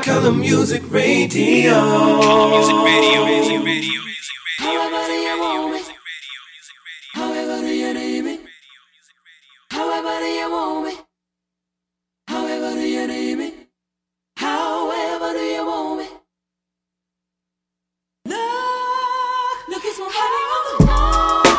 Color Music Radio. Color Music Radio. However do you want me? However do you need me? However do you want me? However do you need me? However do you want me? Look, it's my hanging on the wall.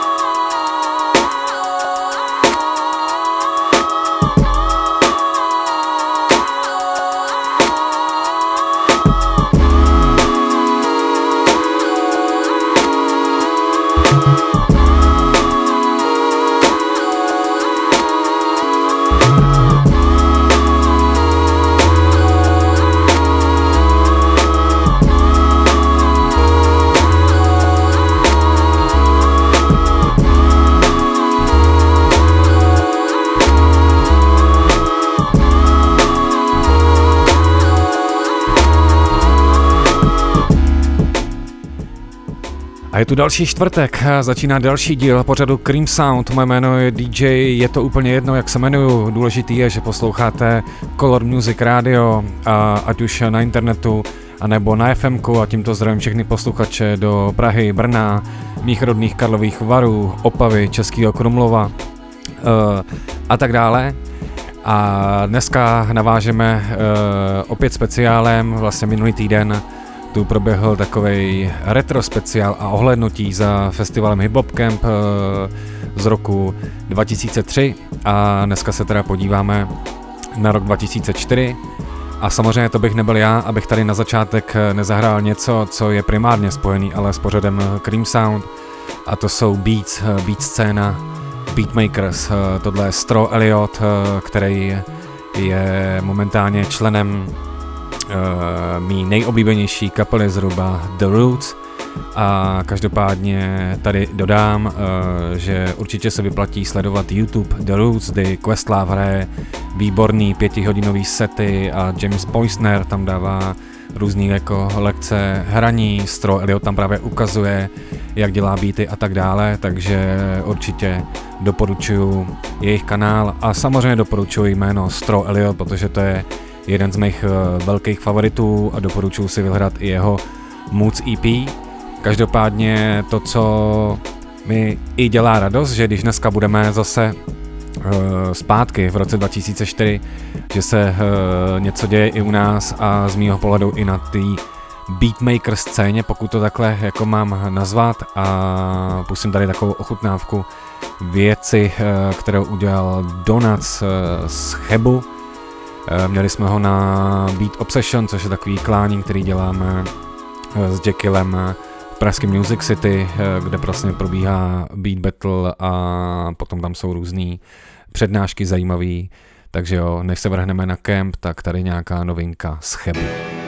A je tu další čtvrtek, začíná další díl pořadu Cream Sound, moje jméno je DJ, je to úplně jedno, jak se jmenuju, důležitý je, že posloucháte Color Music Radio, ať už na internetu, anebo na FMku, a tímto zdravím všechny posluchače do Prahy, Brna, mých rodných Karlových Varů, Opavy, Českého Krumlova a tak dále. A dneska navážeme opět speciálem, vlastně minulý týden tu proběhl takovej retro speciál a ohlédnutí za festivalem Hip Hop Camp z roku 2003 a dneska se teda podíváme na rok 2004 a samozřejmě to bych nebyl já, abych tady na začátek nezahrál něco, co je primárně spojený ale s pořadem Cream Sound a to jsou beat scéna, beatmakers, tohle je Stro Elliott, který je momentálně členem mý nejoblíbenější kapely zhruba The Roots a každopádně tady dodám, že určitě se vyplatí sledovat YouTube The Roots, kdy Questlove hraje výborný 5hodinový sety a James Poisner tam dává různý jako lekce hraní, Stro Elliott tam právě ukazuje, jak dělá beaty a tak dále, takže určitě doporučuji jejich kanál a samozřejmě doporučuji jméno Stro Elliott, protože to je jeden z mých velkých favoritů a doporučuji si vyhledat i jeho Moods EP. Každopádně to, co mi i dělá radost, že když dneska budeme zase zpátky v roce 2004, že se něco děje i u nás a z mýho pohledu i na té beatmaker scéně, pokud to takhle jako mám nazvat, a pustím tady takovou ochutnávku věci, kterou udělal Donuts z Chebu. Měli jsme ho na Beat Obsession, což je takový klání, který děláme s Jekyllem v pražském Music City, kde vlastně probíhá beat battle a potom tam jsou různý přednášky zajímavý. Takže jo, než se vrhneme na kemp, tak tady nějaká novinka z Chebu.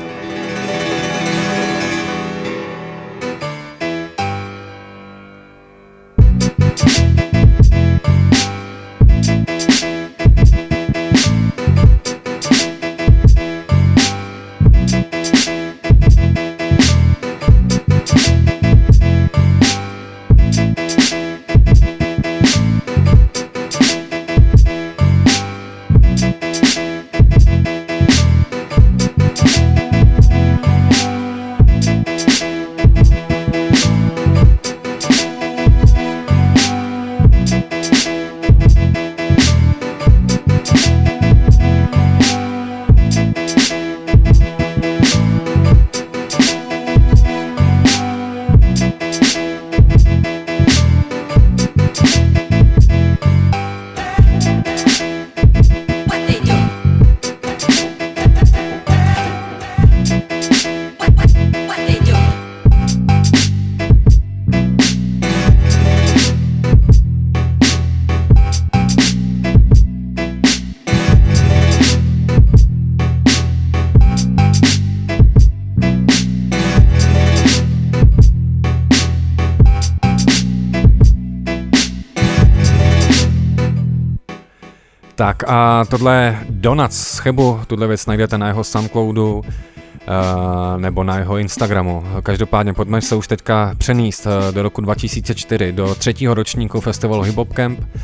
Tak a tohle je Donuts z Chebu, tuhle věc najdete na jeho Soundcloudu nebo na jeho Instagramu. Každopádně pojďme se už teďka přenést do roku 2004, do 3. ročníku festivalu Hip Hop Camp,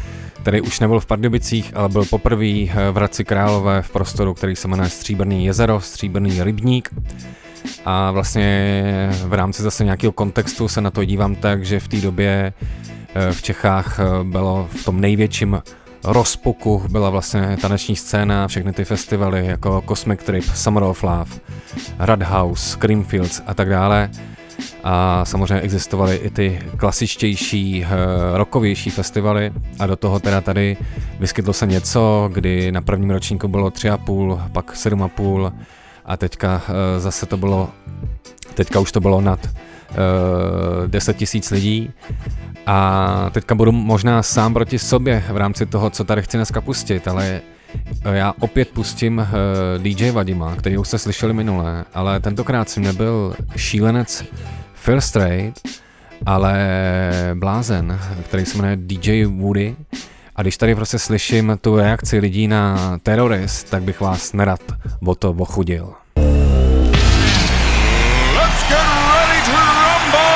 který už nebyl v Pardubicích, ale byl poprvé v Hradci Králové v prostoru, který se jmenuje Stříbrný jezero, Stříbrný rybník. A vlastně v rámci zase nějakého kontextu se na to dívám tak, že v té době v Čechách bylo v tom největším rozpuku, byla vlastně taneční scéna, všechny ty festivaly jako Cosmic Trip, Summer of Love, Radhouse, Creamfields a tak dále. A samozřejmě existovaly i ty klasičtější, rockovější festivaly a do toho teda tady vyskytlo se něco, kdy na prvním ročníku bylo 3,5, pak 7,5 a teďka zase to bylo, teďka už to bylo nad 10 000 lidí. A teďka budu možná sám proti sobě v rámci toho, co tady chci dneska pustit, ale já opět pustím DJ Vadima, který už jste slyšeli minule, ale tentokrát jsem nebyl šílenec Phil Strait, ale blázen, který se jmenuje DJ Woody. A když tady prostě slyším tu reakci lidí na Terrorist, tak bych vás nerad o to ochudil. Let's get ready to rumble!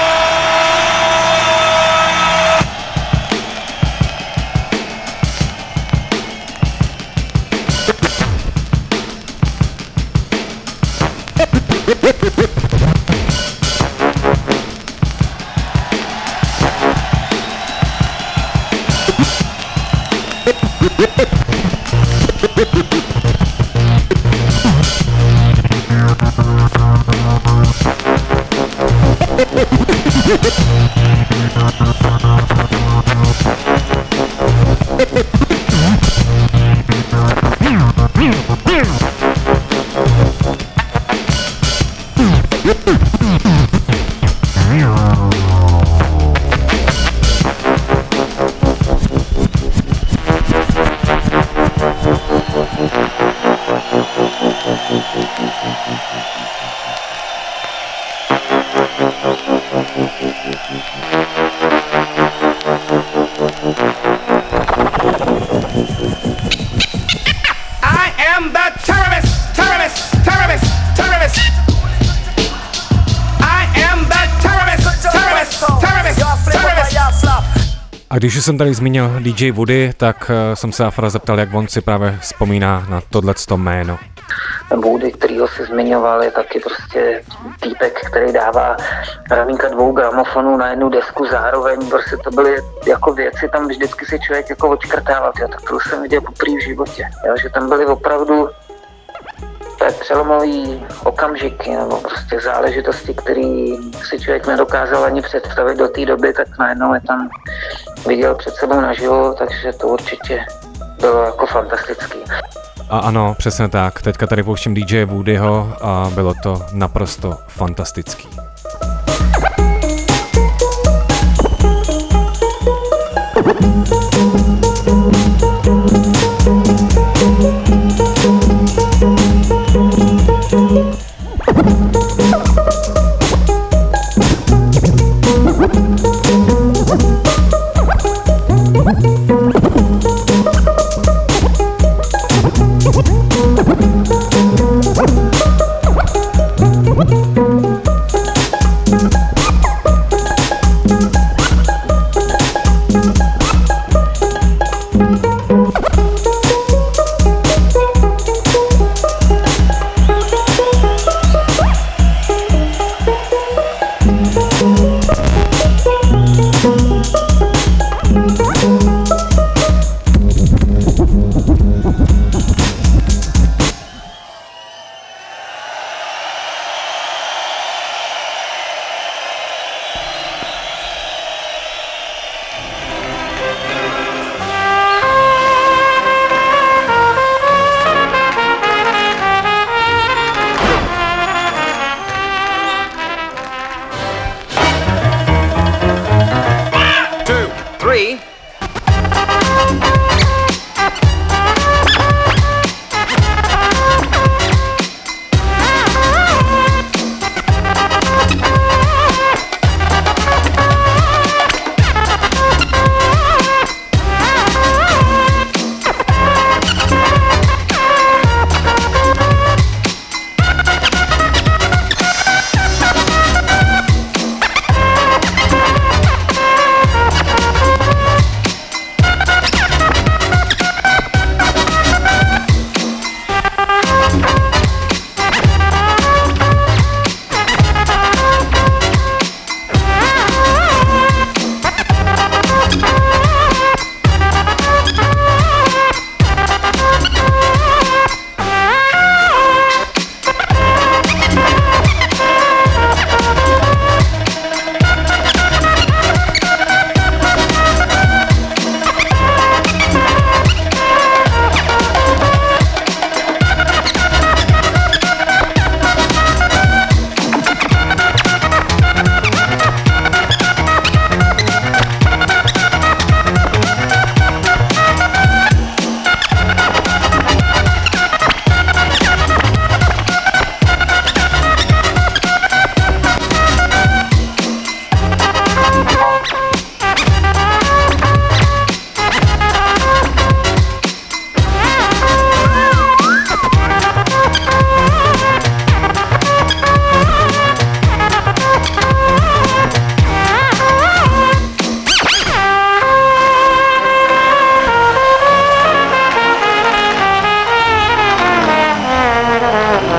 A když už jsem tady zmínil DJ Woody, tak jsem se Afra zeptal, jak on si právě vzpomíná na tohleto jméno. Woody, kterýho si zmiňoval, je taky prostě týpek, který dává ramínka 2 gramofonů na jednu desku zároveň, prostě to byly jako věci, tam vždycky si člověk jako odškrtával, tak to jsem viděl poprvé v životě, jo, že tam byly opravdu přelomový okamžiky nebo prostě záležitosti, které si člověk nedokázal ani představit do té doby, tak najednou je tam viděl před sebou naživo, takže to určitě bylo jako fantastický. A ano, přesně tak, teďka tady pouštím DJ Woodyho a bylo to naprosto fantastický.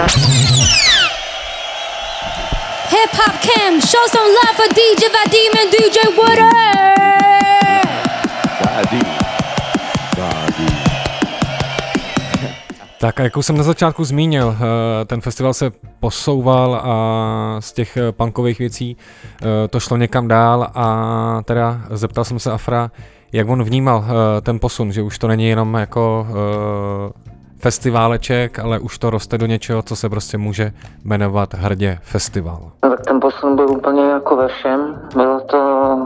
Hip Hop Cam, show some love for DJ Vadim and DJ Woody. Tak a jak už jsem na začátku zmínil, ten festival se posouval a z těch punkových věcí to šlo někam dál a teda zeptal jsem se Afra, jak on vnímal ten posun, že už to není jenom jako festiváleček, ale už to roste do něčeho, co se prostě může jmenovat hrdě festival. No, tak ten posun byl úplně jako ve všem. Bylo to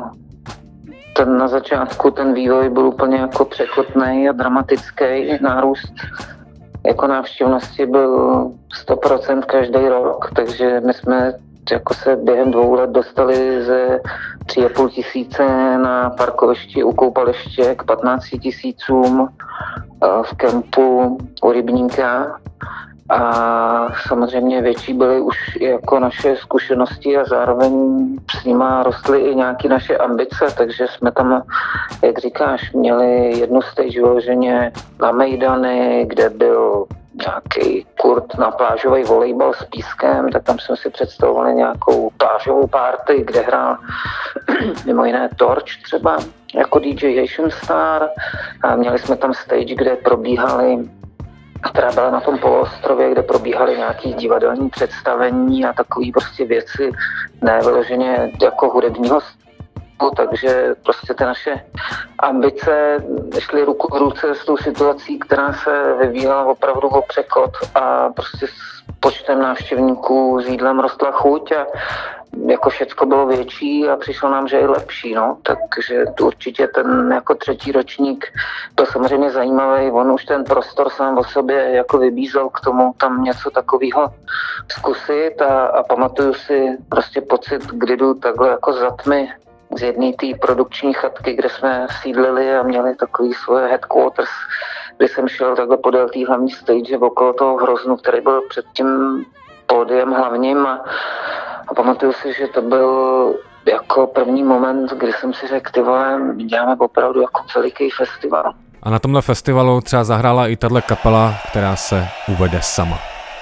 na začátku ten vývoj byl úplně jako překotný a dramatický. Nárůst jako návštěvnosti byl 100% každý rok, takže my jsme jako se během 2 let dostali ze 3,5 tisíce na parkovišti u koupaliště k 15 tisícům v kempu u Rybníka. A samozřejmě větší byly už jako naše zkušenosti a zároveň s nima rostly i nějaké naše ambice, takže jsme tam, jak říkáš, měli jednu stage vyloženě na Mejdany, kde byl nějaký kurt na plážový volejbal s pískem, tak tam jsme si představovali nějakou plážovou party, kde hrál mimo jiné Torch třeba jako DJ Asian Star a měli jsme tam stage, kde probíhaly, která byla na tom poloostrově, kde probíhaly nějaký divadelní představení a takové prostě věci, ne vyloženě jako hudebního stylu, takže prostě ty naše ambice šly ruku v ruce s tou situací, která se vyvíjela opravdu o překot a prostě s počtem návštěvníků s jídlem rostla chuť a jako všecko bylo větší a přišlo nám, že je lepší, no. Takže určitě ten jako 3. ročník byl samozřejmě zajímavý. On už ten prostor sám o sobě jako vybízel k tomu tam něco takového zkusit a pamatuju si prostě pocit, kdy jdu takhle jako za tmy z jedné té produkční chatky, kde jsme sídlili a měli takový svoje headquarters, kdy jsem šel takhle podél té hlavní stage okolo toho hroznu, který byl před tím pódiem hlavním a pamatuju si, že to byl jako první moment, kdy jsem si řekl, ty vole, děláme opravdu jako veliký festival. A na tomhle festivalu třeba zahrála i tahle kapela, která se uvede sama.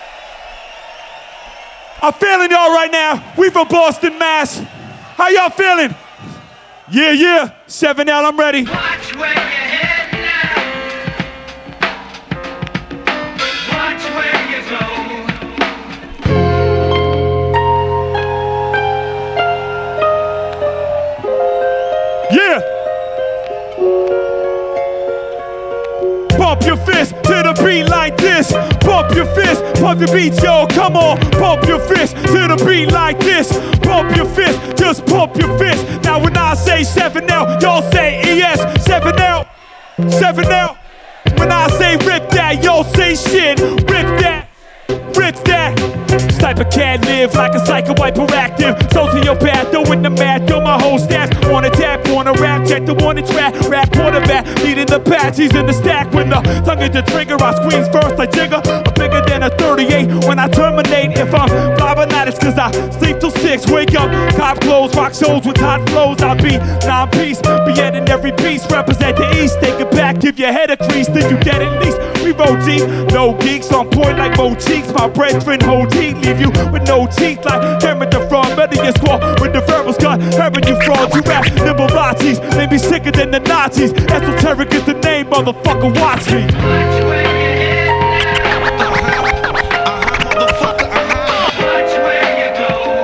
I'm feeling y'all right now. We from Boston, Mass. How y'all feeling? Yeah, yeah. 7L, I'm ready. Watch where you're heading now. Watch where you go. Yeah. Pump your fist to the beat like this. Pump your fist, pump your beats, yo. Come on, pump your fist to the beat like this. Pump your fist, just pump your fist. Now when I say 7L, y'all say ES. 7L, 7L. When I say rip that, y'all say shit. Rip that, rip that. This type of cat live like a psycho hyperactive. Sociopath, throwing the math, throw my whole stash. Wanna tap, wanna rap, check the one track. Rap quarterback, leading the patch, he's in the stack. When the tongue is the trigger, I squeeze first like Jigger. I'm bigger than a 38 when I terminate. If I'm flying it's cause I sleep till 6, wake up, cop clothes, rock shows with hot flows. I'll be 9-piece, be in every piece. Represent the East, take it back, give your head a crease, then you dead at least. We roll deep, no geeks, on point like Mo Cheeks. My brethren hold heat, leave you with no teeth like Kermit the Frog. Better get squawk when the verbals got heaven you frauds. You rap nimble Nazis, made me sicker than the Nazis. Esoteric is the name, motherfucker, watch me. Watch where you're heading now. Motherfucker, Watch where you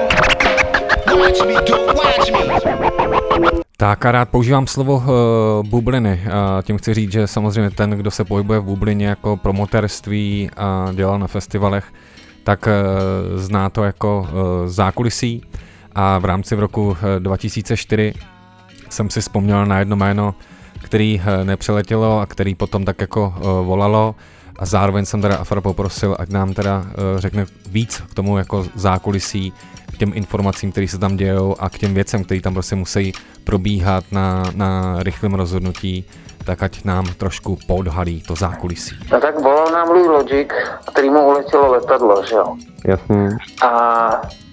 go. watch me do, watch me. Tak a rád používám slovo bubliny a tím chci říct, že samozřejmě ten, kdo se pohybuje v bublině jako promotérství a dělal na festivalech, tak zná to jako zákulisí a v rámci v roku 2004 jsem si vzpomněl na jedno jméno, který nepřeletělo a který potom tak jako volalo a zároveň jsem teda Afra poprosil, ať nám teda řekne víc k tomu jako zákulisí, k těm informacím, které se tam dějou a k těm věcem, které tam prostě musí probíhat na rychlém rozhodnutí, tak ať nám trošku podhalí to zákulisí. No tak volal nám Blue Logic, kterýmu uletělo letadlo, že jo? Jasně. A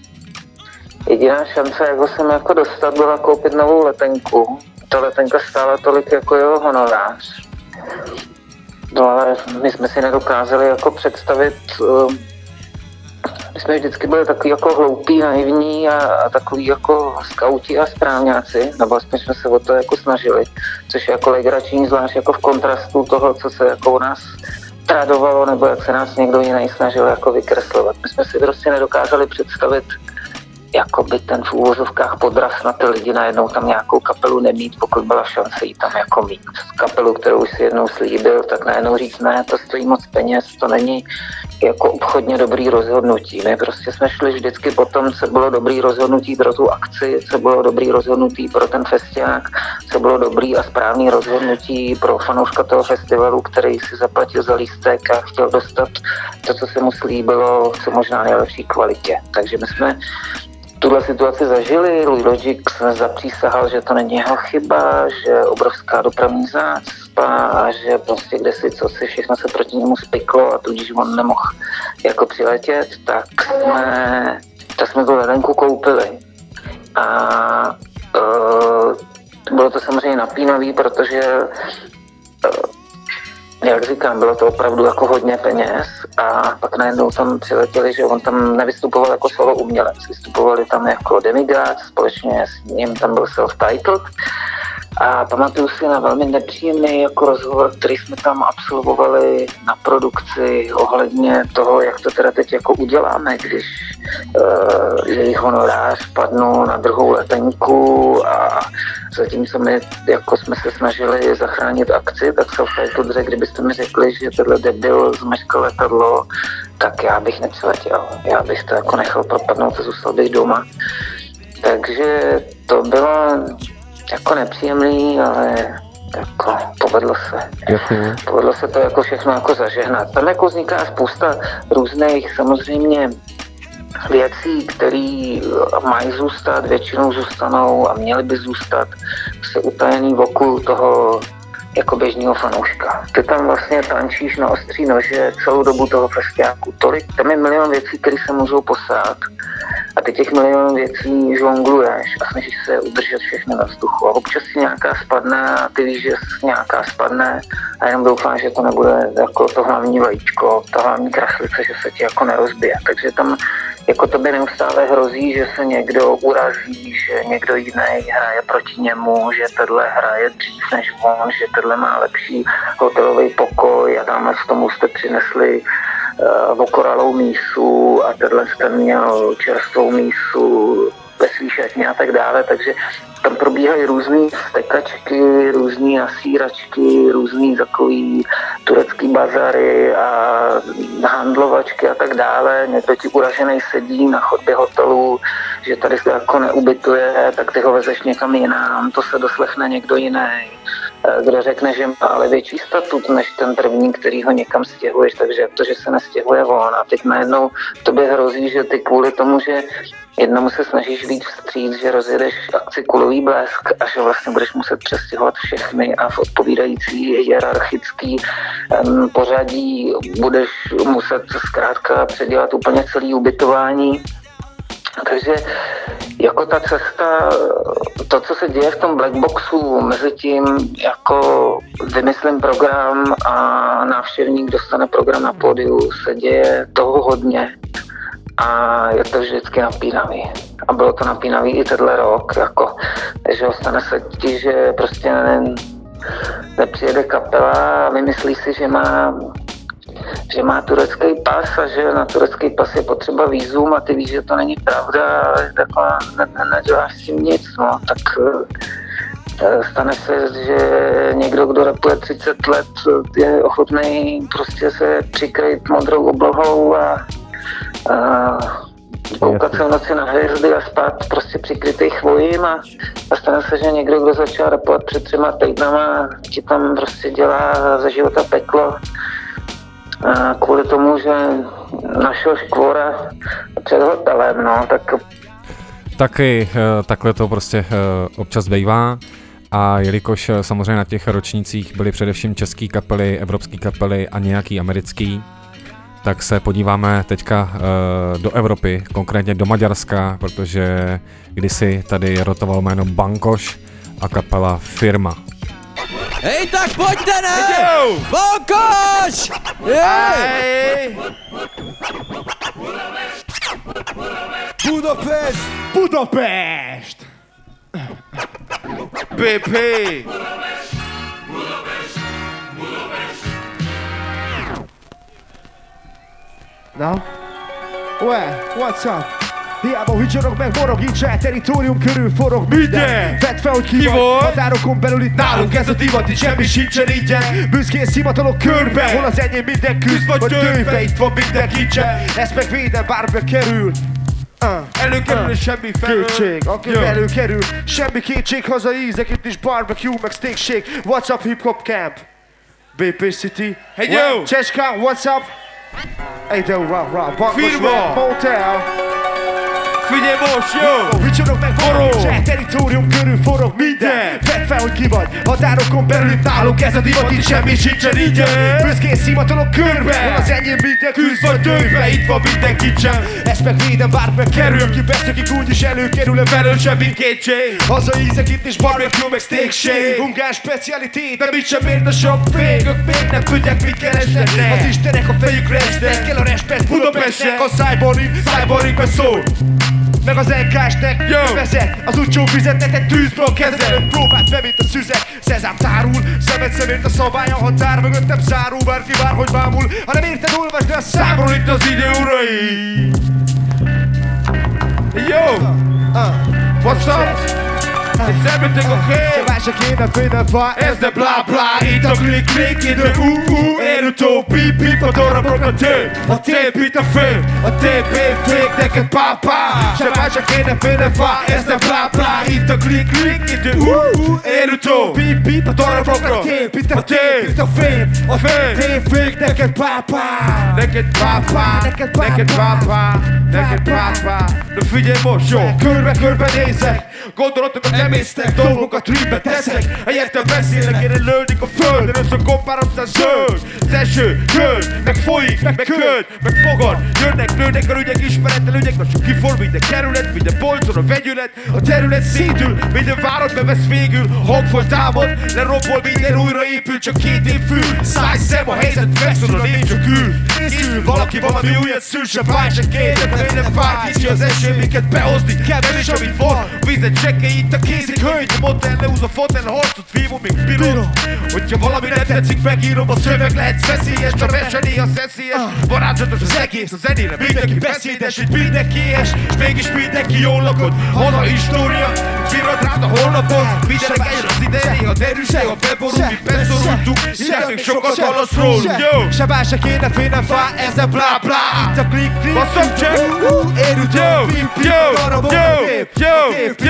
jediná šance, jak ho sem jako dostat, byla koupit novou letenku. Ta letenka stála tolik jako jeho honorář. No ale my jsme si nedokázali jako představit jsme vždycky byli takový jako hloupí, naivní a takový jako skauti a správňáci, nebo aspoň jsme se o to jako snažili, což je jako legrační, zvlášť jako v kontrastu toho, co se jako u nás tradovalo, nebo jak se nás někdo jiný snažil jako vykreslovat. My jsme si prostě nedokázali představit jakoby ten v úvozovkách podraz na ty lidi najednou tam nějakou kapelu nemít, pokud byla šance jí tam jako mít. Kapelu, kterou už si jednou slíbil, tak najednou říct ne, to stojí moc peněz, to není jako obchodně dobrý rozhodnutí. My prostě jsme šli vždycky po tom, co bylo dobrý rozhodnutí pro tu akci, co bylo dobrý rozhodnutí pro ten festiák, co bylo dobrý a správný rozhodnutí pro fanouška toho festivalu, který si zaplatil za lístek a chtěl dostat to, co se mu slíbilo, co možná nejlepší kvalitě. Takže my jsme tuhle situaci zažili, Louis Logic zapřísahal, že to není jeho chyba, že obrovská dopravní zácpa a že prostě kdesi cosi všechno se proti němu spiklo a tudíž on nemohl jako přiletět, tak jsme tu letenku koupili. A bylo to samozřejmě napínavý, protože jak říkám, bylo to opravdu jako hodně peněz a pak najednou tam přiletěli, že on tam nevystupoval jako solo umělec, vystupovali tam jako demigod, společně s ním tam byl self-titled a pamatuju si na velmi nepříjemný jako rozhovor, který jsme tam absolvovali na produkci ohledně toho, jak to teda teď jako uděláme, když jejich honorář padnul na druhou letenku a zatímco my jako jsme se snažili zachránit akci, tak self-titled řekl, kdybyste mi řekli, že tenhle debil zmeškal letadlo, tak já bych nepřiletěl. Já bych to jako nechal propadnout a zůstal bych doma. Takže to bylo jako nepříjemný, ale jako povedlo se. Jasně. Povedlo se to jako všechno jako zažehnat. Tam jako vzniká spousta různých samozřejmě věcí, které mají zůstat, většinou zůstanou a měly by zůstat se utajený okolo toho jako běžného fanouška. Ty tam vlastně tančíš na ostří nože celou dobu toho festiáku. Tam je milion věcí, které se můžou posát a ty těch milion věcí žongluješ a snažíš se udržet všechny na vzduchu. A občas si nějaká spadne a ty víš, že nějaká spadne a jenom doufám, že to nebude jako to hlavní vajíčko, ta hlavní kraslice, že se ti jako nerozbije. Takže tam jako tobě neustále hrozí, že se někdo urazí, že někdo jiný hraje proti němu, že tenhle hraje dřív než on, že tenhle má lepší hotelový pokoj a tamhle v tomu jste přinesli vokoralou mísu a tenhle jste měl čerstvou mísu ve svý šatně a tak dále, takže tam probíhají různý stekačky, různý nasíračky, různý takový turecký bazary a handlovačky a tak dále. Někdo ti uražený sedí na chodbě hotelu, že tady se jako neubytuje, tak ty ho vezeš někam jinam, to se doslechne někdo jiný, kdo řekne, že má ale větší statut než ten první, který ho někam stěhuješ, takže to, že se nestěhuje on a teď najednou tobě hrozí, že ty kvůli tomu, že jednomu se snažíš víc vstříc, že rozjedeš akci Kulový blesk a že vlastně budeš muset přestěhovat všechny a v odpovídající hierarchický pořadí budeš muset zkrátka předělat úplně celý ubytování. Takže jako ta cesta, to, co se děje v tom blackboxu, mezi tím jako vymyslím program a návštěvník dostane program na pódiu, se děje toho hodně. A je to vždycky napínavý. A bylo to napínavý i tenhle rok, jako, že stane se ti, že prostě nepřijede kapela a vymyslí si, že má turecký pas a že na turecký pas je potřeba vízum a ty víš, že to není pravda, ale takhle neděláš s tím nic, no, tak stane se, že někdo, kdo rapuje 30 let, je ochotný prostě se přikrýt modrou oblohou a koukat se v noci na hvězdy a spát prostě přikrytý chvojím a stane se, že někdo, kdo začal rapovat před 3 týdnama, ti tam prostě dělá za života peklo kvůli tomu, že našel škvora před hotelem, no, tak... Taky takhle to prostě občas bývá a jelikož samozřejmě na těch ročnících byly především český kapely, evropský kapely a nějaký americký, tak se podíváme teďka do Evropy, konkrétně do Maďarska, protože kdysi tady rotoval jméno Bankoš a kapela Firma. Hej, tak pojďte, ne! Bankoš! Hej! Budapest! Budapest! BP! Na? Well, what's up? Hiába hücsörök meg, morog, így saját territórium körül forog minden. Vedd fel, hogy ki vagy, határokon belül itt nálunk ez a divat, itt semmi sincsen ingyen. Büszkén szimatalok körbe, hol az enyém minden küzd vagy tőbe, itt van minden kincsen. Ezt meg védem, bárbe kerül. Előkerül és semmi felől. Kétség, aki előkerül, semmi kétség, haza ízek, itt is barbecue, meg steak shake. What's up, hip hop camp? BP City. Hey yo! Czeska, what's up? Hey yo, Bankos Firma. Motel. Figyelj most, jó! Vicsorog meg forog, saját territórium körül forog minden. Vedd fel, hogy ki vagy, határokon belül itt nálunk ez a divat, itt semmi sincsen ingyen. Büszkén szimatalok körbe, hol az enyém minden küzd vagy tőbe, itt van minden kincsen. Ezt meg védem, bárbe kerül, ki beszökik úgyis előkerül, velő semmi kétség. Haza ízek, itt is barbecue, meg steak shake. Ungán specialitét, de mit sem ért a sok fég. Ők még nem tudják, mit keresnek. Az istenek a fejükre esnek, kell a respekt Budapestnek. A cyborg beszól. Meg az NK-snek vezet, az utcsó fizetnek egy tűzből kezel. Próbált be, mint a szüzek, szezám tárul, szemed szemért a szabály, a határ mögöttem zárul. Bárki bárhogy bámul, ha nem érted, olvasd le a számról itt az idő urai. Yo! What's up? Is everything okay? Csak se kéne félnefa, Ez de bla bla, itt a klik klik, itt a érutó, pip pip, a dorabrok a tép, a tép itt a fél, a tép fék, neked pápá. Se kéne félnefa, ez de bla bla, itt a klik klik, itt a érutó, pip pip, a dorabrok a tép, itt a tép, itt a fél, a tép fék, neked pápá. Neked pápá, neked pápá, neked pápá. De figyelj most, jó! Körbe nézek, Gondolatokat nem észtek, dolgokat rűbbe teszek. Helyettem beszélek, én lődik a földön, összekompár aztán zöld. Az eső, köld, meg folyik, meg köld, meg fogad. Jönnek, nőnek a ügyek, ismeretlen ügyek, most csak kiform minden kerület, minden polcon a vegyület. A terület szétül, minden várat bevesz végül. Hangfal támad, lerobbol, minden újraépül, csak 2 év fül. Száj szem, a helyzet feszül, a nép csak ül. Készül, valaki valami újat szül, se báj, se kérdek, ha én nem fáj, kicsi az eső, minket behozni. Kevés, amit van, vizet csekke itt a kézik hölgy. A motel lehúz a fotel, harcot vívó, még pillanat. Hogyha valami nem tetszik, megírom, a szöveg lehet veszélyes, a mese néha szeszélyes. Varázslatos az egész, a zenére mindenki beszédes, itt mindenki éhes, és mégis mindenki jól lakod. Haza história, virad rád a holnapon. Mindenek eljön az ideje, néha derűség, ha beborul, mi beszorultunk. Hideg még sokat hallasz rólunk, jó! Se bár se kéne félnem fá, ez a bla bla. Itt a klik klik, basszom csak! érutó, pip pip, a darabok a tép,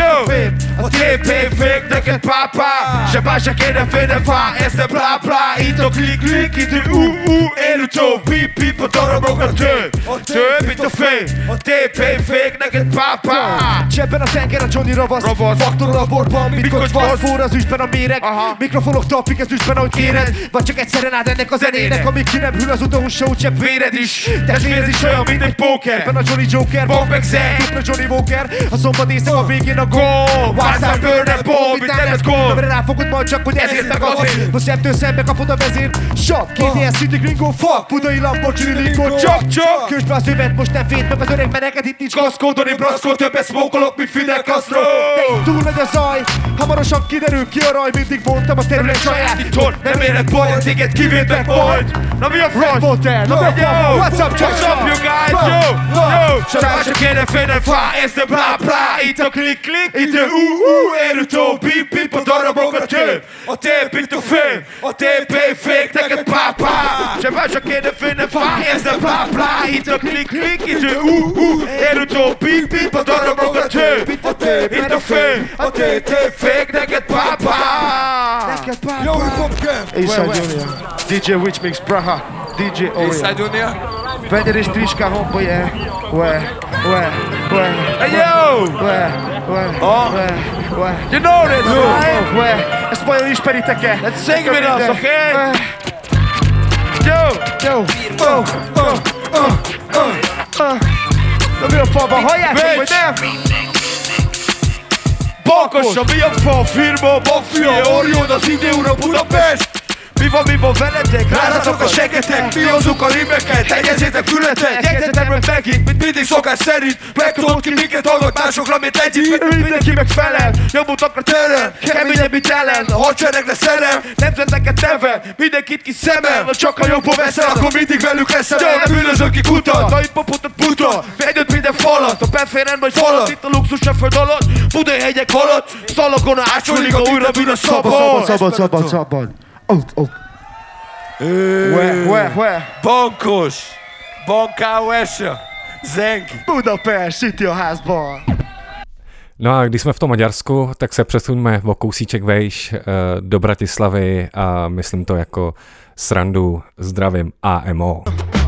a tép fék, neked pápá. Se bár se kéne félnem fá, ez a bla bla. Itt a klik klik, itt a érutó, pip pip, a darabok a tép, itt a fék, a tép fék, neked pápá. Csebben a tenger a Johnny ravasz, faktor a borban, mit kocsvasz, forr az üstben a méreg. Mikrofonok tapik az üstben, ahogy kéred, vagy csak egyszerűen áld ennek a zenének, amíg ki nem hűl az utahús se úgy csepp véred is. Testvérez is olyan, mint egy póker. Ebben a Johnny Joker, Bob meg Zek, dupla Johnny Walker. A szombat éjszak a végén a gól. Wildstyle Burner Bob, itt nem lesz gól. Amire ráfogod majd csak, hogy ezért meg azért. No szemtől szembe kapod a vezért. Shot, KDS City Gringo, fuck, budai Lamborghini Lingo. Csak, kösd be a szövet, most nem fét meg az öreg meneket, itt nincs gaszkódoni braszkó, többet szmókolok, mint Fidel Castro. Túl nagy a zaj, hamarosan kiderül ki a raj, mindig mondtam a terület saját. Itthon nem érek baj, téged kivédnek majd. Na mi a franc? What's up, What's up, you guys? Yo! Csak se kéne félnem fá, ez a bla bla. Itt a klik klik, itt a érutó, pip pip, a darabok a tép, itt a fél, a tép fék, neked pápá. Se kéne félnem fá, ez a bla bla. Itt a klik klik, itt a érutó, pip pip, a darabok a tép, itt a fél, a tép fék, neked pápá. Yo, hip hop camp! Eastside Junior, DJ Witch Mix, Praha, DJ Oreo. Eastside Junior? Vegyere és Triska hombo, yeah. Hey yo! You know this, right? Ezt vajon ismeritek-e? Let's sing with us, okay? Yo! Na mi a falban, halljátok, vagy nem? Bankos, mi a fal firma, Mafia, Orion, az idő ura Budapest. Mi van veletek? Rázatok a segetek, mi hozzuk a rimeket, tegyezzétek fületek. Jegyzetem meg megint, mint mindig szokás szerint. Megtudod ki minket hallgat másokra, mint egyik. Mindenki megfelel, nyomultakra terem. Keményebb, mint ellen, a hadsereg lesz szerem. Nemzeteket neve, mindenkit ki szemel. Ha csak a jobban veszel, akkor mindig velük leszel. Nem bűnözök ki kutat, a hip-hopot a puta. Védőd minden falat, a beféren vagy falat. Itt a luxus a föld alatt, Budai hegyek alatt. Szalagon átsolik, a újra bűn a szabad. Bankos, Bankáuesa, Zengi, Budapest, City a házban. No a když jsme v tom Maďarsku, tak se přesuňme o kousíček vejš do Bratislavy a myslím to jako srandu. Zdravím AMO.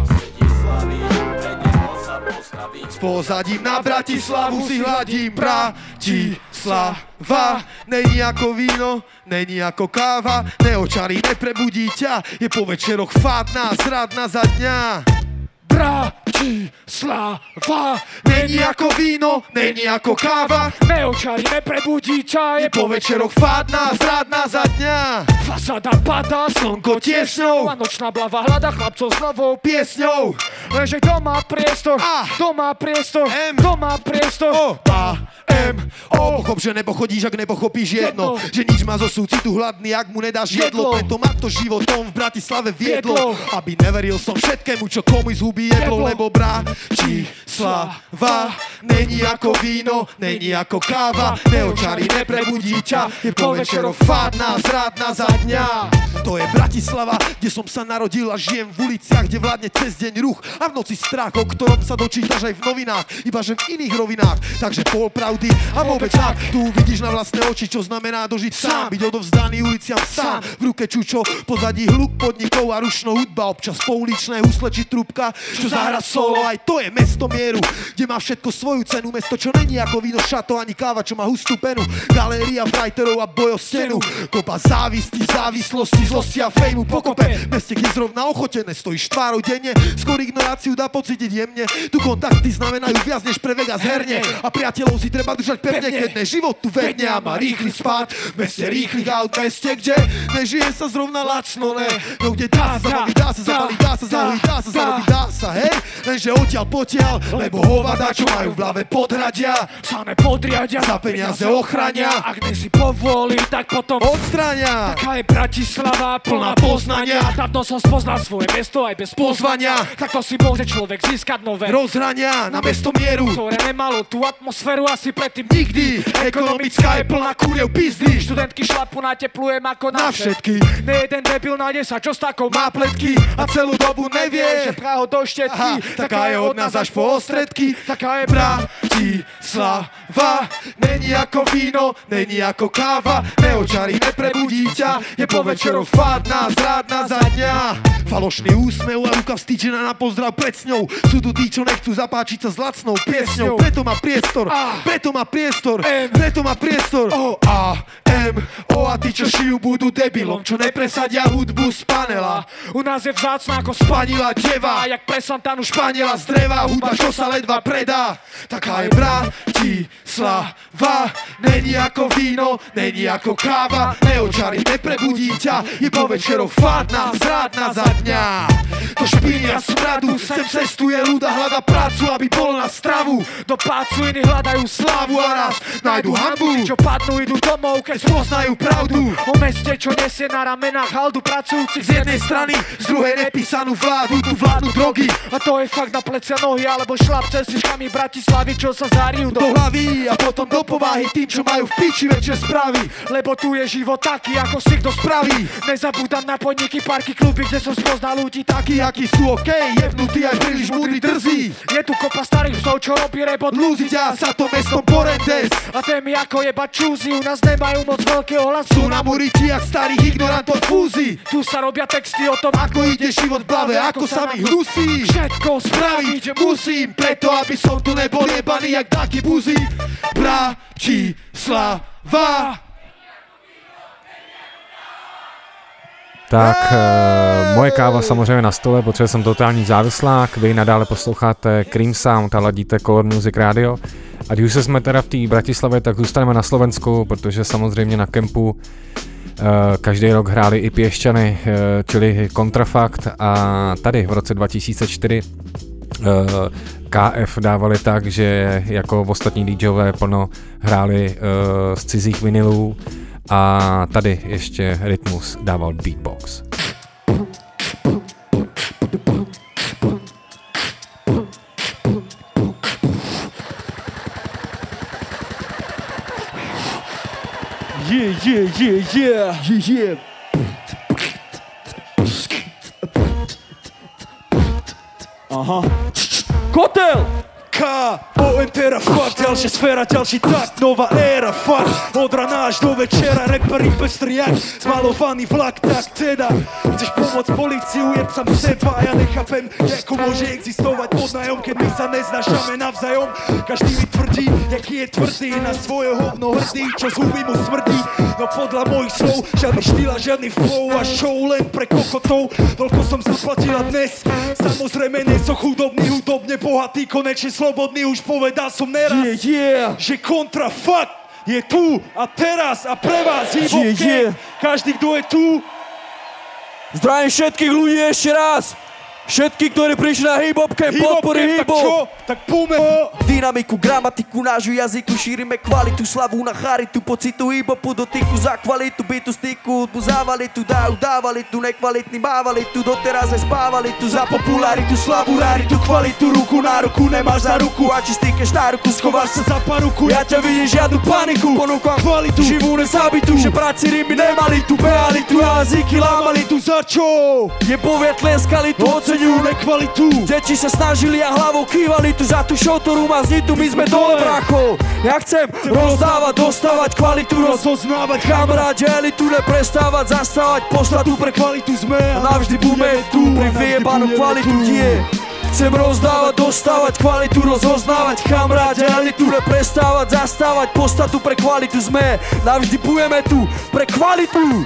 S pozadím na Bratislavu si hladím Bratislava. Není jako víno, není jako káva, neočarí, neprebudí ťa, je po večeroch fádna, zradná za dňa. Bratislava, není jako víno, není jako káva, neočarí, neprebudí ťa, je po večeroch fádna, zradná za dňa. Fasáda padá, slnko tiesňou a nočná blava hľada chlapcov s novou piesňou. Lenže kto má priestor, kto má priestor, kto má priestor. A-M-O. Pochop, že nepochodíš, ak nepochopíš jedno, že nič má zo súcitu hladný, ak mu nedáš jedlo. Preto ma to životom v Bratislave viedlo, aby neveril som všetkému, čo komu zhubí jedlo. Lebo Bratislava není ako víno, není ako káva, neočarí, neprebudí ťa, je po večeroch fádna, zradná za dňa. To je Bratislava, kde som sa narodil a žijem v uliciach, kde vládne cez deň ruch a v noci strach, o ktorom sa dočítaš aj v novinách, ibaže v iných rovinách. Takže pol pravdy a vôbec tak, tu vidíš na vlastné oči, čo znamená dožiť sám, byť odovzdaný uliciam sám, v ruke čučo, pozadí hluk podnikov a rušno hudba, občas pouličné husle či trúbka, čo zahra solo. Aj to je mesto mieru, kde má všetko svoju cenu, mesto, čo není ako víno, šato ani káva, čo má hustú penu, galéria writerov a boj o stenu, kopa závisti, závislosti, zlosti a fejmu pokope, meste, kde zrovna ochotené stojíš tvárou denne, skôr ignoráciu dá pocítiť jemne, tu kontakty znamenajú viac než pre Vegas herne a priateľov si treba držať pevne, keď ne život tu vedne a má rýchly spád, v meste rýchlych aut, meste, kde nežije sa zrovna lacno, ne, no kde dá sa zabaviť, dá sa zabaliť, dá sa zahojiť, dá sa zarobiť, dá sa, hej, lenže odtiaľ potiaľ, lebo hovada, čo majú v hlave podhradia, sa nepodriadia, za peniaze ochrania, ak si povolí, tak potom odstrania. Taká je Bratislava, plná poznania, dávno som spoznal svoje mesto aj bez pozvania, takto si môže človek získať nové rozhrania na mesto mieru, ktoré nemalo tú atmosféru asi predtým nikdy. Ekonomická je plná kuriev pizdy, študentky šlapu na teplujem ako na všetky, nejeden debil nájde sa, čo s takou má pletky a celú dobu nevie, že Praho do Štetky, taká je od nás až po Ostredky, taká je Bratislava, není ako víno, není ako káva, neočarí, neprebudí ťa, je po večeroch fádna, zradná za dňa. Falošný úsmev a ruka vstýčená na pozdrav pred sňou, sú tu tí, čo nechcú zapáčiť sa s lacnou piesňou, preto má priestor, preto má priestor, preto má priestor. O a tí, čo šijú, budú debilom, čo nepresadia hudbu z panela. U nás je vzácna ako spanila deva, jak pre Santanu Španiela z dreva, hudba, čo sa ledva predá. Taká je Bratislava, není ako víno, není ako káva, neočarí, neprebudí ťa, je po večeroch fádna, zradná za dňa. To špíny a smradu, sem cestuje ľud a hľada prácu, aby bol na stravu. Do pácu iní hľadajú slávu a raz nájdu hanbu, čo padnú, idú domov, keď spoznajú pravdu o meste, čo nesie na ramenách haldu pracujúcich z jednej strany, z druhej nepísanú vládu, tu vládnu drogy a to je fakt na plecia nohy, alebo šlap cestičkami Bratislavy, čo sa zarijú do hlavy a potom do povahy tým, čo majú v piči večer správy, lebo tu je život taký, ako si kto spraví. Nezabúdam na podniky, parky, kluby, kde som spoznal ľudí takí, akí sú okej, jebnutí aj príliš múdri, drzí. Je tu kopa starých psov, čo robí rebot, lúziť a sa to mestom Porendes a témy ako jeba čúzi, u nás nemajú moc veľkého hlasu, sú na muriti jak starých ignorantov fúzi. Tu sa robia texty o tom, ako ide život v hlave, ako sa mi hnusí. Všetko spraviť musím, preto aby som tu nebol jebaný jak taký buzi. Bratislava. Tak, moje káva samozřejmě na stole, protože jsem totální závislák, vy nadále posloucháte Cream Sound a ladíte Color Music Radio A když už jsme teda v té Bratislavě, tak zůstaneme na Slovensku, protože samozřejmě na kempu každý rok hráli i Piešťany, čili Kontrafakt, a tady v roce 2004 KF dávali tak, že jako ostatní DJové plno hráli z cizích vinilů a tady ještě Rytmus dával beatbox. Yeah. Aha. Kotel! K.O.N.T.R.A. fakt, ďalšia sféra, ďalší takt, nová éra, fakt. Od rana až do večera, reperi pestrý jak zmalovaný vlak, tak teda chceš pomôcť políciu, jeb sam seba, ja nechápem, ako môže existovať podnájom, keď my sa neznášame navzájom. Každý mi tvrdí, jaký je tvrdý, na svoje hovno hrdý, čo z huby mu smrdí. No podľa mojich slov, žiadny štýl a žiadny flow a show len pre kokotov. Toľko som zaplatila dnes, samozrejme nie som chudobný, hudobne bohatý, konečne slobodný, už povedal som neraz, že Kontrafakt je tu a teraz a pre vás hip-hop gang. Každý, kto je tu. Zdravím všetkých ľudí ešte raz. Všetky, ktorí prišli na hip-hop camp, podporí hip-hop. Tak poďme ho. Dynamiku, gramatiku, nášho jazyku, šírime kvalitu, slavu na charitu, pocitu hip-hopu, dotyku za kvalitu, bytu, styku, hudbu závalitu, dávali tu nekvalitní, mávali tu, doteraz aj spávali tu, za popularitu, slavu, raritu, kvalitu, ruku na ruku, nemáš za ruku, a či stýkeš na ruku, schováš sa za paruku, ja ťa vidím žiadnu paniku, ponúkam kvalitu, živú nezabitu, že práci rými nemali tu, behali tu, jazyky lámali tu, za čo? Je poviet tleskali tu, nekvalitu. Deti sa snažili a hlavou kývali tu za tú show, ktorú má znitu, my sme dole, bracho. Ja chcem rozdávať, dostávať kvalitu, rozoznávať, kamaráde, elitu, neprestávať, zastávať, poslať tu pre kvalitu sme a navždy budeme tu pre vyjebanú kvalitu, Chcem rozdávať, dostávať kvalitu, rozoznávať, kamaráde, elitu, neprestávať, zastávať, poslať tu pre kvalitu sme, navždy budeme tu pre kvalitu.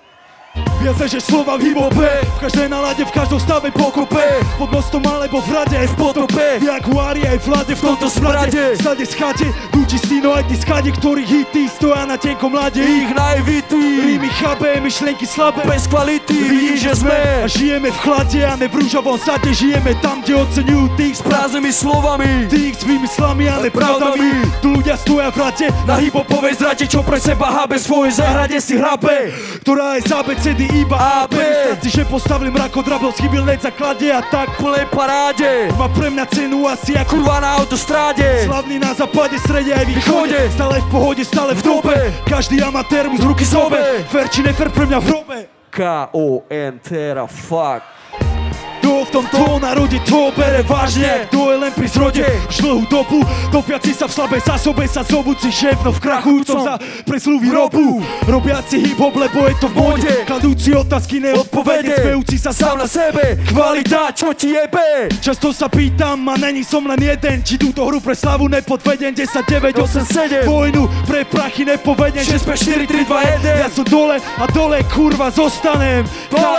Viac než slova v hip-hope, v každej nálade, v každom stave pokope, pod mostom alebo v rade, aj v potope, v Jaguári aj v vlade, v tomto smrade, stade schade, ľudí stino aj tí skade, ktorých hity stoja na tenkom lade, ich naivity, rímy chabé, myšlenky slabé, bez kvality, vidíš, že sme a žijeme v chlade a ne v rúžovom sade, žijeme tam, kde oceňujú tých s prázdnymi slovami, tých s výmyslami a ne pravdami, tu ľudia stoja v rade, na hip-hopovej zrade, čo pre seba hábe, svojej záhrade si hrabe, ktorá je zábecedy iba A, B. Stáci, že postavili mrakodrabel, schybil neď zaklade a tak plnej paráde. Má pre mňa cenu asi ako kurva na autostráde. Slavný na západe, strede aj východe, stále v pohode, stále v dobe. Každý amatér mu z ruky zobe, fer či nefer pre mňa v hrobe. K.O.N.T.R.A. fuck. Kto v tomto národe to bere vážne, kto je len pri zrode už dlhú dobu, topiaci sa v slabej zásobe sa zobúci šéfno v krachujúcom za preslú výrobu, robiaci hip-hop, lebo je to v móde, kladúci otázky neodpovede, smejúci sa sám na sebe, kvalita, čo ti jebe? Často sa pýtam a není som len jeden, či túto hru pre slavu nepodvedem, 10, 9, 8, 7, vojnu pre prachy nepovedem, 6, 5, 4, 3, 2, 1, ja som dole a dole kurva zostanem,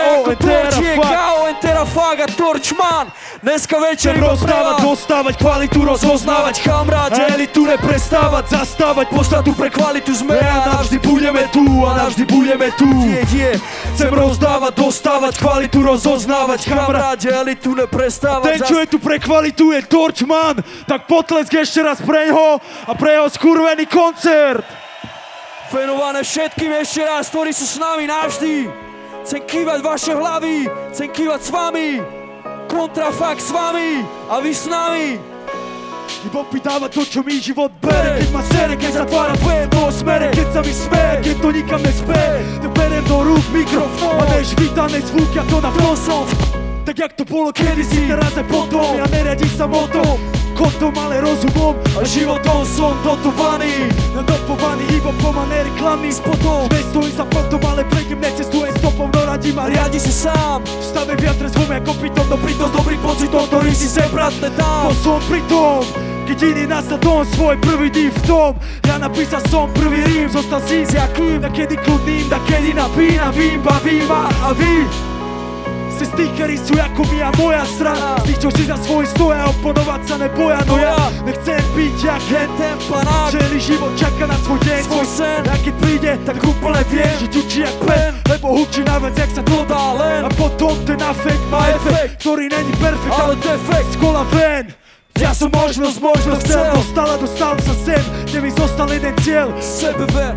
K.O.N.T.R.A. fuck. Torčman, dneska večer rozdávať, dostávať kvalitu, rozoznávať, kamaráde, elitu neprestávať, zastávať, poslať tu pre kvalitu sme a navždy budeme tu a navždy budeme tu. Chcem rozdávať, dostávať kvalitu, rozoznávať, kamaráde, elitu neprestávať. Ten, čo je tu pre kvalitu, je Torčman, tak potlesk ešte raz preňho a pre jeho skurvený koncert. Venované všetkým ešte raz, ktorí sú s nami navždy. Chcem kývať vaše hlavy, chcem kývať s vami, Kontrafakt s vami a vy s nami. Hip-hop mi dáva to, čo mi život bere, keď ma sere, keď zatvára dve do smere, keď sa mi smeje, keď to nikam nespeje, tak berem do rúk mikrofón a než vítané zvuk, ja to na som. Tak jak to bolo kedysi, teraz aj potom, ja neriadím sa motom, kontom, ale rozumom a životom som dotovaný, nadopovaný hip-hopom a nereklamným spotom. Nestojí za potom, ale prejdem, necestujem stopom, no radím a riadi sa sám. V stave viatre zvom ako pitom, no pritom s dobrým pocitom, ktorý si sem bratne dám. No som pritom, keď iný nastal dom, svoj prvý div v tom, ja napísal som prvý rím, zostal si s jakým, nakedy kľudným, nakedy napínavým, bavím a vy se stikeri su jako moja strana. Stiću si za svoj stoja, oponovat sa ne boja, no ja ne chcem být jak tempanák. Celý život čeka na svoj deň, svoj sen. A keď príde, tak úplne viem, že ťučí jak pen, lebo hučí na vec, jak sa to dá len. A potom ten afekt má efekt, ktorý není perfekt, ale defekt z kola ven. Ja som možnosť chcel, dostal sa sem, kde mi zostal jeden cieľ. Sebever.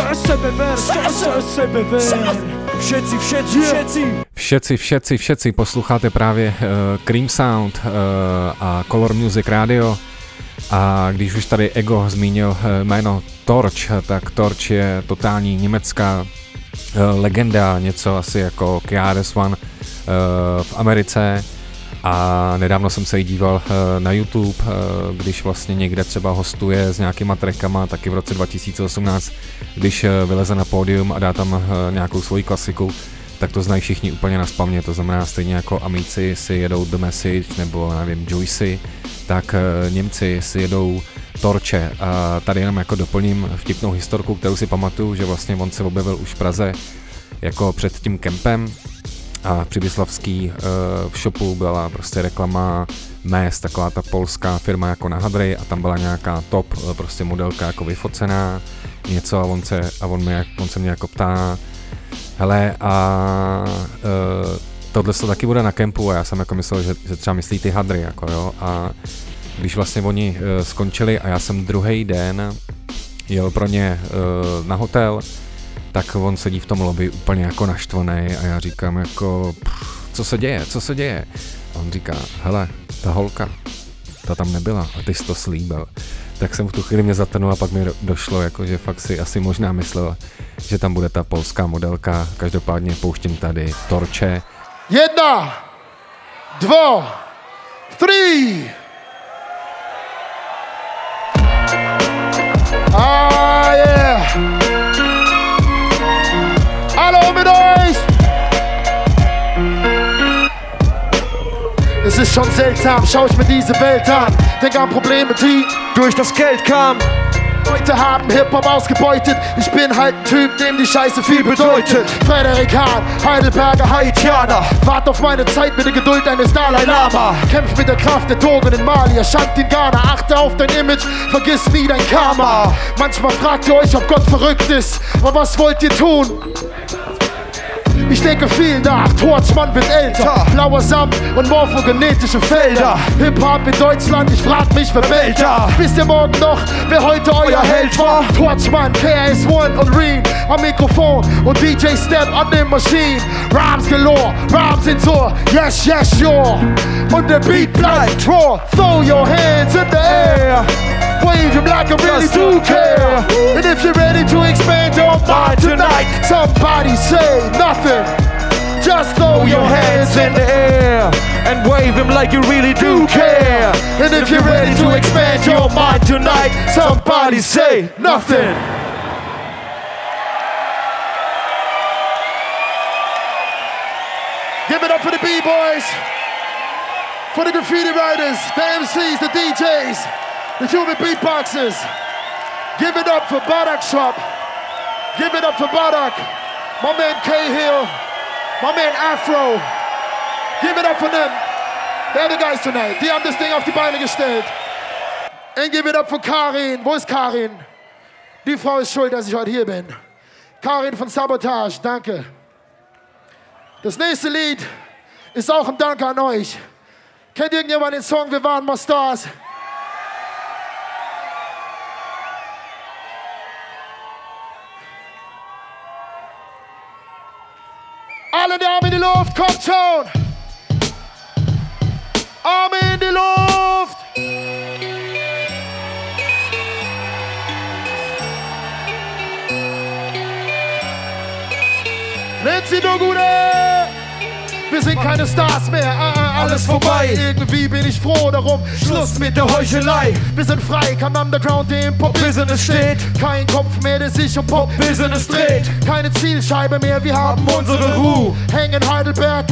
Všetci posloucháte právě Cream Sound a Color Music Radio. A když už tady Ego zmínil jméno Torch, tak Torch je totální německá legenda, něco asi jako KRS-One v Americe. A nedávno jsem se jí díval na YouTube, když vlastně někde třeba hostuje s nějakýma trackama, taky v roce 2018, když vyleze na pódium a dá tam nějakou svoji klasiku, tak to znají všichni úplně naspamět, to znamená stejně jako Amici si jedou The Message nebo nevím Juicy, tak Němci si jedou Torche. A tady jenom jako doplním vtipnou historku, kterou si pamatuju, že vlastně on se objevil už v Praze jako před tím kempem. A v Přibyslavský v shopu byla prostě reklama Mes, taková ta polská firma jako na hadry a tam byla nějaká top prostě modelka jako vyfocená něco a on se mě jako ptá hele a tohle se taky bude na kempu a já jsem jako myslel, že třeba myslí ty hadry jako jo a když vlastně oni skončili a já jsem druhý den jel pro ně na hotel, tak on sedí v tom lobby úplně jako naštvaný a já říkám jako, co se děje? A on říká, hele, ta holka, ta tam nebyla a ty jsi to slíbil. Tak jsem v tu chvíli mě zatrnul a pak mi došlo, jako, že fakt si asi možná myslel, že tam bude ta polská modelka. Každopádně pouštím tady Torche. 1, 2, 3. Ah, yeah. Hallo mit euch! Es ist schon seltsam, schau ich mir diese Welt an. Denk an Probleme, die durch das Geld kamen. Leute haben Hip-Hop ausgebeutet. Ich bin halt ein Typ, dem die Scheiße viel bedeutet. Frederik Hahn, Heidelberger Haitianer. Wart auf meine Zeit mit der Geduld eines Dalai Lama. Kämpf mit der Kraft der Drogen in Mali, erschafft in Ghana. Achte auf dein Image, vergiss nie dein Karma. Manchmal fragt ihr euch, ob Gott verrückt ist. Aber was wollt ihr tun? Ich denke viel nach, Torchmann wird älter. Blauer Samt und morphogenetische Felder. Hip-Hop in Deutschland, ich frag mich, wer meldet da? Wisst ihr morgen noch, wer heute euer Held war? Torchmann, KRS-One und Reem am Mikrofon und DJ Step an den Maschinen. Rhymes galore, Rhymes ins Ohr, yes, yes, sure. Und der Beat bleibt raw, throw your hands in the air. Wave him like I really do care. And if you're ready to expand your mind tonight, somebody say nothing. Just throw your hands in the air and wave him like you really do care. And if you're ready to expand your mind tonight, somebody say nothing. Give it up for the B-boys, for the graffiti writers, the MCs, the DJs, the human beatboxers. Give it up for Barak Shop. Give it up for Barak. My man K-Hill. My man Afro. Give it up for them. They're the guys tonight. Die haben das Ding auf die Beine gestellt. And give it up for Karin. Wo ist Karin? Die Frau ist schuld, dass ich heute hier bin. Karin von Sabotage, danke. Das nächste Lied ist auch ein Dank an euch. Kennt irgendjemand den Song Wir waren mal Stars? Alle die Arme in die Luft, kommt schon! Arme in die Luft! Nancy Dogune! Wir sind keine Stars mehr, alles vorbei. Irgendwie bin ich froh darum, Schluss mit der Heuchelei. Wir sind frei, kein Underground, der im Pop-Business steht. Kein Kopf mehr, der sich um Pop-Business dreht. Keine Zielscheibe mehr, wir haben unsere Ruhe. Hängen Heidelberg ab,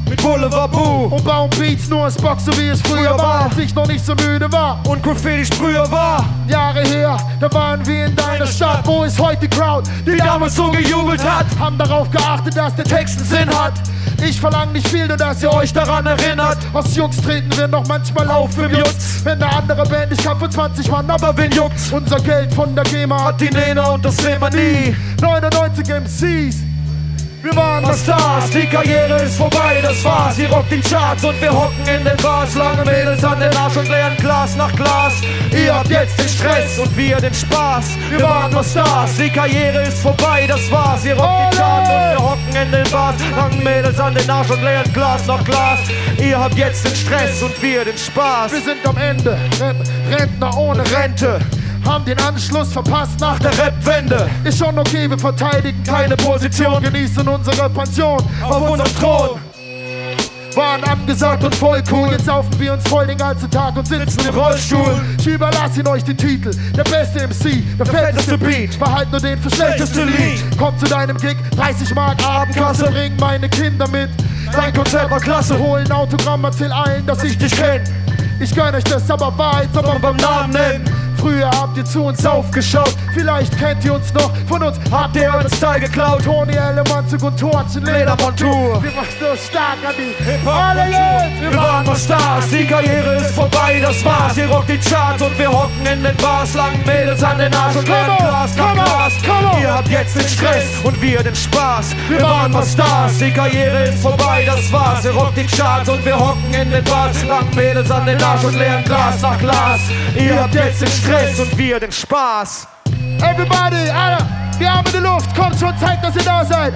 mit Boulevard Boo und bauen Beats nur ins Box, so wie es früher war, als ich noch nicht so müde war und Graffiti-Sprüher war. Jahre her, da waren wir in deiner Stadt. Wo ist heute die Crowd, die damals so gejubelt hat? Haben darauf geachtet, dass der Text einen Sinn hat. Ich verlang nicht viel, nur dass ihr euch daran erinnert. Aus Jungs treten wir noch manchmal auf im Jutz. Wenn eine andere Band, ich kann für 20 Mann, aber wen juckt's? Unser Geld von der GEMA hat die Nena und das sehen wir nie. 99 MCs, wir waren mal Stars, die Karriere ist vorbei, das war's. Ihr rockt die Charts und wir hocken in den Bars. Lange Mädels an den Arsch und leeren Glas nach Glas. Ihr habt jetzt den Stress und wir den Spaß. Wir waren mal Stars, die Karriere ist vorbei, das war's. Ihr rockt die Charts und wir hocken in den Bars. Lange Mädels an den Arsch und leeren Glas nach Glas. Ihr habt jetzt den Stress und wir den Spaß. Wir sind am Ende, Rentner ohne Rente. Haben den Anschluss verpasst nach der Rap-Wende. Ist schon okay, wir verteidigen keine Position. Genießen unsere Pension auf unserem Thron. Waren angesagt und voll cool. Jetzt saufen wir uns voll den ganzen Tag und sitzen im Rollstuhl. Ich überlasse ihn euch den Titel. Der beste MC, der fetteste Beat. Behalt nur den für schlechteste Lied. Komm zu deinem Gig, 30 Mark Abendkasse. Bring meine Kinder mit. Dein Konzert war klasse. Hol ein Autogramm, erzähl allen, dass ich dich kenn. Ich gönn euch das, aber Wahrheit soll man beim Namen nennen. Früher habt ihr zu uns aufgeschaut, vielleicht kennt ihr uns noch, von uns habt ihr euren Style geklaut. Tony Ellemanzug und Torchen, Ledermontur. Wir machen so stark an die Hip-Hop-Kultur. Wir waren mal Stars, die Karriere ist vorbei, das war's. Ihr rockt die Charts und wir hocken in den Bars. Langen Mädels an den Arsch und leeren Glas nach Glas. Ihr habt jetzt den Stress und wir den Spaß. Wir waren mal Stars, die Karriere ist vorbei, das war's. Ihr rockt die Charts und wir hocken in den Bars. Langen Mädels an den Arsch und leeren Glas nach Glas. Ihr habt jetzt den Stress und wir den Spaß. Everybody, alle, die Arme in die Luft, kommt schon, zeigt, dass ihr da seid.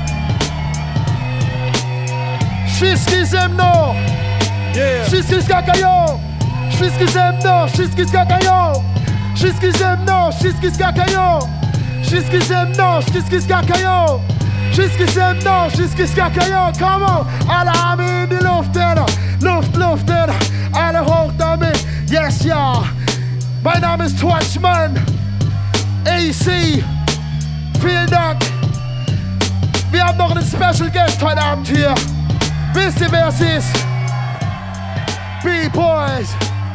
Wszystki ze mną, wszystki skakają, wszystki ze mną, wszystki skakają, wszystki ze mną, wszystki skakają, wszystki ze mną, wszystki skakają, wszystki ze mną, wszystki skakają. Come on, alle Arme in die Luft, Luft, alle hoch damit, yes, ja. Mein Name ist Torchmann, AC, vielen Dank. Wir haben noch einen Special Guest heute Abend hier. Wisst ihr, wer es ist? B-Boys.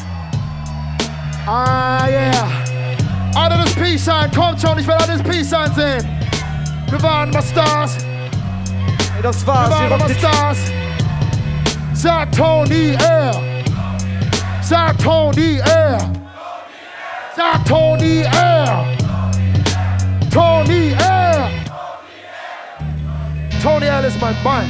Ah, yeah. Alle das Peace-Sign, kommt schon, ich will alle das Peace-Sign sehen. Wir waren mal Stars. Hey, das war's, wir waren mal Stars. Sagt Tony R. Sagt Tony R. Sag Tony R. Tony R. Tony R is my man.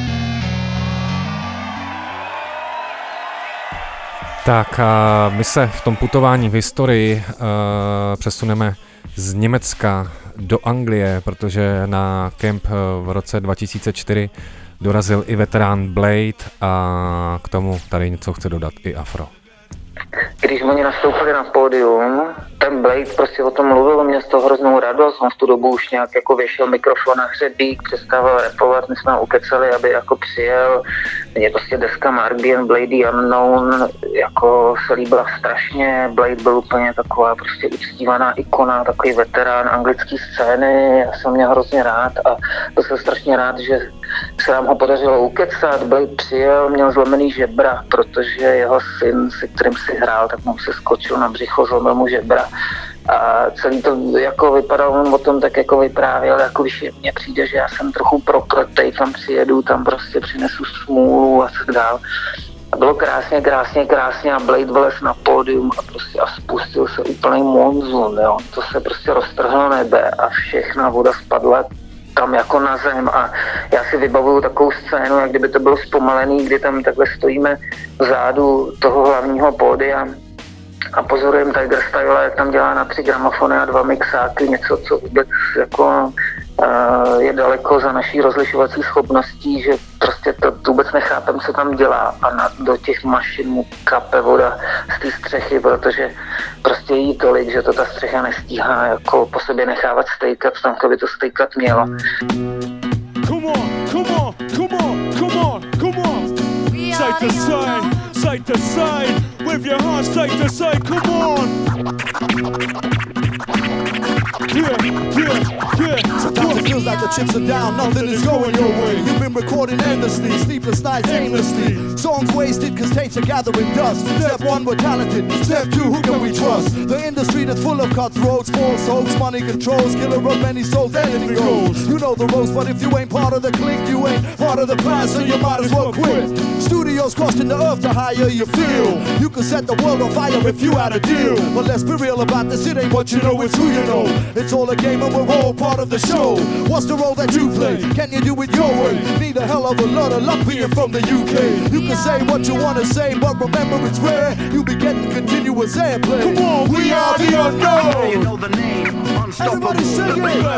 Tak a my se v tom putování v historii přesuneme z Německa do Anglie, protože na kemp v roce 2004 dorazil i veterán Blade a k tomu tady něco chce dodat i Afro. Když oni nastoupili na pódium, ten Blade prostě o tom mluvil, měl z toho hroznou radost, on v tu dobu už nějak jako věšel mikrofon na hřebík, přestával rapovat, my jsme ho ukecali, aby jako přijel. Mně prostě deska Mark B and Blade Unknown jako se líbila strašně, Blade byl úplně taková prostě uctívaná ikona, takový veterán anglické scény, já jsem měl hrozně rád a byl jsem strašně rád, že se nám ho podařilo ukecat. Blade přijel, měl zlomený žebra, protože jeho syn, se kterým si hrál, tak mu se skočil na břicho, zlomil mu žebra. A celý to jako vypadalo, on o tom tak jako vyprávěl, jako když mně přijde, že já jsem trochu prokletej, tam přijedu, tam prostě přinesu smůlu a tak dál. A bylo krásně a Blade vylez na pódium a prostě a spustil se úplný monzun, jo. To se prostě roztrhlo nebe a všechna voda spadla tam jako na zem a já si vybavuju takovou scénu, jak kdyby to bylo zpomalený, kdy tam takhle stojíme vzadu toho hlavního pódia a pozorujeme Tiger Style, jak tam dělá na 3 gramofony a 2 mixáky, něco, co vůbec jako je daleko za naší rozlišovací schopností, že prostě to vůbec nechápem, co tam dělá a do těch mašin mu kape voda z té střechy, protože prostě jí tolik, že to ta střecha nestíhá jako po sobě nechávat stejkat, tam by to stejkat mělo. Come on. Side to side, with your heart side to side, come on. Sometimes it feels like the chips are down, nothing is going your way. You've been recording endlessly, sleepless nights aimlessly. Songs wasted cause tapes are gathering dust. Step one, we're talented. Step two, who can we trust? The industry that's full of cutthroats, false hopes, money controls, killer of many souls, anything goes. You know the ropes, but if you ain't part of the clique, you ain't part of the plan, so you might as well quit. Studios costing the earth to hire, you feel. You can set the world on fire if you had a deal. But let's be real about this, it ain't what you know, it's who you know. It's all a game and we're all part of the show. What's the role that you play? Can you do it your way? Need a hell of a lot of luck being from the UK. You can say what you wanna say, but remember it's rare. You be getting continuous airplay. Come on, we are the unknown. You know the name, unstoppable. Everybody sing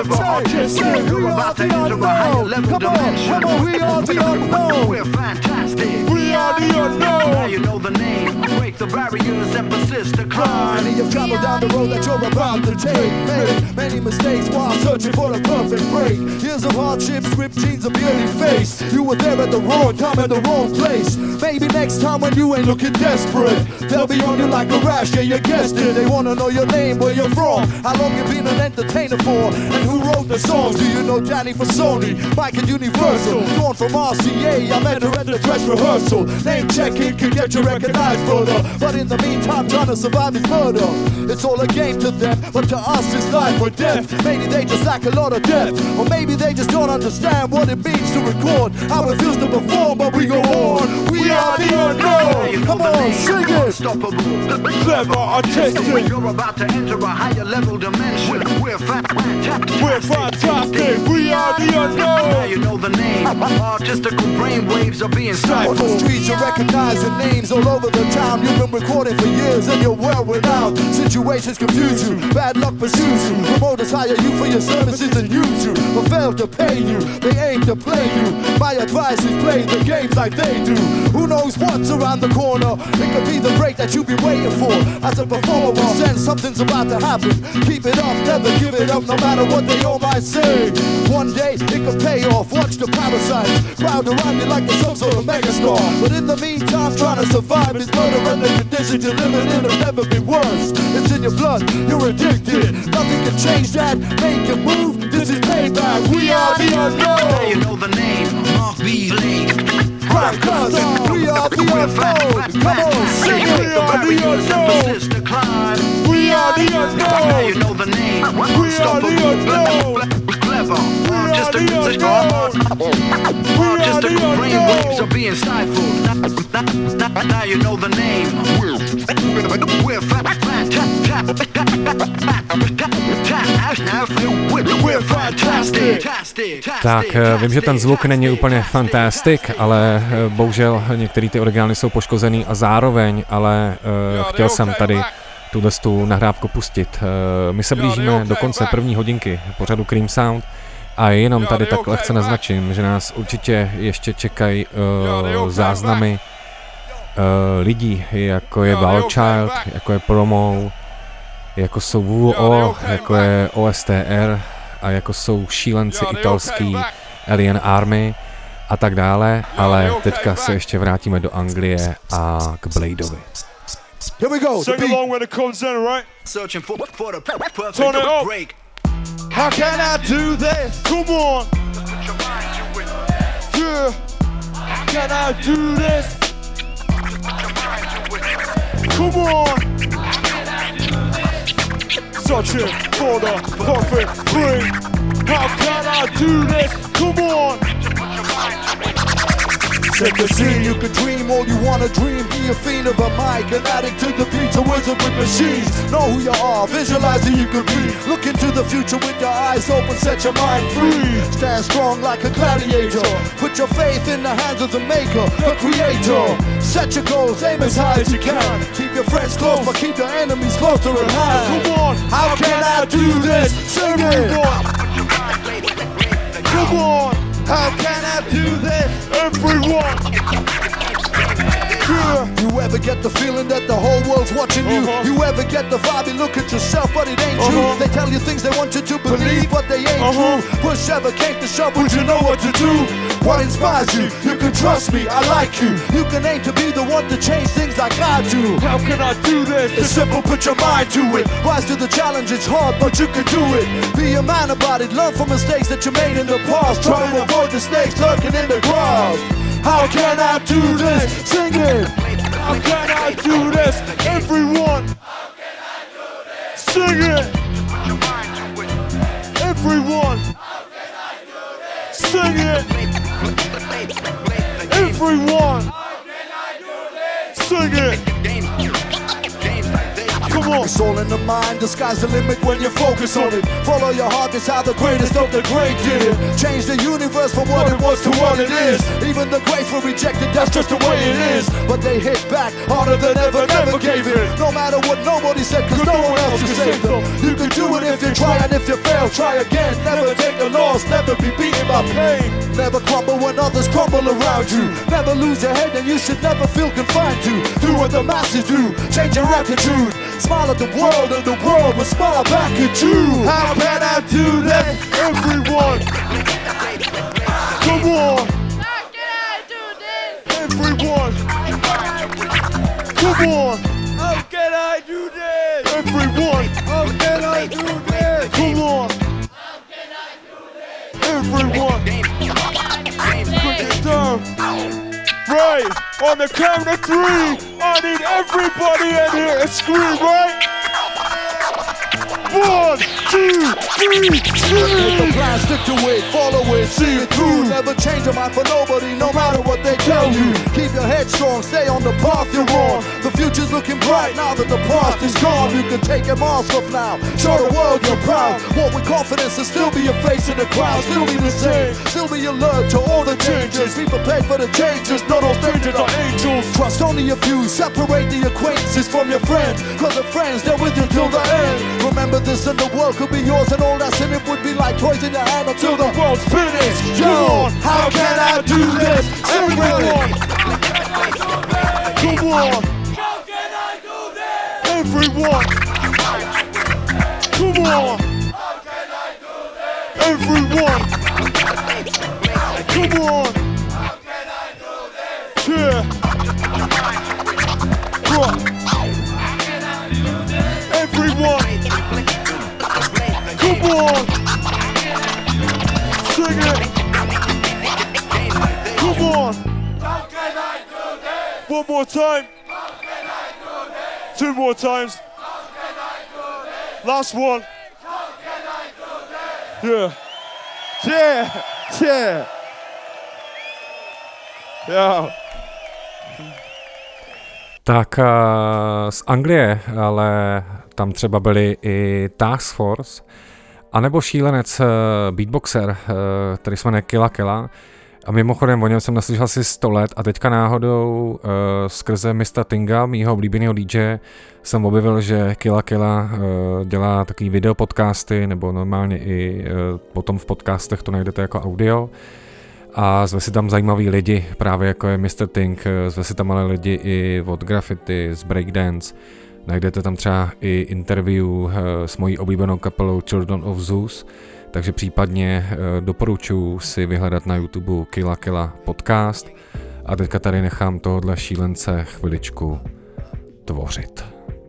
it. Say, You're about to enter a higher level dimension. Come on, we are the unknown. We're fantastic. We are the unknown. Now you know the name. Break the barriers and persist to climb. Many have traveled down the road that you're about to take. Made many mistakes while searching for the perfect break. Years of hardship, script genes of yearly face. You were there at the wrong time at the wrong place. Maybe next time when you ain't looking desperate, they'll be on you like a rash, yeah, you guessed it. They wanna know your name, where you're from, how long you been an entertainer for, and who wrote the songs. Do you know Danny from Sony, Mike at Universal, Dawn from RCA, I met her at the dress rehearsal. Name checking can get you recognized further, but in the meantime trying to survive is murder. It's all a game to them, but to us it's life or death. Maybe they just lack a lot of depth, or maybe they just don't understand what it means to record, how it feels to perform, but we go on. We are the unknown. Come on, sing it. Unstoppable. Clever, artistic. You're about to enter a higher level dimension. We're fantastic. We're fantastic. We are the Now unknown. you know the name. Artistical brainwaves are being On stifled. the streets you're recognizing names all over the town. You've been recording for years and you're well renowned. Situations confuse you, bad luck pursues you. Promoters hire you for your services and use you, but fail to pay you. They aim to play you. My advice is play the games like they do. Who knows what's around the corner? It could be the break that you've been waiting for. As a performer, sense something's about to happen. Keep it up, never give it up, no matter what they all might say. One day it could pay off. Watch the parasites crowd around you like you're some sort of megastar. But in the meantime, trying to survive is murder, and the conditions you're living in have never been worse. It's in your blood, you're addicted. Nothing can change that. Make it move. This is payback. We are the Now you unknown. know the name. Mark B. Lane. Crack cousin, we are the unknown. Come on, sing Break it. the barriers and persist to climb. We are the Now you unknown. know the name. We are the unknown. Clever. We are the Artistical unknown. brainwaves are being stifled. Now you know the name. We're fantastic. Tak, vím, že ten zvuk není úplně fantastic, ale bohužel některé ty orgány jsou poškozený a zároveň, ale chtěl jsem tady tu nahrávku pustit. My se blížíme do konce první hodinky pořadu Cream Sound a jenom tady tak lehce naznačím, že nás určitě ještě čekají záznamy lidí, jako je Valchild, jako je Promo, jako jsou WWO, jako je OSTR a jako jsou šílenci italský Alien Army a tak dále, ale teďka se ještě vrátíme do Anglie a k Bladeovi. Here we go. Sing along when it comes in, right? Searching for the perfect Turn it up. break. How can I do this? Come on. Yeah. How can I do this? Come on. Searching for the perfect break. How can I do this? Come on. Set the scene, you can dream all you wanna dream. Be a fiend of a mic, an addict to the beats, a wizard with machines. Know who you are, visualize who you could be. Look into the future with your eyes open, set your mind free. Stand strong like a gladiator. Put your faith in the hands of the maker, the creator. Set your goals, aim as high as you can. Keep your friends close, but keep your enemies closer at hand. Come on. How can I do this? Sing it. Come on. How can I do this? Everyone. Yeah. You ever get the feeling that the whole world's watching you? You ever get the vibe you look at yourself but it ain't true? They tell you things they want you to believe but they ain't true. Push ever came to shove, would you know what to do? what inspires you. You can trust me, I like you. You can aim to be the one to change things like I do. How can I do this? It's simple, put your mind to it. Rise to the challenge, it's hard, but you can do it. Be a man about it, learn from mistakes that you made in the past. Try to avoid the snakes lurking in the grass. How can I do this? Sing it. How can I do this? Everyone. Sing it. Everyone. Sing it. Everyone. Sing it. Come on. It's all in the mind, the sky's the limit when you focus on it. Follow your heart, it's how the greatest of the great did it. Change the universe from what it was to what it is. Even the greats were rejected, that's just the way it is. But they hit back harder than ever, never gave in. No matter what nobody said, cause no one else can save them. You can do it if you try, and if you fail, try again. Never take a loss, never be beaten by pain. Never crumble when others crumble around you. Never lose your head, and you should never feel confined to. Do what the masses do, change your attitude. Smile at the world, and the world will smile back at you. How can I do that? Everyone. Come on. How can I do this? Everyone. Come on. How can I do this? Everyone. How can I do this? Come on. Everyone. Put it down. Right. On the count of 3, I need everybody in here to scream, right? 1, 2, 3, Make the plan, stick to it, follow it, see it through. Never change your mind for nobody, no matter what they tell you. Keep your head strong, stay on the path you're on. The future's looking bright now that the past is gone. You can take your mask off now, show the world you're proud. Walk with confidence and still be your face in the crowd. Still be the same, still be alert to all the changes. Be prepared for the changes, not all strangers are angels. Trust only a few, separate the acquaintances from your friends. Cause the friends, they're with you till the end. Remember this and the world could be yours, and all that's in it would be like toys in your hand until the world's finished. Yo, how can I do this? Everyone. Come on. How can I do this? Everyone. Come on. How can I do this? Everyone. Come on. How can I do this? Yeah. Right. Everyone. Come on. Sing it. Come on. How can I do this? One more time. How can I do this? 2 more times. How can I do this? Last one. How can I do this? Yeah. Yeah. Yeah. Tak z Anglie, ale tam třeba byli i Task Force, anebo šílenec beatboxer, který se jmenuje Killa Killa. A mimochodem o něm jsem naslyšel asi 100 let a teďka náhodou skrze Mr. Tinga, mýho oblíbeného DJ, jsem objevil, že Killa Killa dělá takový videopodcasty, nebo normálně i potom v podcastech to najdete jako audio. A zve si tam zajímavý lidi, právě jako je Mr. Ting, zve si tam ale lidi i od Graffiti, z Breakdance. Najdete tam třeba i interview s mojí oblíbenou kapelou Children of Zeus, takže případně doporučuji si vyhledat na YouTube Killa Killa podcast. A teďka tady nechám tohohle šílence chviličku tvořit.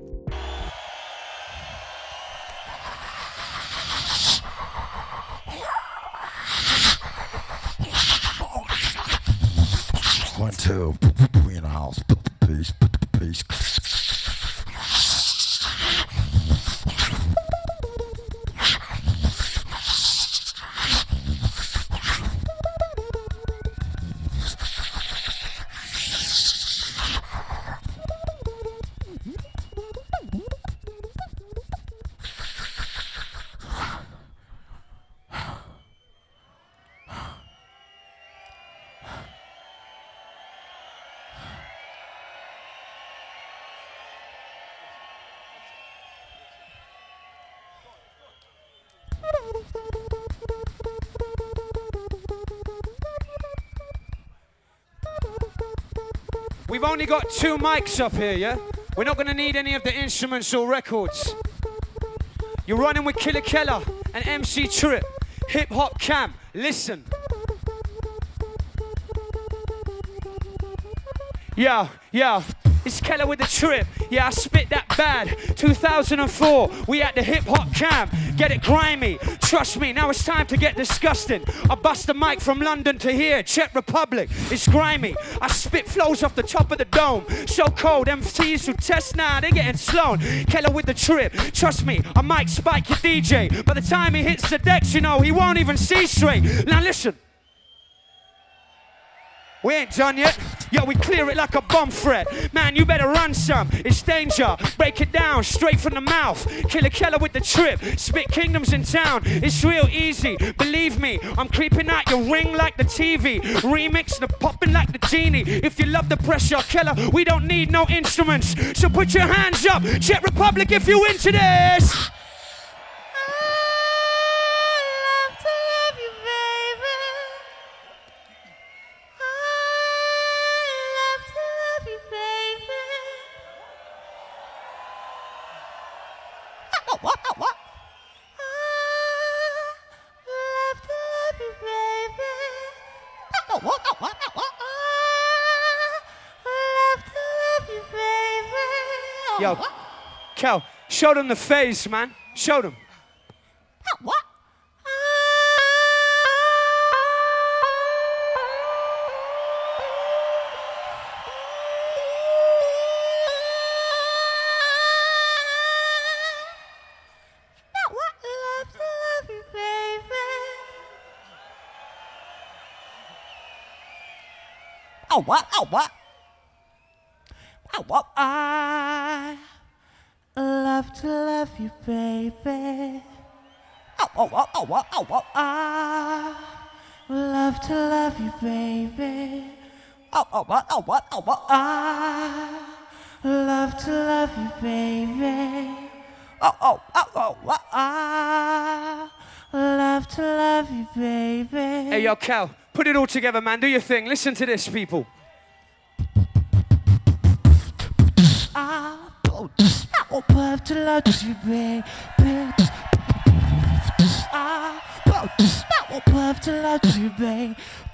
One, two, we in the house. Peace, peace. We've only got 2 mics up here, yeah? We're not gonna need any of the instruments or records. You're running with Killa Killa and MC Trip, Hip Hop Cam. Listen. Yo, it's Keller with the trip. Yeah, I spit that bad. 2004, we at the hip hop camp. Get it grimy. Trust me, now it's time to get disgusting. I bust the mic from London to here, Czech Republic. It's grimy. I spit flows off the top of the dome. So cold, MCs who test now, they're getting slow. Keller with the trip. Trust me, I might spike your DJ. By the time he hits the decks, you know, he won't even see straight. Now listen. We ain't done yet. Yo, we clear it like a bomb threat. Man, you better run some. It's danger. Break it down straight from the mouth. Killer Keller with the trip. Spit kingdoms in town. It's real easy. Believe me, I'm creeping out your ring like the TV. Remix and popping like the genie. If you love the pressure, Keller, we don't need no instruments. So put your hands up. Czech Republic if you into this. Yo, Kel, show them the face, man. Show them. What? Oh, what? Oh, what? Oh, what? I love to love you, baby. Oh, oh, oh, oh, what? Oh, what? I love to love you, baby. Oh, oh, what? Oh, what? Oh, what? I love to love you, baby. Oh, oh, oh, oh, what? I love to love you, baby. Hey, yo, Cal, put it all together, man. Do your thing. Listen to this, people. I love to love you, baby. I love to love you, baby.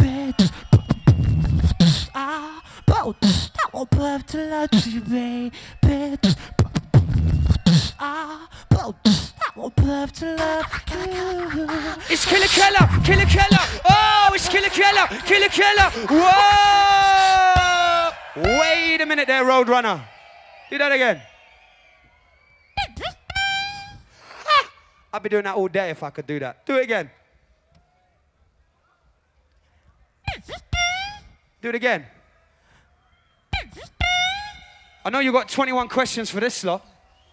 I love to love you, baby. I love to love you. It's Killer Keller, Killer Keller. Oh, it's Killer Keller, Killer Keller. Whoa! Wait a minute there, Roadrunner. Do that again. I'd be doing that all day if I could do that. Do it again. Do it again. I know you got 21 questions for this lot.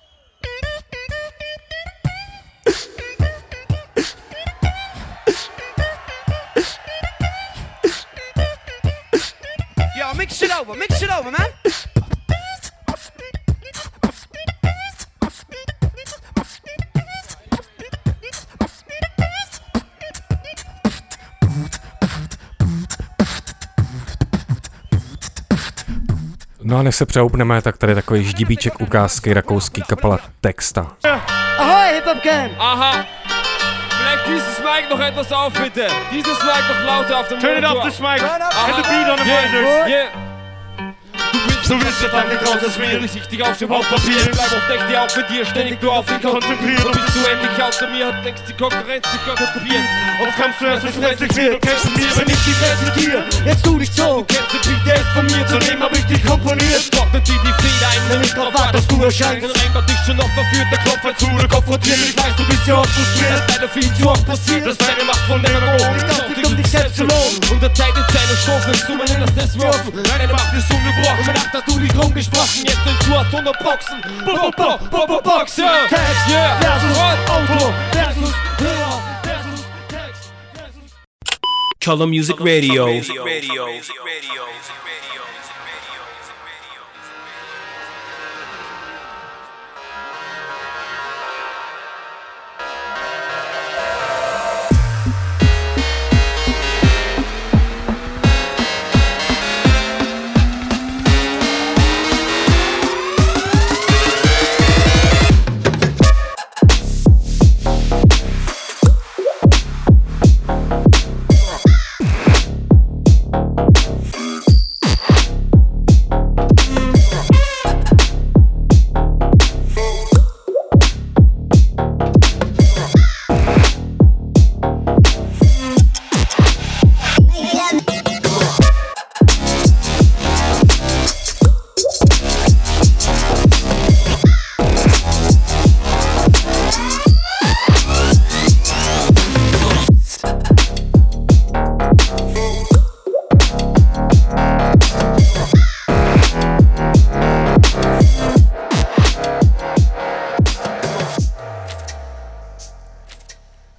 Yo, mix it over, man. No a než se přehoupneme, tak tady takový ždibíček ukázky rakouský kapela Texta. Ahoj, Hip Hop Gang! Aha! Vielleicht dieses Mic noch etwas auf, bitte. Dieses Mic noch lauter auf dem Monitor. Turn it up, this mic. And the beat on the monitors. Yeah. Du willst ja dann raus, das mir richtig auf dem Hauptpapier. Bleib auf Deck, die auch für dir ständig du auf ihn konzentriert. Und bist du endlich außer mir, hat denkst die Konkurrenz, die kopieren. Auf kannst du erst mit reflektieren, du kennst mir, wenn ich dich präsentiere. Jetzt tu dich so, du kennst den Beat, der ist von mir, zudem hab ich dich komponiert. Trocknet dir die Feder ein, wenn ich drauf warte, dass du erscheinst. Ein Rein dich schon noch verführt, der Klopf zu, der konfrontiert. Ich weiß, du bist ja oft zu schwer, das leider viel zu oft passiert. Das ist deine Macht von der Drogen, ich darf dich dich selbst zu loben. Unterteilt in Zeile Strophen, du mein innerstes Wirken. Deine Macht ist ungebrochen, bedacht, dass du dich rumgesprochen. Jetzt willst du aus 100 Boxen. Boxen. Text, yeah. Versus Autor, versus Hörer, versus Text. Color Music Radio.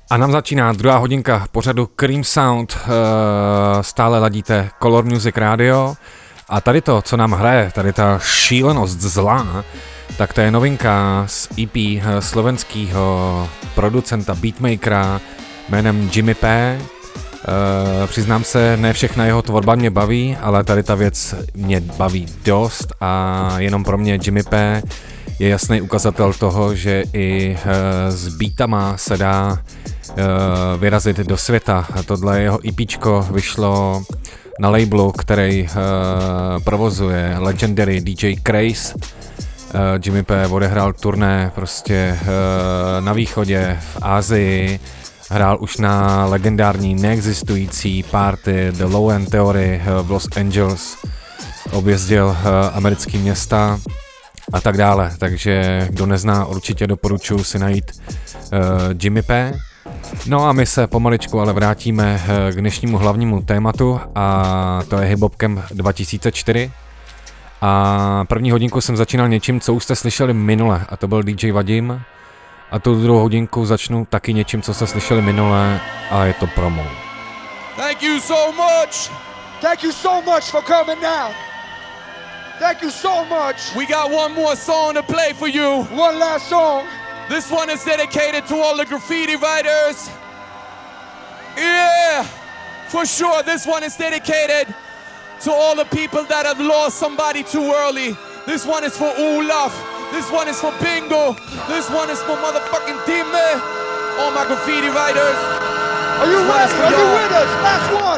A nám začíná druhá hodinka pořadu Cream Sound, stále ladíte Color Music Radio a tady to, co nám hraje, tady ta šílenost zlá, tak to je novinka z EP slovenského producenta beatmakera jménem Jimmy P. Přiznám se, ne všechna jeho tvorba mě baví, ale tady ta věc mě baví dost a jenom pro mě Jimmy P je jasný ukazatel toho, že i s beatama se dá vyrazit do světa. Tohle jeho EPčko vyšlo na labelu, který provozuje legendary DJ Craze. Jimmy P odehrál turné prostě na východě, v Asii, hrál už na legendární neexistující party The Low End Theory v Los Angeles, objezdil americké města a tak dále, takže kdo nezná, určitě doporučuji si najít Jimmy P. No a my se pomaličku ale vrátíme k dnešnímu hlavnímu tématu a to je Hip Hop Camp 2004. A první hodinku jsem začínal něčím, co už jste slyšeli minule, a to byl DJ Vadim. A tu druhou hodinku začnu taky něčím, co jste slyšeli minule, a je to promo. Thank you so much. Thank you so much for coming now. Thank you so much. We got one more song to play for you. One last song. This one is dedicated to all the graffiti writers. Yeah, for sure. This one is dedicated to all the people that have lost somebody too early. This one is for Olaf. This one is for Bingo. This one is for motherfucking Dime. All my graffiti writers. Are you ready? Are you with us? Last one.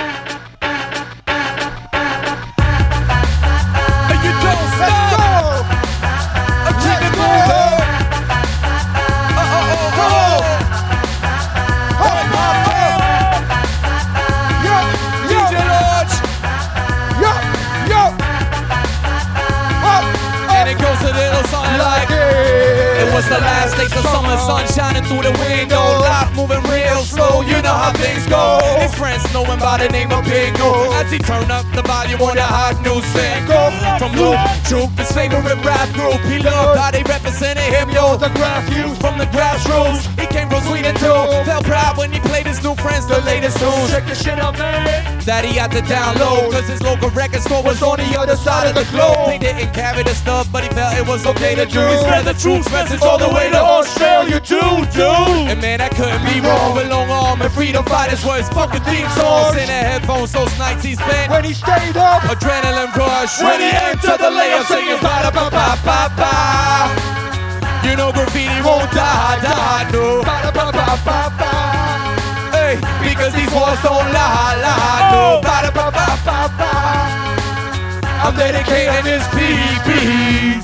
And you don't stop. Let's go. Keep it moving. A little something like it was the last days of summer, sun shining through the window, life moving real slow, you know how things go. His friends know him by the name of Bingo, as he turned up the volume on the hot new single from Luke Juke, his favorite rap group. He loved how they represented him, yo, the graph youth from the grassroots. He came from Sweden too, felt proud when he played his new friends the latest tunes. Check this shit out, man, that he had to download, cause his local record store was on the other side of the globe. They didn't carry the stuff, but he felt it was okay to do. He spread the truth message all the way to Australia too, dude. And man, that couldn't be wrong. With long arm and freedom fighters were his fucking theme songs. In the headphones, those nights he spent when he stayed up, adrenaline rush. When he entered the layup, singing ba ba ba ba ba. You know graffiti won't die, die, no. Ba ba ba ba ba. Hey, because these walls don't lie, lie, no. Ba ba ba ba ba. I'm dedicating this piece.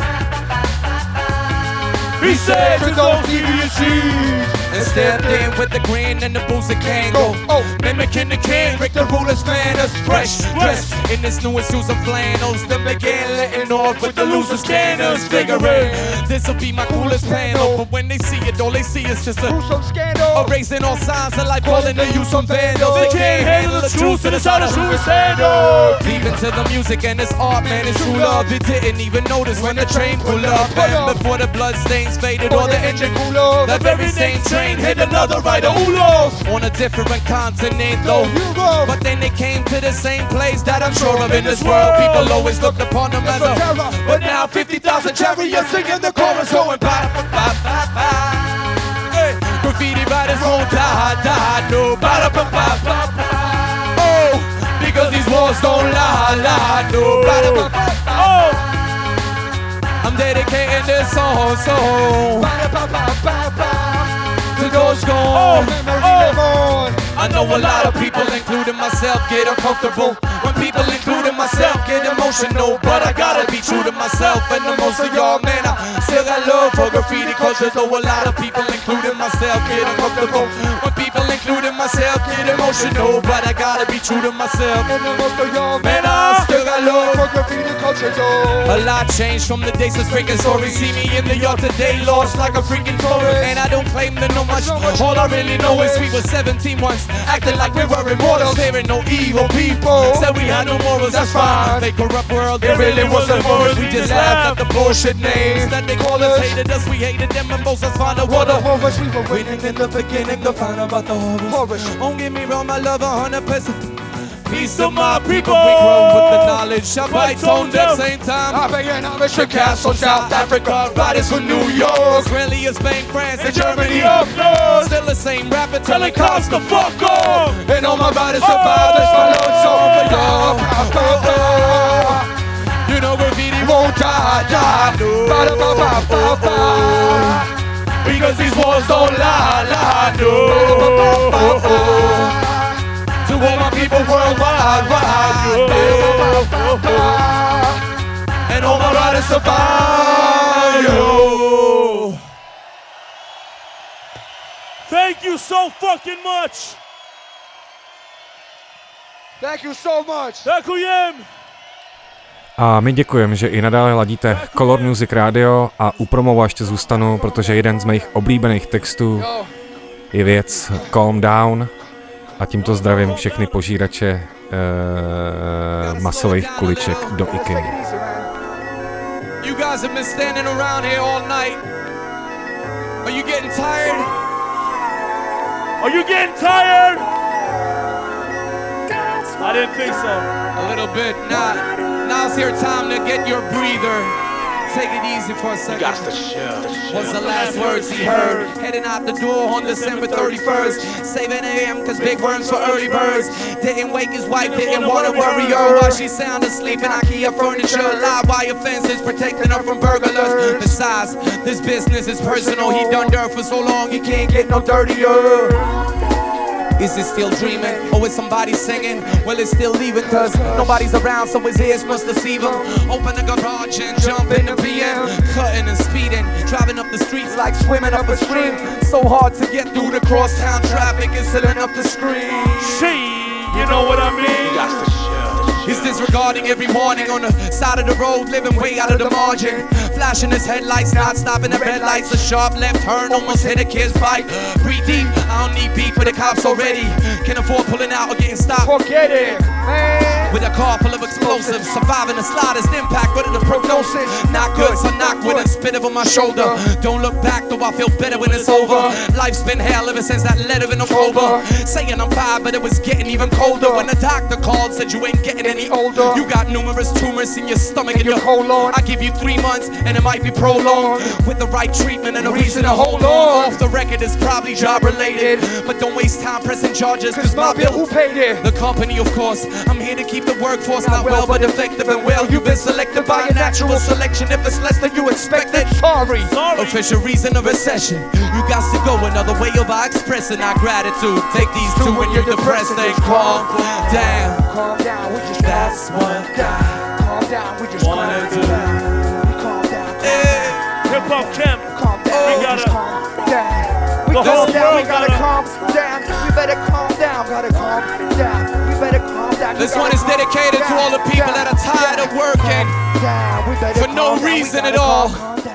He said to those DVCs and stepped in with the grin and the boots of Kango. Mimicking the king, Rick the ruler's manners. Fresh dressed in his newest shoes of flannels. Then began letting off with the loser scanners. Figuring this'll be my coolest panel. But when they see it, all they see is just a gruesome scandal. Erasing all signs of life, calling to you some vandals. They can't handle the truth, so it's how the truth is handled. Deep into the music and it's art, man, it's true love. They didn't even notice when the train pulled up. And before the bloodstains faded or the engine cooled off, that very same train hit another rider who lost on a different continent though. But then they came to the same place that I'm sure of in this world. People always looked upon them as a terror, but now 50,000 chariots singing the chorus going ba ba ba ba ba. Hey, graffiti writers won't die, die, no ba ba ba ba ba. Oh, because these walls don't lie, lie, no ba ba ba ba. Oh, I'm dedicating this song, to those gone. I know a lot of people, including myself, get uncomfortable when people, including myself, get emotional. But I gotta be true to myself and the most of y'all, man. I still got love for graffiti culture, though a lot of people, including myself, get uncomfortable when people, including myself, get emotional. But I gotta be true to myself and the most of y'all, man. I still got got love. For graffiti culture, yo. A lot changed from the days of freaking stories. See me in the yard today, lost like a freaking tourist. And I don't claim to know much. All I really know is we were 17 once, acting like we were immortals. There ain't no evil people. Said we had no morals, that's fine. They corrupt world, there really wasn't morals. We just laughed at the bullshit names that they called us. Hated us, we hated them, and most us found out what the horrors we were waiting in the beginning to find out about the horrors. Don't get me wrong, I love 100%. Peace to my people. We grow with the knowledge. I bite tone at the same time. I begin on Mr. Castle, South Africa, riders from New York, Israeli, Spain, France, and Germany up north. Still the same rapper telling cops to fuck off. And all my riders survive. That's my Lord song for y'all. You know graffiti won't die, no. Because these walls don't lie, no. To all my people worldwide, and all my riders survive, yo. Thank you so fucking much. Thank you so much. Děkujem. A my děkujeme, že i nadále ladíte Color Music Radio a u promova ještě zůstanu, protože jeden z mých oblíbených textů je věc Calm Down. A tímto zdravím všechny požírače masových kuliček do IKEA. You guys have been standing around here all night. Are you getting tired? Are you getting tired? I didn't think so. A little bit. Now's your time to get your breather. Take it easy for a second. You got the show. What's the last words he heard? Heading out the door on December 31st. 7 a.m. cause big worms for early birds. Didn't wake his wife, didn't wanna worry her while she sound asleep in IKEA furniture. Live wire fences protecting her from burglars. Besides, this business is personal. He done dirt for so long he can't get no dirtier. Is it still dreaming, or is somebody singing? Well, it's still leaving, cause nobody's around, so his ears must deceive him. Open the garage and jump in the BM. Cutting and speeding, driving up the streets like swimming up a stream. So hard to get through the crosstown traffic, it's filling up the screen. You know what I mean? You got the show. He's disregarding every warning on the side of the road, living way out of the margin. Flashing his headlights, not stopping at red lights. A sharp left turn almost hit a kid's bike. Breathe deep, I don't need beef with the cops already. Can afford pulling out or getting stopped. Forget it, man. With a car full of explosives, surviving the slightest impact, but the prognosis not good, so knock with a spit over my shoulder. Don't look back, though I feel better when it's over. Life's been hell ever since that letter in October. Saying I'm fine, but it was getting even colder. When the doctor called, said you ain't getting any older. You got numerous tumors in your stomach and your colon. I give you 3 months and it might be prolonged. With the right treatment and a reason to hold on. Off the record is probably job related, but don't waste time pressing charges, cause my bill, who paid it? The company, of course. I'm here to keep the workforce not well but effective and well. You've been selected by a natural selection. If it's less than you expected, sorry. Official reason of recession. You got to go another way of expressing our gratitude. Take these two when you're depressed and calm down. Calm down, we just That's what God calm down, we just wanna do. Calm down. Hip Hop Camp. Calm down. We gotta. Calm down. We The whole calm down. We world gotta gotta. calm down. We better calm down. Gotta calm down. We better calm down. This one is dedicated to all the people that are tired of working for no reason at all.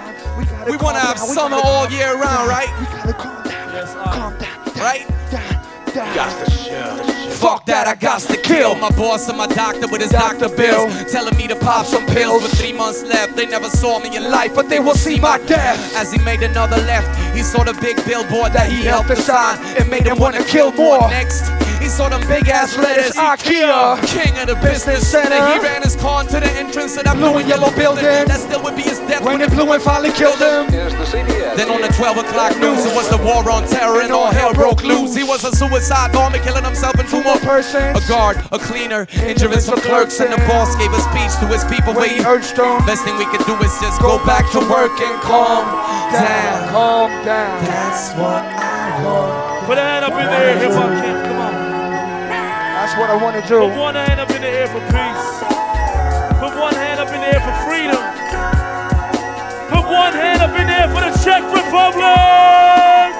We want to have summer all year round, right? We gotta calm down. Calm down. Right? You got the show. Fuck that, I got to kill my boss and my doctor with his doctor bills, telling me to pop some pills. With 3 months left, they never saw me in life, but they will see my death. As he made another left, he saw the big billboard that he helped design. It made him wanna kill more. Next, he saw them big ass letters, IKEA, king of the business center. He ran his car into the entrance of that blue and yellow building. That still would be his death when it blew and finally killed him. Then on the 12 o'clock news, it was the war on terror and all hell broke loose. He was a suicide bomber, killing himself and 2 more persons. A guard, a cleaner, injuries for clerks, and the boss gave a speech to his people where he urged them. Best thing we could do is just go back to work and calm down. Calm down. That's what I want. Put a hand up in the air, Hip Hop Camp. Come on. That's what I want to do. Put one hand up in the air for peace. Put one hand up in the air for freedom. Put one hand up in the air for the Czech Republic.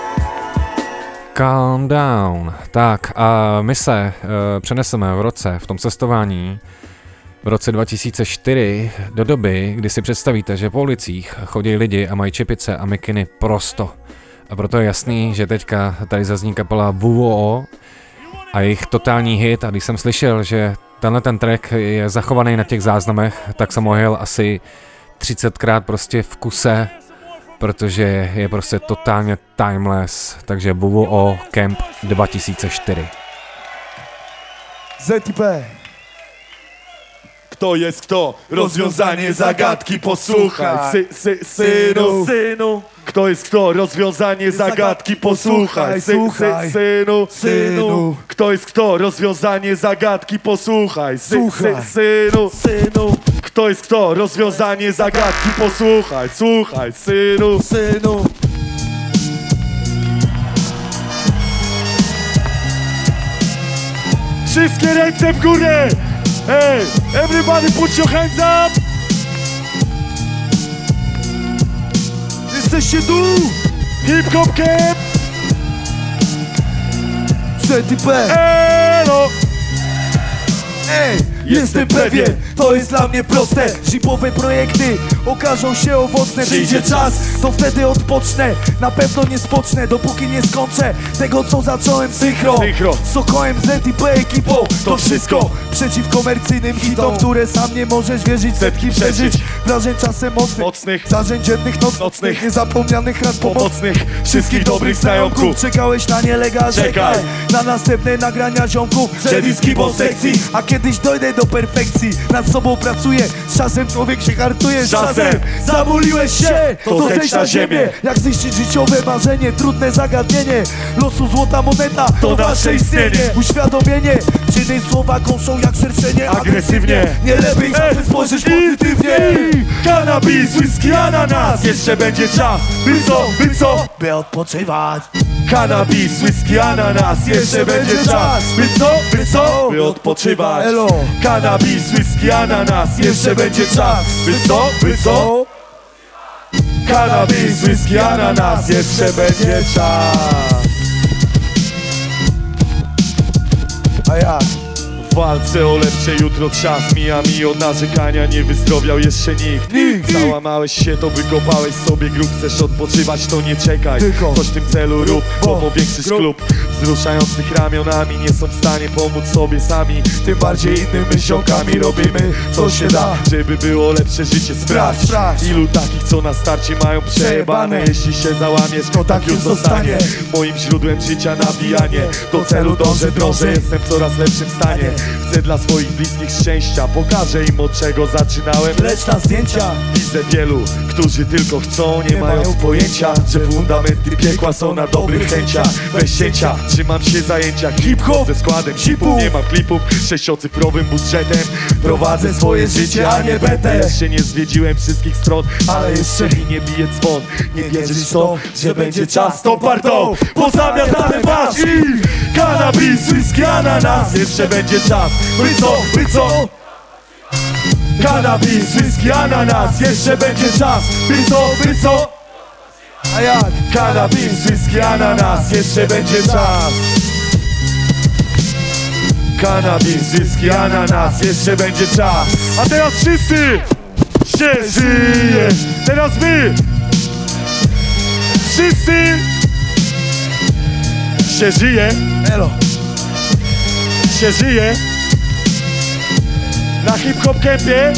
Calm down. Tak a my se přeneseme v roce v tom cestování v roce 2004 do doby, kdy si představíte, že po ulicích chodí lidi a mají čepice a mikiny prosto. A proto je jasný, že teďka tady zazní kapela WWO a jejich totální hit. A když jsem slyšel, že tenhle ten track je zachovaný na těch záznamech, tak jsem ho jel asi 30krát prostě v kuse, protože je prostě totálně timeless. Takže WWO Camp 2004. ZTP. Kto jest kto? Rozwiązanie zagadki, posłuchaj. Synu. Kto jest kto? Rozwiązanie zagadki, posłuchaj. Synu. Kto jest kto? Rozwiązanie zagadki, posłuchaj. Synu. Kto jest kto? Rozwiązanie zagadki, posłuchaj. Słuchaj, synu. Wszystkie ręce w górę! Hey, everybody put your hands up! Jesteście tu! Hip Hop Camp! ZTP! Elo! Ej, jestem pewien, to jest dla mnie proste. Zipowe projekty okażą się owocne. Przyjdzie czas, to wtedy odpocznę. Na pewno nie spocznę, dopóki nie skończę tego, co zacząłem synchro. Sokołem, ZTP ekipą, to wszystko przeciw komercyjnym hitom, które sam nie możesz wierzyć. Setki przeżyć, wrażeń czasem mocnych, zarzeń dziennych, nocnych, niezapomnianych rad pomocnych, wszystkich dobrych znajomków. Czekałeś na nielegal, czekaj na następne nagrania ziomków. Że po sekcji, a kiedyś dojdę do perfekcji. Nad sobą pracuję, z czasem człowiek się hartuje. Z czasem zamuliłeś się, to zejdź na ziemię. Jak zniszczyć życiowe marzenie, trudne zagadnienie. Losu złota moneta, to nasze istnienie. Uświadomienie, czyny słowa kąszą jak szerszenie. Agresywnie, nie lepiej zawsze spojrzeć pozytywnie. Cannabis, whisky, ananas. Jeszcze będzie czas, by odpoczywać. Cannabis, whisky, ananas. Jeszcze będzie czas, by odpoczywać. Cannabis, whisky, ananas. Jeszcze będzie czas, by co? Cannabis, whisky, ananas. Jeszcze będzie czas. A jak? W walce o lepsze jutro czas mija mi od narzekania, nie wyzdrowiał jeszcze nikt. Załamałeś się, to wykopałeś sobie grób. Chcesz odpoczywać, to nie czekaj, coś w tym celu rób, bo powiększysz klub. Wzruszających ramionami nie są w stanie pomóc sobie sami. Tym bardziej innym ziomkami robimy co się da, żeby było lepsze życie. Sprawdź, ilu takich co na starcie mają przejebane. Jeśli się załamiesz, to tak już zostanie moim źródłem życia nawijanie. Do celu dążę, drążę, jestem w coraz lepszym stanie. Chcę dla swoich bliskich szczęścia, pokażę im od czego zaczynałem. Lecz na zdjęcia widzę wielu, którzy tylko chcą, nie mają pojęcia, że fundamenty piekła są na dobrych chęciach. Bez cięcia, trzymam się zajęcia hip-hop ze składem hipu. Nie mam klipów, 6-cyfrowym budżetem prowadzę swoje życie, a nie betę. Jeszcze nie zwiedziłem wszystkich stron, ale jeszcze mi nie bije dzwon. Nie wierzysz w to, że będzie czas, to parto pozamiatane masz i cannabis, whisky, ananas. Jeszcze będzie czas, by co? Cannabis, whisky, ananas. Jeszcze będzie czas, by co? A jak? Cannabis, whisky, ananas. Jeszcze będzie czas. Cannabis, whisky, ananas. Jeszcze będzie czas. A teraz wszyscy się żyje. Teraz wy wszyscy się żyje. Elo. Się żyje. Na Hip Hop Campie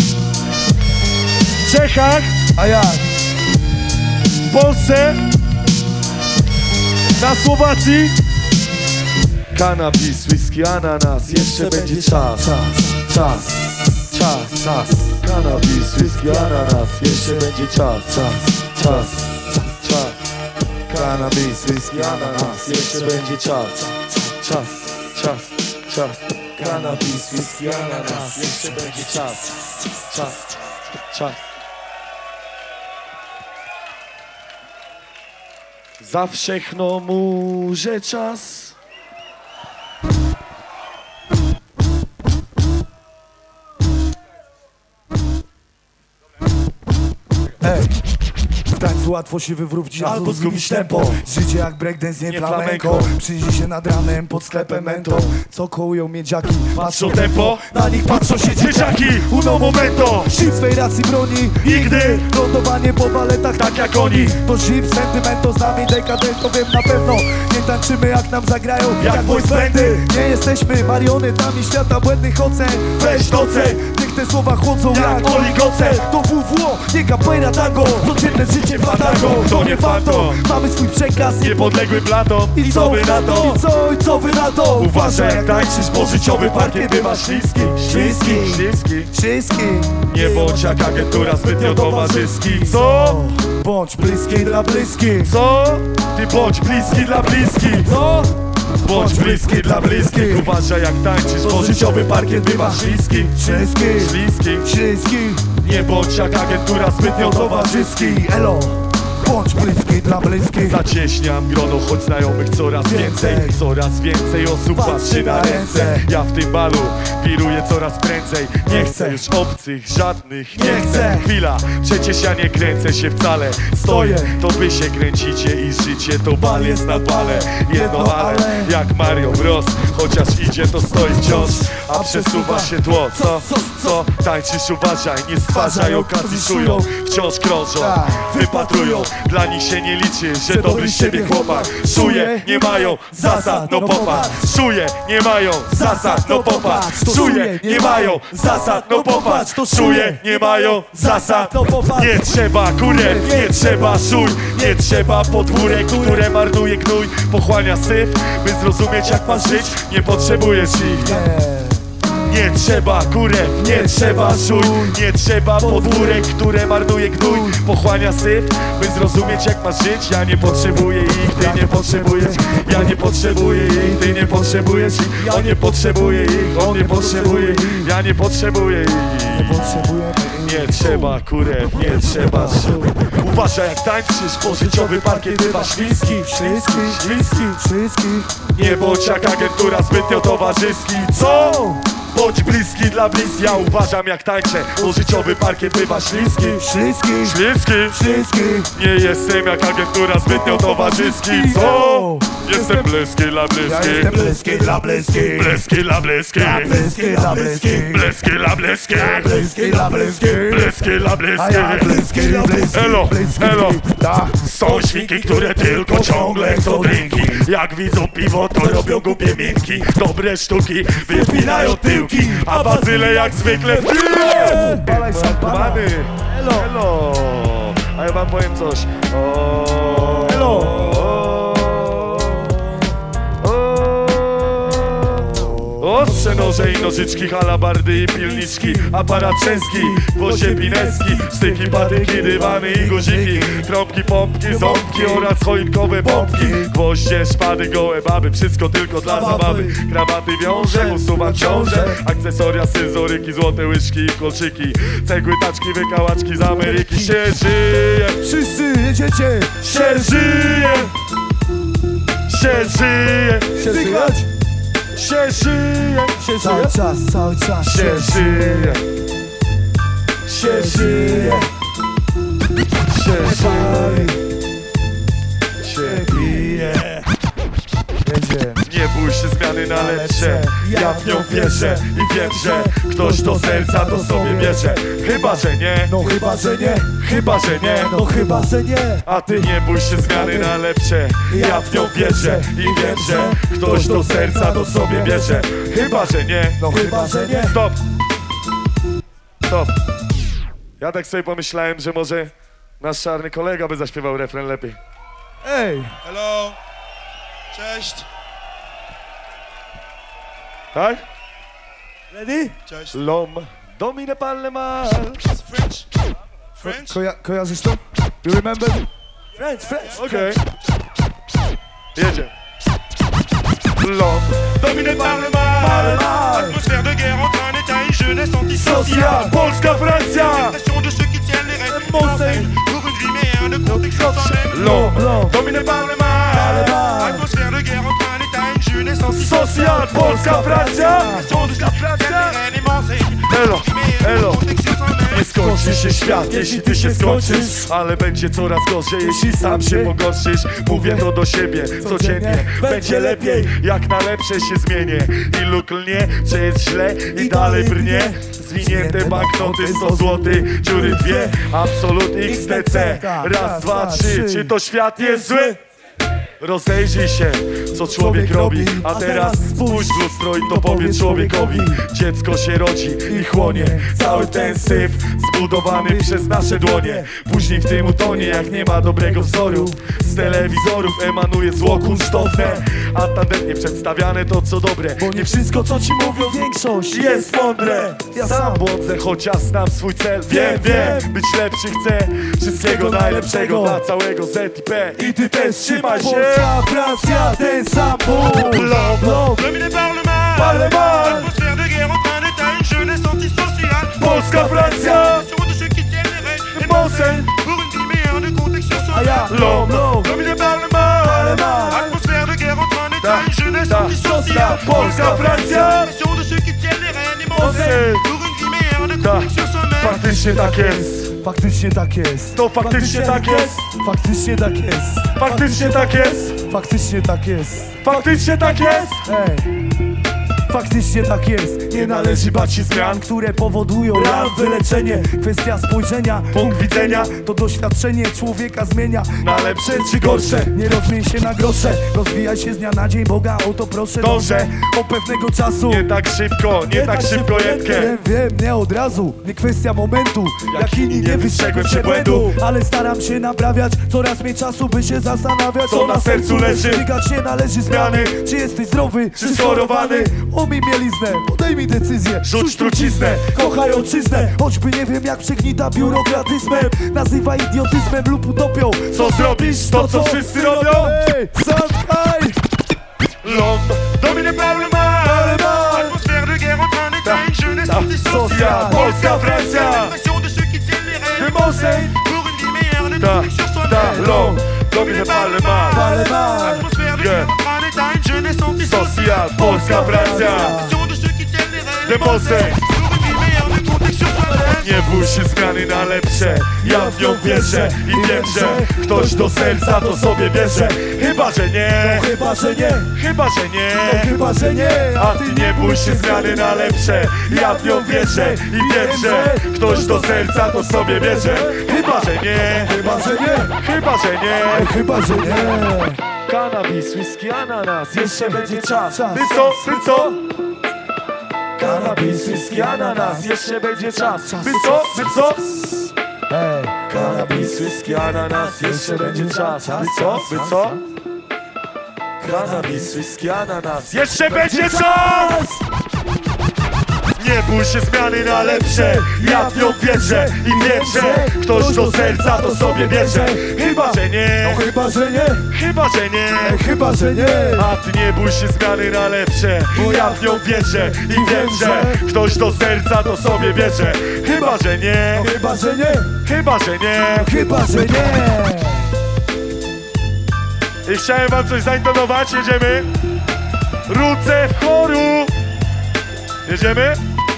w Czechach. A jak? W Polsce. Na Słowacji. Cannabis, whisky, ananas. Jeszcze będzie czas. Cannabis, whisky, ananas. Jeszcze będzie czas. Cannabis, whisky, ananas. Jeszcze będzie czas. Cannabis, whisky, ananas. Jeszcze będzie czas. Za wszechno murze czas. Ej, tańcu łatwo się wywrócić albo zgubić tempo. Życie jak breakdance, nie flamenko. Przyjdzie się nad ranem pod sklepem mentą. Co kołują miedziaki, patrzą tempo. Na nich patrzą się dzieciaki, uno momento. Shit swej racji broni nigdy. Lądowanie po baletach tak jak oni. To shit sentimento, z nami dekadento. Wiem na pewno, nie tańczymy jak nam zagrają jak voice bandy. Nie jesteśmy marionetami świata błędnych ocen. Weź doceń, niech te słowa chłodzą jak oligocel. To WWO, nie capoeira tango. Codzienne życie fatango, to nie fantom. Mamy swój przekaz, Niepodległy platon. I co wy na to? I co wy na to? Uważaj jak tańczysz, bo życiowy parkiet bywa śliski. Śliski. Nie bądź jak agentura zbytnio towarzyski. Co? Bądź bliski dla bliskich. Co? Ty bądź bliski dla bliskich. Co? Bądź bliski dla bliskich. Uważaj jak tańczysz, bo życiowy parkiet bywa śliski. Śliski. Nie bądź jak agentura zbytnio towarzyski. Elo. Bądź bliski dla bliskich. Zacieśniam grono, choć znajomych coraz więcej. Coraz więcej osób patrzy na ręce. Ja w tym balu wiruję coraz prędzej. Nie chcę już obcych, żadnych, nie chcę. Chwila, przecież ja nie kręcę się wcale. Stoję, to wy się kręcicie i życie to bal jest na bale. Jedno ale, jak Mario Bros. Chociaż idzie to stoi wciąż, a przesuwa się tło. Co? Tańczysz, uważaj, nie stwarzaj okazji, szują. Wciąż krążą, wypatrują. Dla nich się nie liczy, że dobry z siebie chłopak. Szuje, nie mają zasad, no popatrz. Szuje, nie mają zasad, no popatrz. Szuje, nie mają zasad, no popatrz. Szuje, nie mają zasad, no popatrz. Nie trzeba kurew, nie trzeba szuj. Nie trzeba podwórek, które marnuje gnój. Pochłania syf, by zrozumieć jak masz żyć. Nie potrzebujesz ich. Nie trzeba kurew, nie trzeba szuj. Nie trzeba podwórek, które marnuje gnój. Pochłania syf, by zrozumieć jak masz żyć. Ja nie potrzebuję ich, ty nie potrzebujesz. Ja nie potrzebuję ich, ty nie potrzebujesz ich. On nie potrzebuje ich, on nie potrzebuje ich. Ja nie potrzebuję ich. Nie trzeba kurew, nie trzeba szuj. Uważaj jak tańczysz, bo życiowy parkiet bywa śliski. Nie bądź jak agentura zbytnio towarzyski. Co? Bądź bliski dla bliskich. Ja uważam jak tańczę, bo życiowy parkiet bywa śliski. Nie jestem jak agentura zbytnio towarzyski. Co? Jestem bliski dla bliskich. Ja jestem bliski dla bliskich. Bliski dla bliskich. Bliski dla bliskich. Bliski dla bliskich. Bliski dla bliskich. Bliski dla A ja bliski dla bliskich. Elo. Są świnki, które tylko ciągle chcą drinki. Jak widzą piwo, to robią głupie minki. Dobre sztuki wypinają tyłki, a bazyle jak zwykle w tyle. Pany, elo. A ja wam powiem coś. Ostrze, noże i nożyczki, halabardy i pilniczki. Aparat częski, gwoździe pineski. Sztyki, patyki, dywany i guziki. Trąbki, pompki, ząbki oraz choinkowe bombki. Gwoździe, szpady, gołe baby, wszystko tylko dla zabawy. Krawaty wiąże, usuwam ciąże. Akcesoria, scyzoryki, złote łyżki i kolczyki. Cegły, taczki, wykałaczki z Ameryki. Się żyje, Wszyscy jedziecie. się żyje. Się żyje. Się słychać? Się żyje. Cały czas. Się żyje. Się żyje. Się żyje. Się bije. Nie bój się zmiany na lepsze. Ja w nią wierzę i wiem, że ktoś do serca to sobie bierze. Chyba, że nie. No chyba, że nie. Chyba, że nie. No chyba, że nie. A ty nie bój się zmiany na lepsze. Ja w nią wierzę i wiem, że ktoś do serca to sobie bierze. Chyba, że nie. No chyba, że nie. Stop. Ja tak sobie pomyślałem, że może nasz czarny kolega by zaśpiewał refren lepiej. Ej. Hello. Cześć. Tak? Ready? Cześć. L'homme domine pas le mal. French? Kojarzysz to? You remember? French. Okej. Jedzie. L'homme domine pas le mal. Atmosphère de guerre entre un état et une jeunesse antisociale. Polska, Francja. Pression de ceux qui tiennent les rênes pour une vie meilleure de protection sans même. L'homme dominé par le mal. Atmosphère de guerre entre un état et une jeunesse antisociale. Social, Polska, Francja. Pression de ceux qui tiennent les rênes et m'enseignent. Elo. Protection sans même. Nie skończ skończy się świat, jeśli ty się skończysz. Ale będzie coraz gorzej, jeśli sam się pogorszysz. Mówię to do siebie codziennie. Będzie lepiej, jak na lepsze się zmienię. Ilu klnie, że jest źle i dalej brnie. Zwinięte banknoty 100 złotych, dziury 2, absolut XTC. Raz, dwa, trzy, czy to świat jest zły? Rozejrzyj się, co człowiek robi. A teraz spójrz w lustro i to powiedz człowiekowi. Dziecko się rodzi i chłonie cały ten syf zbudowany przez nasze dłonie. Później w tym utonie, jak nie ma dobrego wzoru. Z telewizorów emanuje zło kunsztowne, a tandetnie przedstawiane to co dobre. Bo nie wszystko co ci mówią większość jest mądre. Ja sam błądzę, chociaż znam swój cel. Wiem, być lepszy chcę. Wszystkiego najlepszego dla całego ZIP. I ty też trzymaj się. Polska, Francja, ten sam Lom, Dominé par le mal, atmosphère de guerre en train d'état, une jeunesse antisociale. Polska, Francja, de ceux qui tiennent les rênes, des bons scènes, pour une vie meilleure de contexte sur soi. Lom, Dominé par le mal, atmosphère de guerre en train d'état, une jeunesse antisociale. Polska, Francja, de ceux qui tiennent les rênes, des bons scènes, pour une vie meilleure de contexte sur soi-même. Faktycznie tak jest. Faktycznie tak jest. To faktycznie tak jest. Faktycznie tak jest. Faktycznie tak jest. Faktycznie tak jest. Faktycznie tak jest. Faktycznie tak jest. Nie należy bać się zmian, które powodują ran, wyleczenie. Kwestia spojrzenia, punkt widzenia. To doświadczenie człowieka zmienia na lepsze czy gorsze. Nie rozmień się na grosze, rozwijaj się z dnia na dzień, Boga o to proszę. Dążę o pewnego czasu. Nie tak szybko, nie tak szybko jedkę. Wiem, nie od razu, nie kwestia momentu. Jak inni nie wystrzegłem się błędu, ale staram się naprawiać. Coraz mniej czasu, by się zastanawiać, co na sercu leży. Biegać się należy zmiany. Czy jesteś zdrowy, czy schorowany? Umij mieliznę, podejmij decyzję. Rzuć truciznę, kochaj ojczyznę. Choćby nie wiem jak przegnita biurokratyzmem. Nazywaj idiotyzmem lub utopią. Co zrobisz? To co wszyscy robią? Zamknaj! L'homme dominé par le mal, Atmosphère de guerre en train d'état, une jeunesse antisociale. Polska, Francja, Pression de ceux qui tiennent les rênes, des bons scènes, pour une vie meilleure de contexte sur soi-même. L'homme dominé par le mal, Atmosphère de guerre en train d'état, une jeunesse antisociale. Polska, Francja, Pression de ceux qui tiennent les rênes, des bons scènes. pour une vie meilleure de contexte sur soi-même. Nie bój się zmiany na lepsze, ja w nią wierzę i wiem, że ktoś do serca to sobie bierze. Chyba, że nie, chyba, że nie, chyba, że nie, chyba, że nie. A ty nie bój się zmiany na lepsze, ja w nią wierzę i wiem, że ktoś do serca to sobie bierze. Chyba, że nie, chyba, że nie, chyba, że nie, chyba, że nie. Cannabis, whisky, ananas, jeszcze będzie czas. Ty co? Cannabis, whisky, ananas, jeszcze będzie czas. By co? Cannabis, whisky, ananas, jeszcze będzie czas. By co? Cannabis, whisky, ananas, jeszcze będzie czas! Nie bój się zmiany na lepsze, ja w nią wierzę i wiem, że ktoś do serca to sobie bierze. Chyba, że nie, chyba, że nie, chyba, że nie, chyba, że nie. A ty nie bój się zmiany na lepsze, bo ja w nią wierzę i wiem, że ktoś do serca to sobie bierze. Chyba, że nie, chyba, że nie, chyba, że nie, chyba, że nie. I chciałem wam coś zaintonować, jedziemy. Ruce w choru. Jedziemy?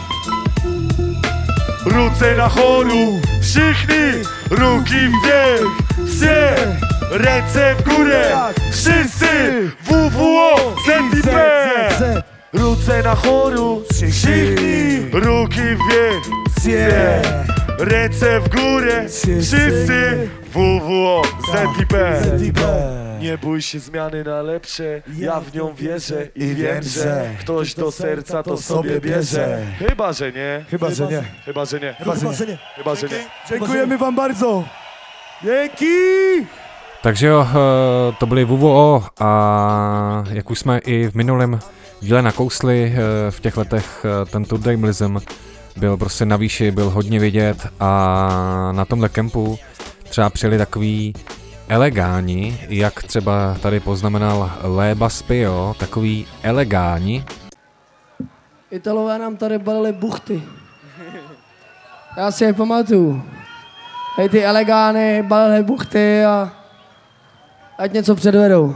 Ruce na choru, wszychnij, ruki wверх, все, ręce w górę, wszyscy, WWO, ZIP. Ruce na choru, wszychnij, ruki wверх, все, ręce w górę, wszyscy, WWO, ZIP. Nie bój się zmiany na lepsze, ja w nią wierzę i wiem, że ktoś do serca to sobie bierze. Chyba, że nie. Chyba, że nie. Chyba, że nie. Chyba, że nie. Chyba, że nie. Dziękujemy wam bardzo. Dzięki! Takže jo, to byly WWO a jak už jsme i v minulém díle nakousli, v těch letech ten Turdejmlism byl prostě na výši, byl hodně vidět a na tomhle kempu třeba přijeli takový elegáni, jak třeba tady poznamenal Léba Spio, takový elegáni. Italové nám tady balili buchty. Já si je pamatuju. Hej, ty elegány balili buchty a ať něco předvedou.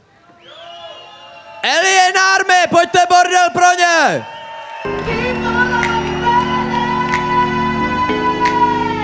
Alien Army, pojďte bordel pro ně!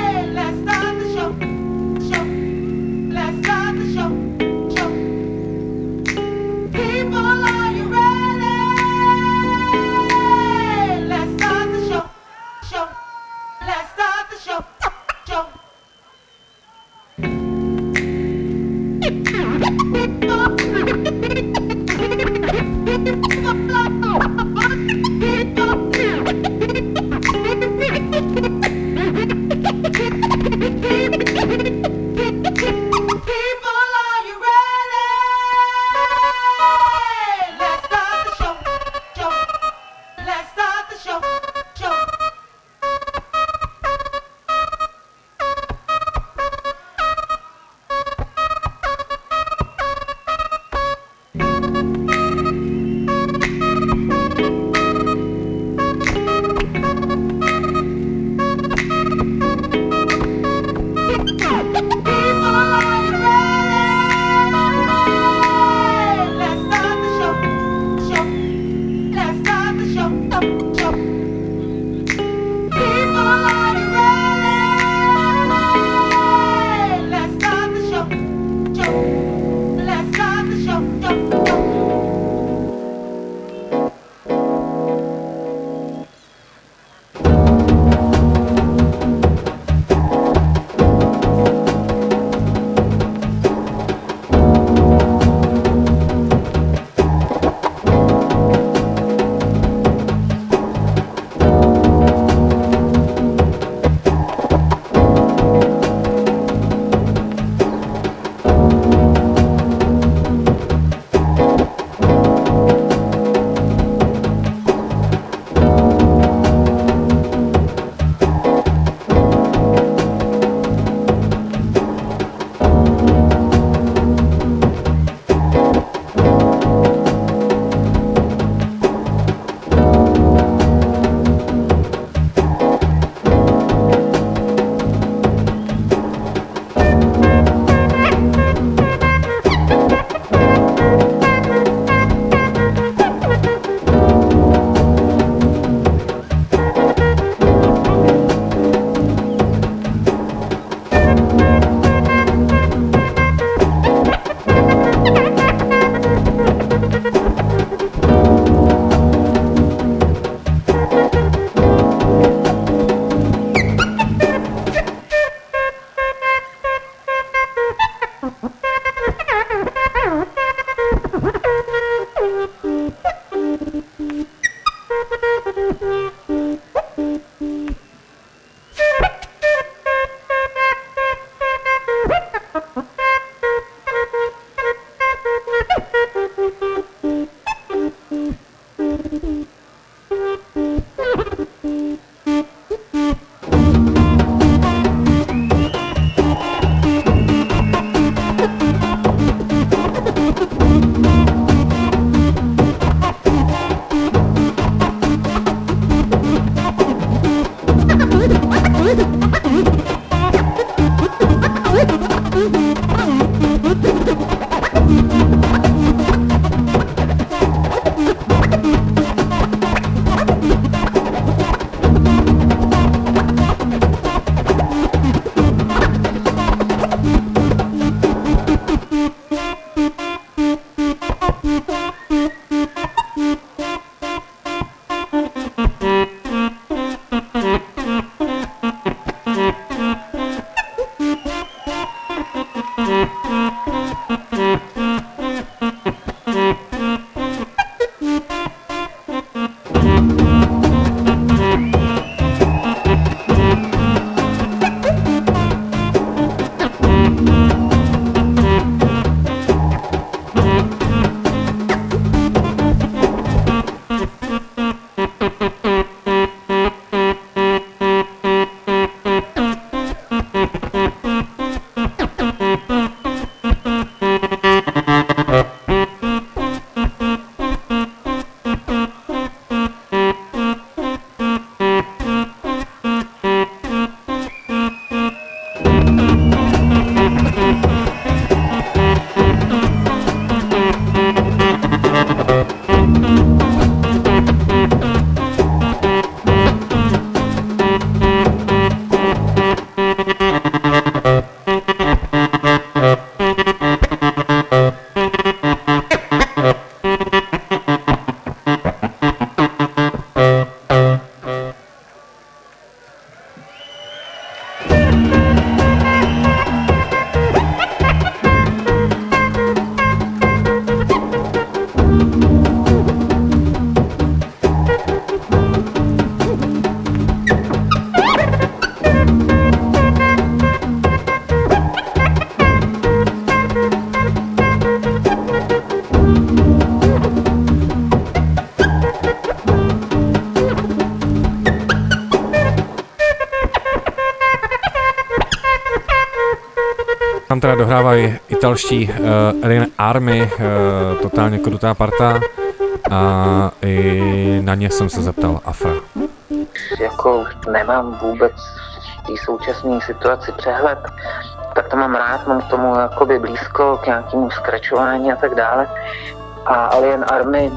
dohrávají italští Alien Army, totálně krutá parta, a i na ně jsem se zeptal Afra. Jako nemám vůbec v té současné situaci přehled, tak to mám rád, mám k tomu jakoby blízko k nějakému skračování a tak dále. A Alien Army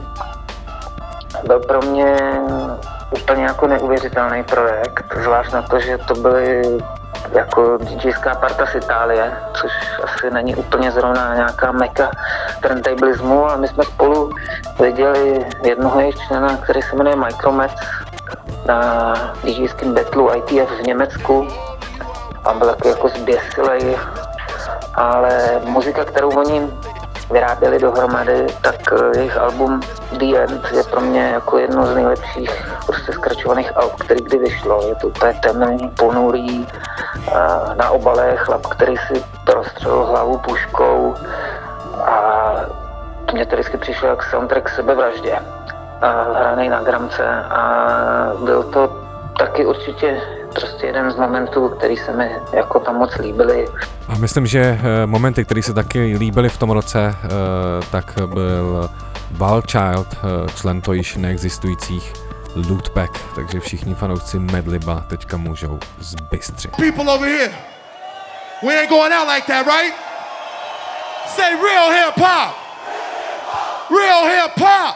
byl pro mě úplně jako neuvěřitelný projekt, zvlášť na to, že to byly jako DJská parta z Itálie, což asi není úplně zrovna nějaká meka turntablismu, a my jsme spolu viděli jednoho jejich člena, který se jmenuje Micromet, na DJském battlu ITF v Německu a byl jako zběsilej, ale muzika, kterou oni vyráběli dohromady, tak jejich album The End je pro mě jako jedno z nejlepších prostě skračovaných alb, který kdy vyšlo. Je to úplně temný, ponurý, na obale chlap, který si prostřelil hlavu puškou, a mně to vždycky přišlo jak soundtrack sebevraždě, hraný na gramce, a byl to taky určitě prostě jeden z momentů, který se mi jako tam moc líbily. A myslím, že momenty, které se taky líbily v tom roce, tak byl Wildchild, člen to již neexistujících Lootpack, takže všichni fanoušci Madliba teďka můžou zbystřit. People over here, we ain't going out like that, right? Say real hip hop. Real hip hop.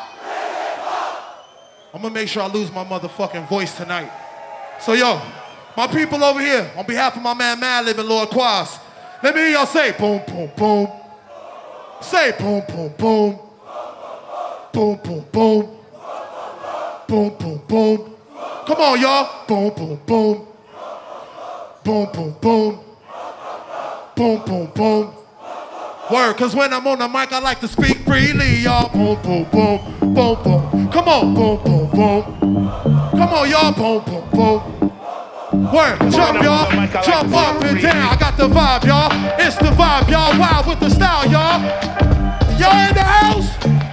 I'm gonna make sure I lose my motherfucking voice tonight. So yo, my people over here, on behalf of my man Madlib and Lord Quas, let me hear y'all say boom, boom, boom. Say boom, boom, boom. Boom, boom, boom. Boom, boom, boom. Come on, y'all. Boom, boom, boom. Boom, boom, boom. Boom, boom, boom. Word, cause when I'm on the mic, I like to speak freely, y'all. Boom, boom, boom. Boom, boom. Come on, boom, boom, boom. Come on, y'all. Boom, boom, boom. Word, jump, y'all. Jump up and down. I got the vibe, y'all. It's the vibe, y'all. Wild with the style, y'all. Y'all in the house?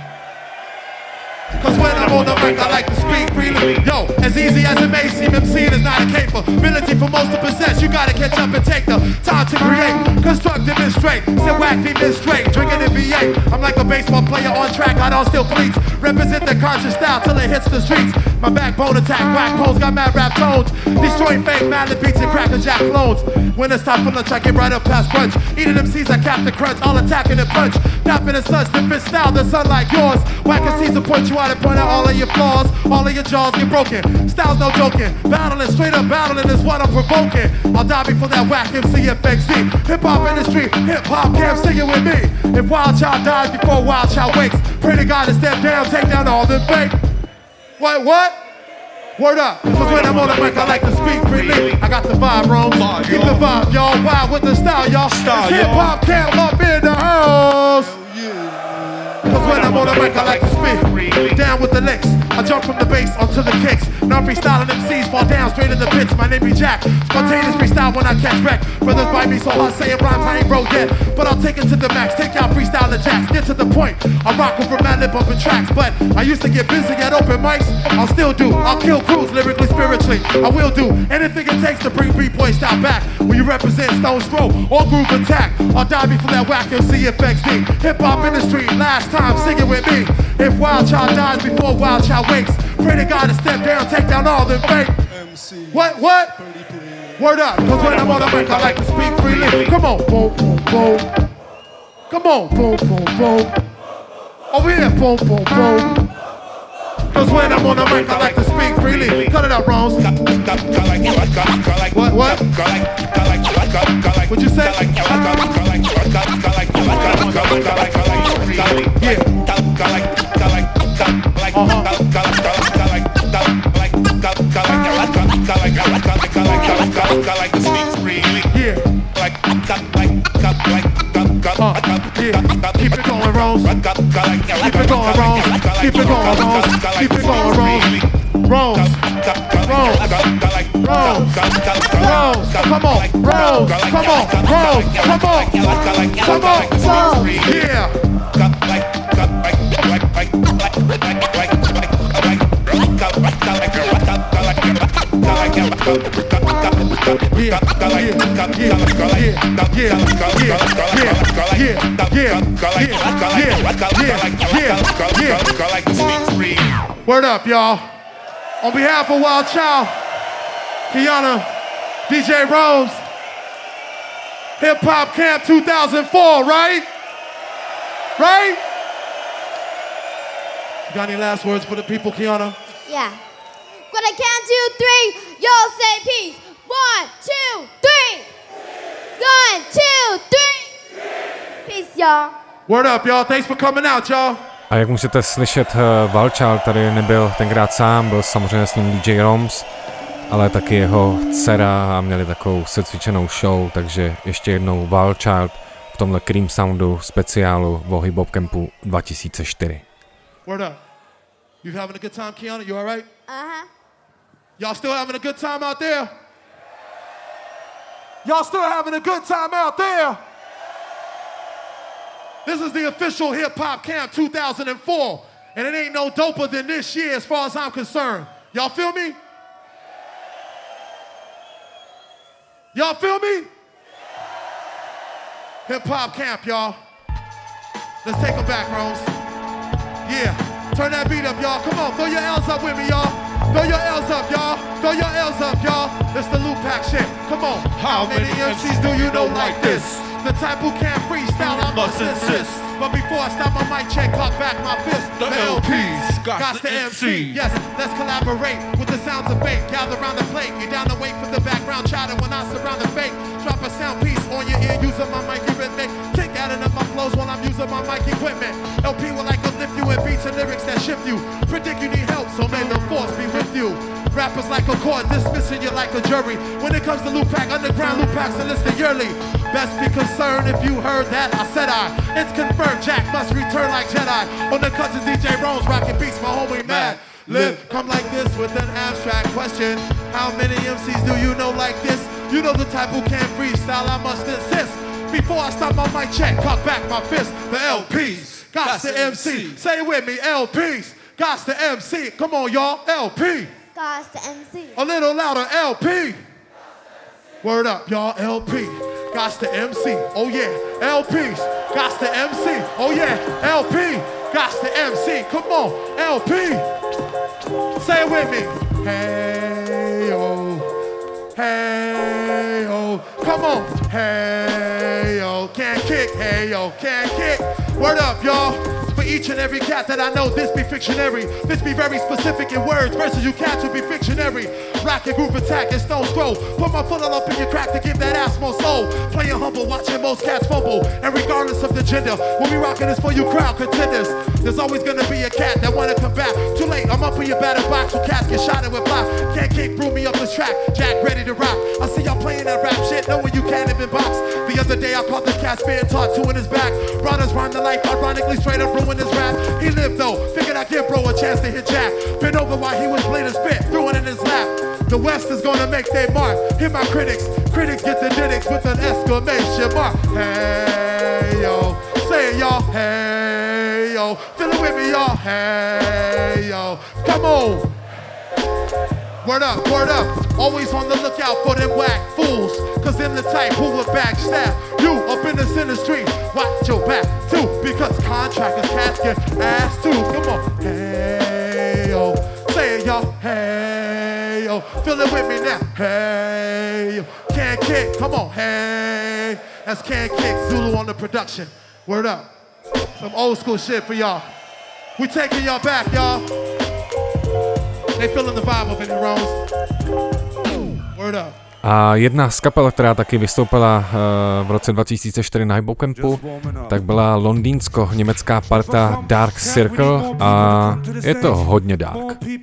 Cause when I'm on the mic, I like to speak freely. Yo, as easy as it may seem, MCing is not a capability for most to possess. You gotta catch up and take the time to create. Construct, demonstrate, sit whack, demonstrate. Drinking in V8, I'm like a baseball player on track, I don't steal cleats. Represent the conscious style till it hits the streets. My backbone attack, whack poles, got mad rap tones. Destroying fake, Madlib beats and Cracker Jack clones. When it's time for lunch, I get right up past brunch. Eating MCs, I cap the crunch, all attacking and punch. Napping in such different style, the sun like yours. Whack MCs will point you out and point out all of your flaws. All of your jaws get broken. Style's no joking. Battling, straight up battling is what I'm provoking. I'll die before that whack MC FXC. Hip hop industry, hip hop camp, sing it with me. If Wild Child dies before Wild Child wakes, pray to God to step down, take down all the fake. What? Word up, cause when I'm on the mic, I like to speak freely. I got the vibe, Rome. Keep the vibe, y'all. Wild with the style, y'all. Hip hop camp up in the house. Cause when I'm on the mic, I like to spit down with the licks. I jump from the bass onto the kicks. Now I'm freestyling MCs, fall down straight in the pits. My name be Jack. Spontaneous freestyle when I catch wreck. Brothers bite me so hard saying rhymes I ain't broke yet. But I'll take it to the max. Take out freestyle the jacks. Get to the point. I rock over Madlib bumping tracks. But I used to get busy at open mics. I'll still do. I'll kill crews lyrically, spiritually. I will do anything it takes to bring B-boy style back. When you represent Stone's Throw or Groove Attack, I'll die before that whack MC FXD. Hip hop industry, last time, sing it with me. If Wild Child dies before Wild Child wakes, pray to God to step down, take down all the fake. MC. What? Word up, cause when I'm on the mic, I like to speak freely. Come on, boom, boom, boom. Come on, boom, boom, boom. Over here, boom, boom, boom. Cause when I'm on the mic, I like to speak freely. Cut it out, Rose. What? What'd you say? Keep it going, Rose. Keep it going, Rose. Keep it going, Rose. Keep it going, Rose. Rose. Come on, Rose. Come on. Yeah. Yeah. Word up, y'all. On behalf of Wild Child, Kiana, DJ Rose, Hip Hop Camp 2004, right? Right? You got any last words for the people, Kiana? Yeah. When I count 2, 3, y'all say peace. 1, 2, 3. 1, 2, 3. Peace, y'all. Word up, y'all. Thanks for coming out, y'all. A jak můžete slyšet, Wild Child tady nebyl tenkrát sám, byl samozřejmě s ním DJ Roms, ale taky jeho dcera a měli takovou secvičenou show, takže ještě jednou Wild Child v tomhle Cream Soundu speciálu o Hip Hop Campu 2004. Word up. You having a good time, Kiana? You all right? Uh-huh. Y'all still having a good time out there? Y'all still having a good time out there? This is the official Hip Hop Camp 2004, and it ain't no doper than this year as far as I'm concerned. Y'all feel me? Y'all feel me? Hip Hop Camp, y'all. Let's take them back, Rose. Yeah, turn that beat up, y'all. Come on, throw your L's up with me, y'all. Throw your L's up, y'all. Throw your L's up, y'all. It's the Loop Pack shit. Come on. How many MCs do you know like this? The type who can't freestyle, I must insist. But before I stop my mic check, cock back my fist. The LPs, got the MC. Yes, let's collaborate with the sounds of fate. Gather around the plate, you're down to wait for the background chatter when I surround the fake. Drop a sound piece on your ear, using my mic rhythmic. Kick adding up my flows while I'm using my mic equipment. LP will like uplift you with beats and lyrics that shift you. Predict you need help, so may the force be with you. Rappers like a court, dismissing you like a jury. When it comes to Loop Pack, underground Loop Packs enlisted yearly. Best be concerned if you heard that, I said I. It's confirmed, Jack must return like Jedi. On the cuts of DJ Rones, rockin' beats, my homie Mad Lib. Come like this with an abstract question. How many MCs do you know like this? You know the type who can't freestyle, I must insist. Before I stop my mic check, cock back my fist. The LPs, got the MC. Say it with me, LPs, got the MC. Come on, y'all, LP. God's the MC. A little louder, LP. Word up, y'all, LP. Gots the MC, oh yeah. LPs, gots the MC, oh yeah. LP, gots the MC. Come on, LP. Say it with me. Hey yo, hey yo. Come on, hey yo. Can't kick, hey yo, can't kick. Word up, y'all. For each and every cat that I know, this be fictionary. This be very specific in words versus you cats will be fictionary. Rocket group attack and stone scroll. Put my foot all up in your crack to give that ass more soul. Playing humble, watching most cats fumble. And regardless of the gender, we'll be rocking this for you crowd contenders. There's always gonna be a cat that wanna come back. Too late, I'm up in your battle box where cats get shot and with block. Can't kick, brew me up this track. Jack ready to rock. I see y'all playing that rap shit, knowing you can't even box. The other day I caught this cat being taught two in his back. Brothers rhyme the life, ironically straight up ruin his rap. He lived though, figured I'd give bro a chance to hit Jack. Been over while he was playing a spit, threw it in his lap. The West is gonna make their mark. Hit my critics, critics get the didicks with an exclamation mark. Hey yo, say it y'all, hey yo. Feel it with me y'all, hey yo. Come on. Word up, word up. Always on the lookout for them whack fools. Cause them the type who will backstab you up in this industry. Watch your back too, because contractors cats get ass too. Come on, hey yo. Say it y'all, hey yo. Feel it with me now, hey yo. Can't kick, come on, hey. That's Can't Kick, Zulu on the production. Word up. Some old school shit for y'all. We taking y'all back, y'all. They feeling the vibe up in the Rose. Word up. A jedna z kapel, která taky vystoupila v roce 2004 na Hip Hop Campu, tak byla londýnsko-německá parta Dark Circle a je to hodně dark.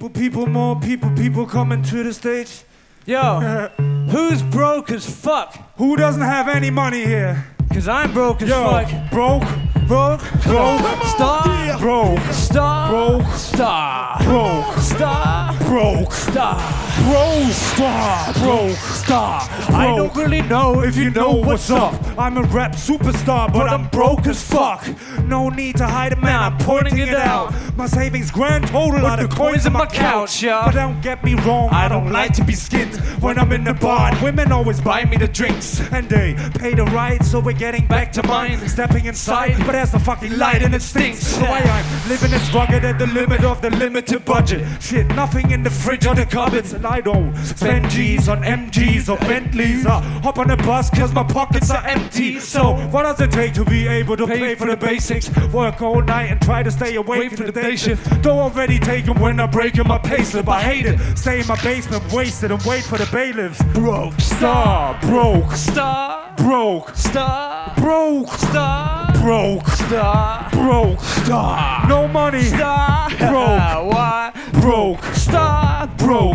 Yo, who's broke as fuck? Who doesn't have any money here? Cause I'm broke as fuck. Broke, stop, broke, stop, broke, stop, broke, stop, broke, stop, broke, stop, broke, stop. star. I don't really know if you know what's up. I'm a rap superstar, but I'm broke as fuck. No need to hide it, man, I'm pointing it out. My savings grand total are the coins in my couch, yeah. But don't get me wrong, I don't like to be skinned when I'm in the bar. Women always buy me the drinks, and they pay the ride, so we're getting back to mine. Stepping inside, but there's no fucking light and it stinks. So why I'm living this rugged at the limit of the limited budget. Shit, nothing in the fridge or the cupboards, and I don't spend G's on MGs or Bentleys. I hop on the bus cause my pockets are empty. So what does it take to be able to pay for the basics? Work all night and try to stay awake from the day shift. Though already taken when I'm breaking my payslip. I hate it, stay in my basement wasted and wait for the bailiffs. Broke star, broke star, broke star, broke star, broke star, broke star. No money, star, broke, what? Broke star, broke,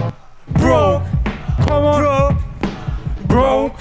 broke. Come on, broke,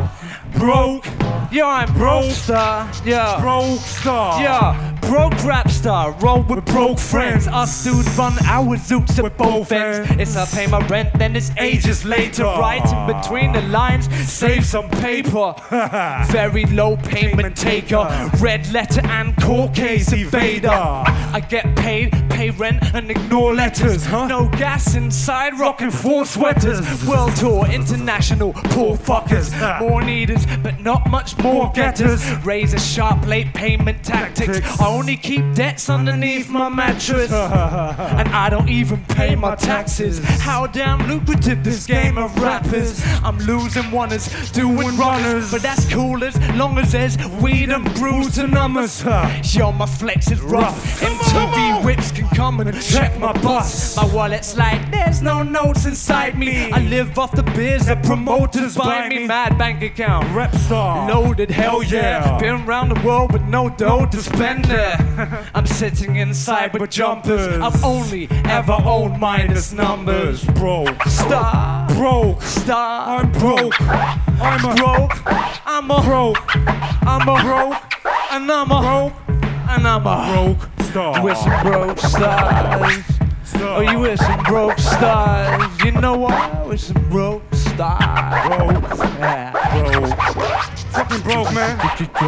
broke. Yeah, I'm broke star. Yeah, broke star. Yeah, broke rap star. Roll with broke friends. Us dudes run our zoots at both ends. It's I pay my rent, then it's ages later. Right in between the lines, save some paper. Very low payment taker. Red letter and court case evader. I get paid, pay rent and ignore letters. No gas inside, rocking 4 sweaters. World tour, international, poor fuckers. More needers, but not much more getters. Razor sharp late payment tactics. I only keep debts underneath my mattress. And I don't even pay my taxes. How damn lucrative this game of rap is. I'm losing oneers, doing runners. But that's cool as long as there's weed and brews and numbers. Yo, my flex is rough. MTV whips can come and check my bus. My wallet's like there's no notes inside me. I live off the beers that promoters buy me. Mad bank account, rap star, loaded, hell yeah. Been around the world with no dough to spend it. I'm sitting inside with jumpers. I've only ever owned minus numbers. Broke star, broke star. I'm broke. I'm a broke. I'm a broke. I'm a broke. And I'm a broke. And I'm a broke star. With some broke stars. Oh, you with some broke stars. You know what? With some broke stars. Broke. Yeah. Broke. Fucking broke, man.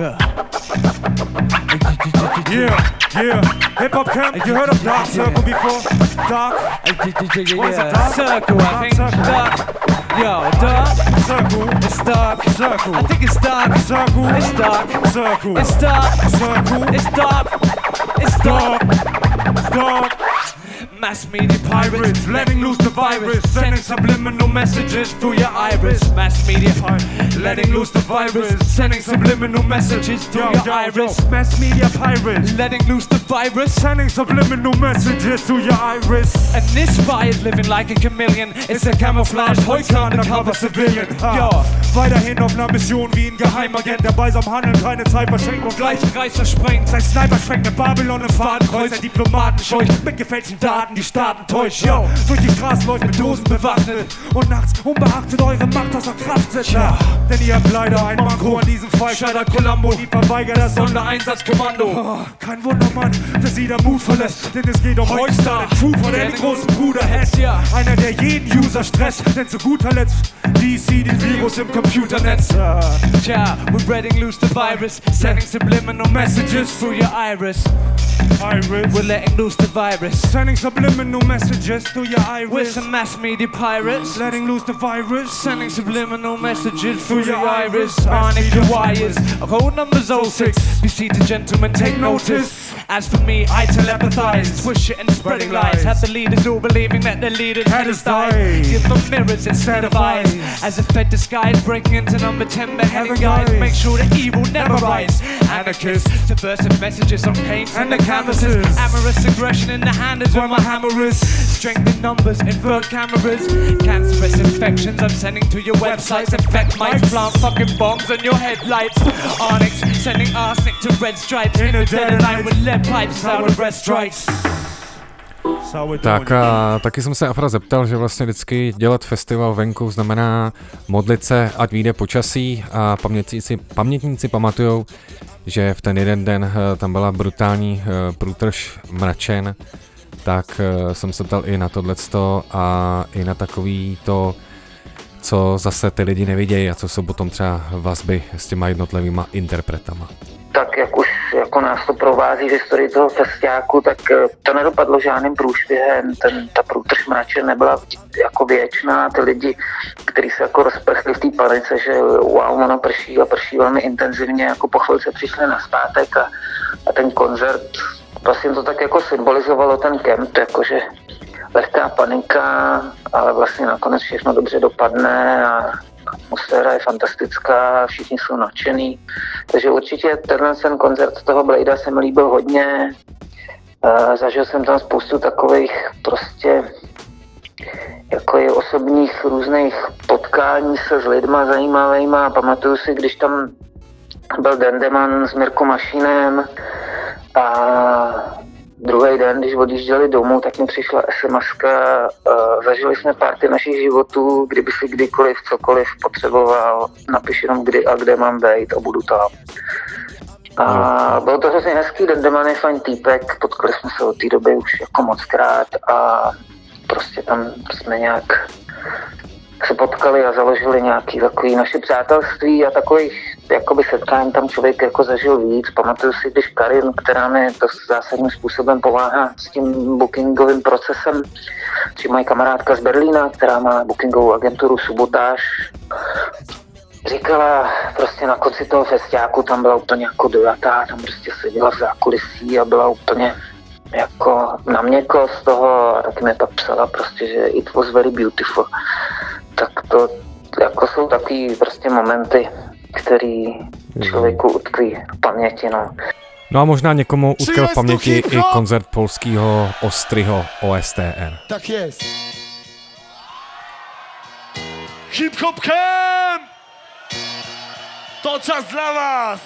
Yeah. Hip hop camp. You heard of Dark Circle before? Dark. What is it? Dark Circle, I think. Dark. Yo, dark. Circle. It's dark. Circle. I think it's dark. Circle. It's dark. Circle. It's dark. Circle. It's dark. It's dark. It's dark. Mass media pirates, letting loose the virus, sending subliminal messages through your iris. Mass media pirates, letting loose the virus, sending subliminal messages through your iris. Mass media pirates, letting loose the virus, sending subliminal messages through your iris. And this spy is living like a chameleon. It's a camouflaged, heute undercover civilian. Ja, weiterhin auf einer Mission wie ein Geheimagent, dabei am Handeln, keine Zeit verschenkt und gleich Kreis versprengt. Sein Sniper schwenkt in Babylon im Fadenkreuz, ein Diplomaten scheucht mit gefälschten Daten, die Staaten täuscht. Yo, durch die Straßen läuft mit Dosen bewaffnet und nachts unbeachtet eure Macht außer Kraft setzt. Ja, denn ihr habt leider ein Manko an diesem Fall. Scheitert Columbo, die verweigert das Sondereinsatzkommando. Oh, kein Wunder, Mann, dass sie der Mut verlässt, denn es geht um Rockstar, den Trooper, der den großen Bruder hetzt. Einer, der jeden User stresst, denn zu guter Letzt DC den Virus im Computernetz. Yeah, we're letting loose the virus, sending subliminal messages through your iris. We're letting loose the virus, sending subliminal messages through your iris. With some mass media pirates, letting loose the virus, sending subliminal messages through your iris. Harness your wires, code numbers 06. BC to gentlemen, take notice. As for me, I telepathize, push it and spreading lies. Have the leaders all believing that their leaders had us die. Give them mirrors instead of eyes. As a fed disguise, breaking into number 10 beheading guys. Make sure that evil never rise. Anarchists, subversive messages on paints and the canvases. Amorous aggression in the hand is where my hammer is. Strength in numbers, invert cameras. Cancerous infections I'm sending to your websites. Infect mics, plant fucking bombs on your headlights. Onyx, sending arsenic to red stripes. In a dead of night with lead pipes, sour breath strikes. Tak a taky jsem se Afra zeptal, že vlastně vždycky dělat festival venku znamená modlit se, ať vyjde počasí, a pamětníci pamatujou, že v ten jeden den tam byla brutální průtrž mračen, tak jsem se ptal i na tohleto a i na takový to, co zase ty lidi nevidějí a co jsou potom třeba vazby s těma jednotlivýma interpretama? Tak jak už jako nás to provází v historii toho festiáku, tak to nedopadlo žádným průšvihem, ta průtrž mrače nebyla jako věčná, ty lidi, kteří se jako rozprchli v té panice, že wow, ono prší a prší velmi intenzivně, jako po chvilce přišli nazpátek a ten koncert, vlastně to tak jako symbolizovalo ten kemp, jakože lehká panika, ale vlastně nakonec všechno dobře dopadne a atmosféra je fantastická, všichni jsou nadšený. Takže určitě ten koncert toho Bladea se mi líbil hodně. Zažil jsem tam spoustu takových prostě jako i osobních různých potkání se s lidma zajímavýma. Pamatuju si, když tam byl Dendeman s Mirko Mašinem a druhý den, když odjížděli domů, tak mi přišla SMS-ka, zažili jsme párty našich životů, kdyby si kdykoliv, cokoliv potřeboval, napiš jenom kdy a kde mám být a budu tam. A bylo to hrozně hezký, Dendeman je fajn týpek, potkali jsme se od té doby už jako mockrát a prostě tam jsme nějak se potkali a založili nějaký takový naše přátelství a takových jakoby setkání tam člověk jako zažil víc. Pamatuju si, když Karin, která mi to zásadním způsobem pomáhá s tím bookingovým procesem, či moje kamarádka z Berlína, která má bookingovou agenturu Subotáž, říkala prostě na konci toho festiáku, tam byla úplně jako dojatá, tam prostě seděla v zákulisí a byla úplně jako na měko z toho a taky mi pak psala prostě, že it was very beautiful. Tak to jako jsou takový prostě momenty, který člověku utkví v paměti, no. No a možná někomu utkvěl v paměti i koncert polského Ostryho OSTR. Tak jest. Hip-hop camp! To czas dla was!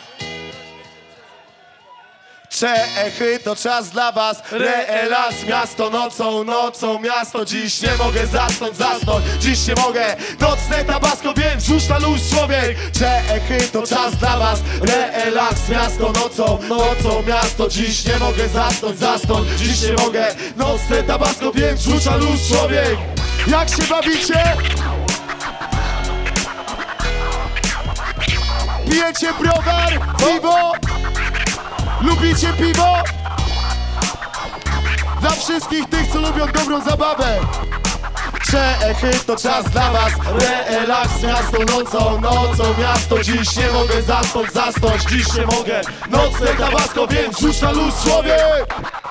Czechy, to czas dla was. Relaks, miasto nocą miasto. Dziś nie mogę zasnąć, dziś nie mogę. Nocne tabasko, wiem, rzuć na luz człowiek. Czechy, to czas dla was. Relaks, miasto nocą miasto. Dziś nie mogę zasnąć, dziś nie mogę. Nocne tabasko, wiem, rzuć na luz człowiek. Jak się bawicie? Pijecie browar, piwo? Lubicie piwo? Dla wszystkich tych, co lubią dobrą zabawę. Czechy, to czas dla was. Relaks, miasto nocą miasto. Dziś nie mogę zasnąć, dziś nie mogę. Nocne tabasko, więc rzuć na luz człowiek.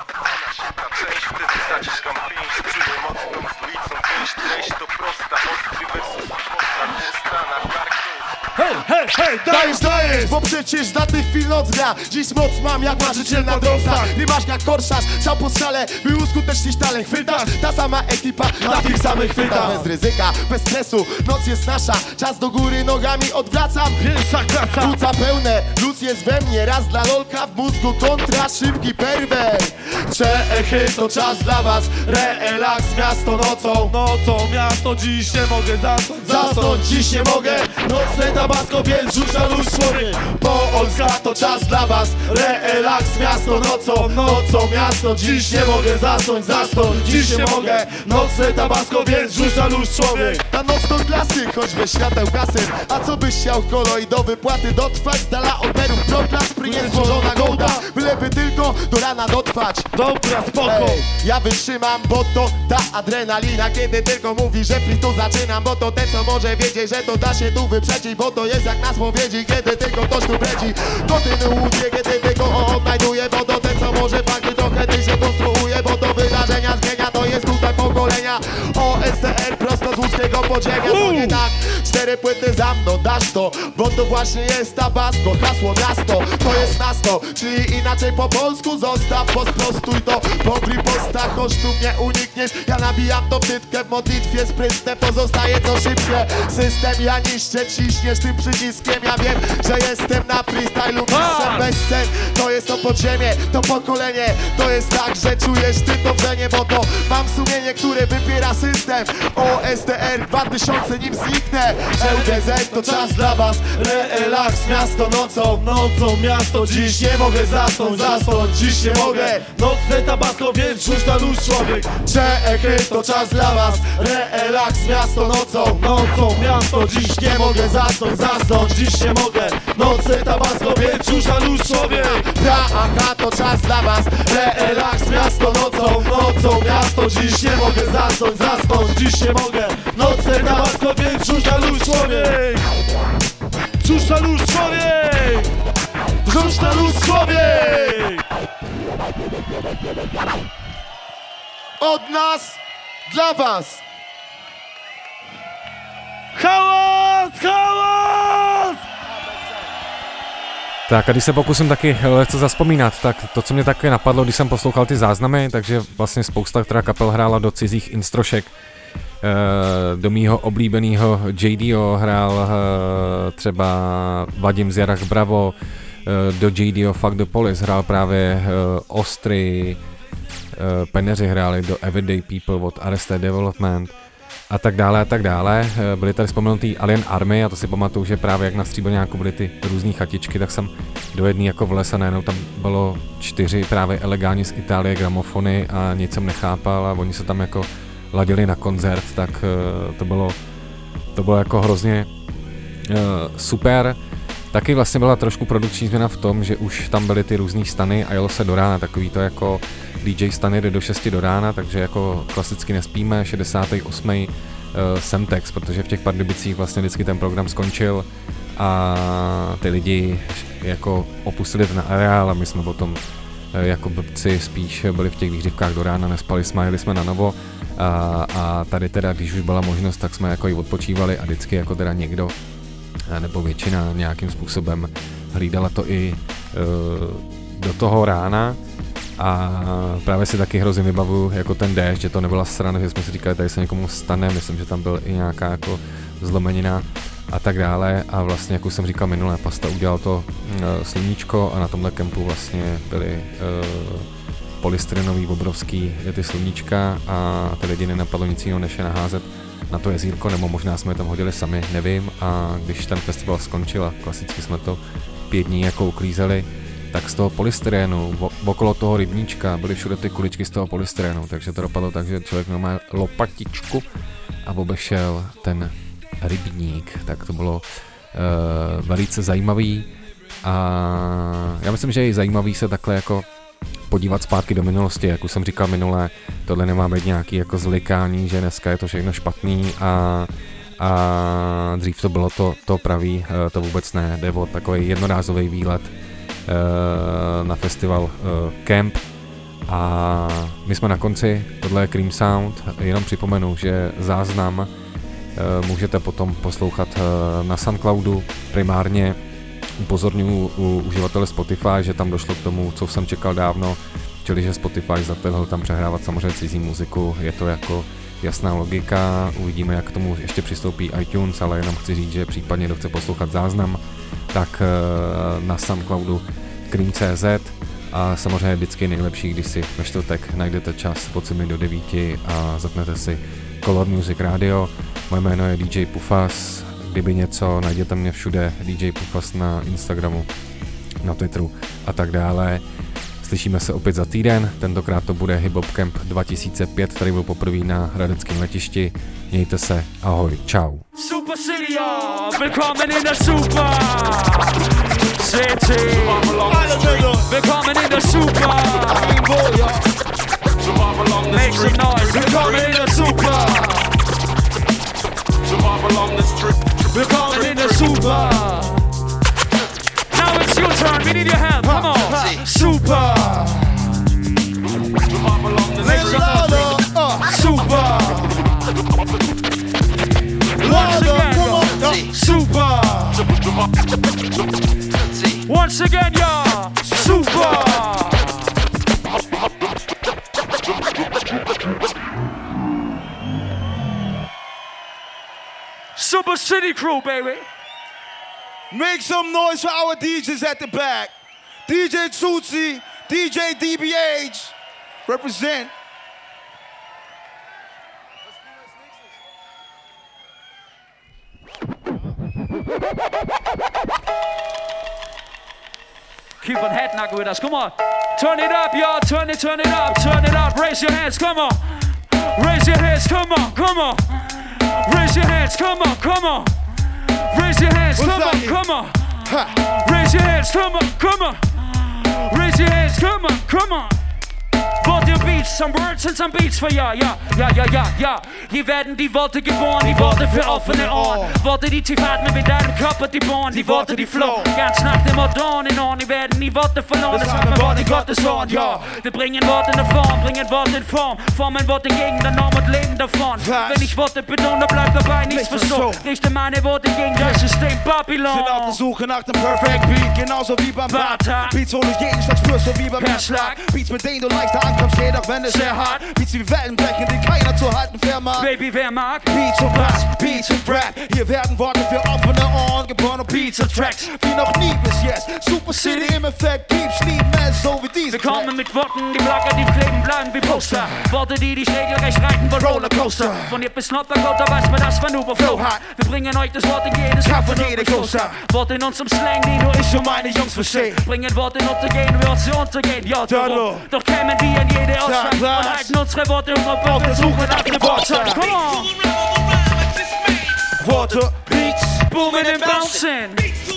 Część wtedy zaciskam pięść, czuję mocną stolicą treść to prosta, ostry versus posta na karku. Hej, dajesz, bo przecież na tych chwil noc gra. Dziś moc mam jak marzyciel na drąsach. Rybasz jak korszarz, strzał po strzale, by uskutecznić talent. Chwytasz, ta sama ekipa na tych samych chwytach. Bez ryzyka, bez stresu, noc jest nasza. Czas do góry nogami odwracam. Pierwsza klasa, płuca pełne, luz jest we mnie. Raz dla lolka w mózgu, kontra szybki perwer. Czechy, to czas dla was. Relaks, miasto nocą miasto. Dziś nie mogę zasnąć, dziś nie mogę. Nocne tabasko, więc rzuć na luz człowiek. Polska, to czas dla was. Relaks, miasto nocą miasto. Dziś nie mogę zasnąć, dziś nie mogę. Nocne tabasko, więc rzuć na luz człowiek. Ta noc to klasyk, choćby świateł kasy. A co byś chciał koloj do wypłaty dotrwać? Z dala od berów proklas, prynie złożona gołda. Byleby tylko do rana dotrwać. Dobra, spoko. Ej, ja wytrzymam, bo to ta adrenalina. Kiedy tylko mówi, że free to zaczynam. Bo to ten, co może wiedzieć, że to da się tu wyprzedzić. Bo to jest jak na spowiedzi, kiedy tylko ktoś tu bredzi. Kontynuuje, kiedy tylko odnajduje. Bo to ten, co może fakty trochę ty się konstruuje. Bo to wydarzenia zmienia, to jest tutaj pokolenia. OSTR prosto z łódzkiego podziemia. To nie tak, 4 płyty za mną, dasz to. Bo to właśnie jest tabasko, hasło miasto. To jest miasto, czyli inaczej po polsku. Zostaw, posprostuj to, po postach, choć tu mnie unikniesz. Ja nabijam to wtytkę w modlitwie sprytne. Pozostaje to szybkie. System ja niszczę, ciśniesz tym przyciskiem. Ja wiem, że jestem na freestylu mistrzem bez scen. To jest to podziemie, to pokolenie. To jest tak, że czujesz ty to wrzenie. Bo to mam sumienie, które wypiera system. OSTR 2000, nim zniknę. że UDZ to czas dla was. Relaks, miasto nocą, nocą miasto. Dziś nie mogę zasnąć, dziś nie mogę. Nocne tabasco, więc rzuć na luz człowiek. Czechy to czas dla was. Relaks, miasto nocą, nocą miasto. Dziś nie mogę zasnąć, dziś nie mogę. Nocne tabasco, więc rzuć na luz człowiek. Praha to czas dla was. Relaks, miasto nocą, nocą miasto. Dziś nie mogę zasnąć, dziś nie mogę. Nocne tabasco, więc rzuć na luz człowiek. Rzuć na luz człowiek. Rzuć na luz człowiek. Od nas dla was. Hałas, hałas! Tak a když se pokusím taky lehce zaspomínat, tak to, co mě také napadlo, když jsem poslouchal ty záznamy, takže vlastně spousta, která kapel hrála do cizích instrošek, do mýho oblíbeného JDO hrál třeba Vadim Zjarach Bravo, do JDO Fuck the Police hrál právě Ostry, Peneři hráli do Everyday People od Arrested Development a tak dále a tak dále. Byly tady vzpomenutý Alien Army a to si pamatuju, že právě jak na Stříbrňáku byly ty různý chatičky, tak jsem do jedné jako vlez a najednou tam bylo 4 právě elegáni z Itálie gramofony a nic jsem nechápal a oni se tam jako ladili na koncert, tak to bylo jako hrozně super. Taky vlastně byla trošku produkční změna v tom, že už tam byly ty různý stany a jelo se do rána, takový to jako DJ stany jde do 6 do rána, takže jako klasicky nespíme, 68. Semtex, protože v těch Pardubicích vlastně vždycky ten program skončil a ty lidi jako opustili ten areál a my jsme potom jako blbci spíš byli v těch výřivkách do rána, nespali jsme, jeli jsme na novo a tady teda, když už byla možnost, tak jsme jako i odpočívali a vždycky jako teda někdo nebo většina nějakým způsobem hlídala to i do toho rána a právě si taky hrozně vybavuju jako ten déšť, že to nebyla srana, že jsme si říkali, tady se někomu stane, myslím, že tam byl i nějaká jako zlomenina a tak dále a vlastně, jak už jsem říkal minule, Pasta udělal to sluníčko a na tomhle kempu vlastně byly polystyrenový obrovský ty sluníčka a ty lidi nenapadlo nic jiného, než je naházet na to jezírko, nebo možná jsme je tam hodili sami, nevím, a když ten festival skončil a klasicky jsme to 5 dní jako uklízeli, tak z toho polystyrenu, okolo toho rybníčka byly všude ty kuličky z toho polystyrenu, takže to dopadlo tak, že člověk má lopatičku a obešel ten rybník, tak to bylo velice zajímavý a já myslím, že je zajímavý se takhle jako podívat zpátky do minulosti, jak už jsem říkal minule, tohle nemá být nějaký jako zlikání, že dneska je to všechno špatný a dřív to bylo to pravý, to vůbec ne, jde o takový jednorázový výlet na festival Camp a my jsme na konci, tohle je Cream Sound, jenom připomenu, že záznam můžete potom poslouchat na Soundcloudu primárně. Upozorňuji uživatele Spotify, že tam došlo k tomu, co jsem čekal dávno, čili že Spotify zatehl tam přehrávat samozřejmě cizí muziku, je to jako jasná logika, uvidíme, jak k tomu ještě přistoupí iTunes, ale jenom chci říct, že případně kdo chce poslouchat záznam, tak na Soundcloudu Cream.cz a samozřejmě vždycky nejlepší, když si ve čtvrtek najdete čas od 7 do 9 a zapnete si Color Music Radio. Moje jméno je DJ Pufas, kdyby něco, najděte mě všude, DJ Pufas na Instagramu, na Twitteru a tak dále. Slyšíme se opět za týden, tentokrát to bude Hip Hop Camp 2005, tady byl poprvé na hradeckém letišti. Mějte se, ahoj, čau. Super City, willkommen in der Super City. Willkommen in der Super. Make some noise. Willkommen in der Super. Willkommen in der Super. Now it's your turn. We need your help. Come on. Super. Make some noise. Super. Once again, super. Once again, yeah, super. Super City Crew, baby. Make some noise for our DJs at the back. DJ Tootsie, DJ DBH, represent. keep on head knocking with us. Come on. Turn it up, y'all. Turn it up. Turn it up. Raise your hands. Come on. Raise your hands. Come on. Come on. Raise your hands. Come on. Come on. Raise your hands. Come on. Come on. Raise your hands. Come on. Come on. Raise your hands. Come on. Come on. Wort ihr Beats, some Words and some Beats für ja. Hier werden die Worte geboren, die Worte für offene Ohren. Worte, die tief atmen mit deinem Körper, die bohren. Die Worte, die flowen, ganz nach dem Motto in Ohren. Die werden nie Worte verloren, das haben wir Wort in Gottes Ohren, ja. Wir bringen Worte in eine Form, bringen Worte in Form. Formen Worte gegen der Norm und leben davon. Wenn ich Worte betone, bleib dabei, nichts verstohlen. Richte meine Worte gegen das System Babylon. Sind auf der Suche nach dem Perfect Beat, genauso wie beim Bata. Beats, wo du jeden Schlag spürst, so wie beim Herzschlag. Beats, mit denen du leichter ankommst, geht auch wenn es sehr hart. Beats wie Wellen brechen, die keiner zu halten vermag. Baby, wer mag? Beats und Bass, Beats und Rap. Hier werden Worte für offene Ohren geboren und Beats und Tracks wie noch nie bis jetzt. Super City im Effekt, Keeps lieben es so wie diese. Wir kommen mit Worten, die plakativ kleben bleiben wie Poster. Worte, die dich regelrecht reiten wie Rollercoaster. Von hier bis Nordderkota weiß man, das war nur Flow hat. Wir bringen euch das Wort in jedes Kaff und jede Coaster. Worte in unserem Slang, die nur ich und meine Jungs verstehen. Bringen Worte in Untergehen, wir uns untergehen, ja darum. Doch kämen wir in jede Ausschlag und halten unsere Worte auf der Suche nach dem Wortschatz. Come on! Worte, Beats, booming and bouncing.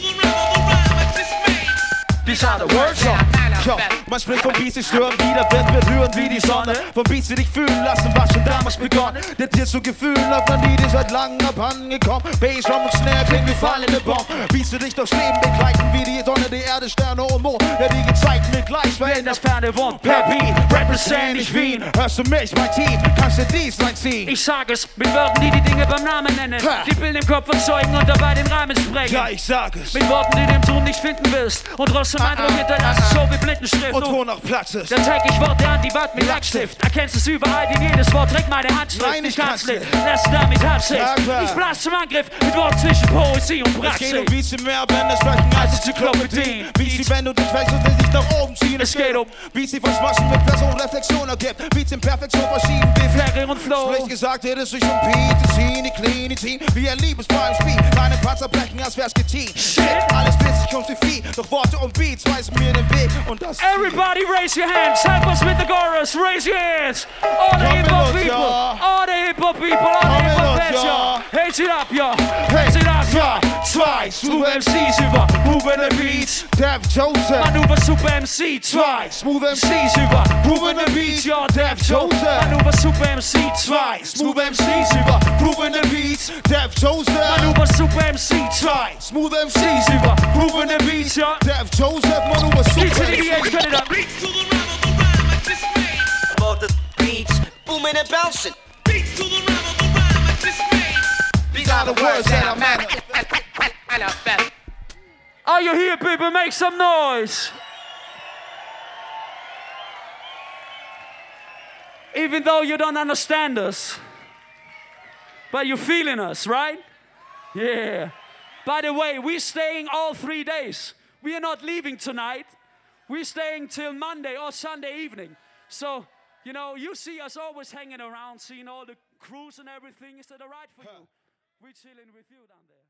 These are the words, ja, man spricht von Beats, die stören wieder, wird berühren wie die Sonne. Von Beats, die dich fühlen lassen, was schon damals begonnen. Der Tier zu Gefühlen auf einer Lied, die seit langem abhandengekommen. Bass, Drum und Snare klingen wie fallende Bomben. Beats, die dich durchs Leben begleiten, wie die Sonne, die Erde, Sterne und Mond. Der die gezeigt mit gleich, wenn das Ferne wohnt. Per Beat, represent ich Wien. Hörst du mich, mein Team, kannst du dies reinziehen. Ich sag es mit Worten, die Dinge beim Namen nennen. Die Bilder im Kopf erzeugen und dabei den Rahmen sprengen. Ja, ich sag es. Mit Worten, die du im Ton nicht finden willst. Und trotzdem Eindruck hinterlassen, so wie Blindenschrift. Und wo noch Platz ist. Dann zeig ich Worte an, die Wand mit Lackstift. Erkennst es überall, in jedes Wort trägt meine Handschrift. Nein, ich kann's nicht. Lass damit Absicht. Ich blas zum Angriff mit Wort zwischen Poesie und Praxis. Es geht um Beats, die mehr Bände sprechen als Enzyklopädien. Beats, die wenn du dich wächst und dich nach oben ziehen. Es geht um Beats, die verschmossen mit Person Reflexion ergibt. Beats in Perfektion verschieden wie Ferry und Flow. Schlecht gesagt, hätte es sich um Beat, die Scene, die Clean, Team. Wie ein Liebespaar im Spiel. Deine Panzer brechen, als wär's geteamt. Shit, alles bissig und wie viel. Doch Worte und Beats weisen mir den Weg. Und das Everybody raise your hands, help us with the chorus, raise your hands. All the hip hop people, all the hip hop people, all the hip hop fans, y'all. Hands it up, y'all. Hands it up, y'all. Zwei, Smooth MCs über Moving the Beats. Dev Joseph. Manöver Super MC. Zwei, Smooth MCs über Moving the Beats, y'all. Dev Joseph. Manöver Super MC. Zwei, Smooth MCs über Moving the Beats. Dev Joseph. Manöver Super MC. Zwei, Smooth MCs über Moving the Beats, y'all. Dev Joseph. Manöver Super MC. Cut it up. About the beats, booming and bouncing. Beats to the rhythm of the rhyme I just made. These are the words that I manifest. Are you here, people? Make some noise. Even though you don't understand us, but you're feeling us, right? Yeah. By the way, we're staying all 3 days. We are not leaving tonight. We're staying till Monday or Sunday evening. So, you know, you see us always hanging around, seeing all the crews and everything. Is that all right for you? We're chilling with you down there.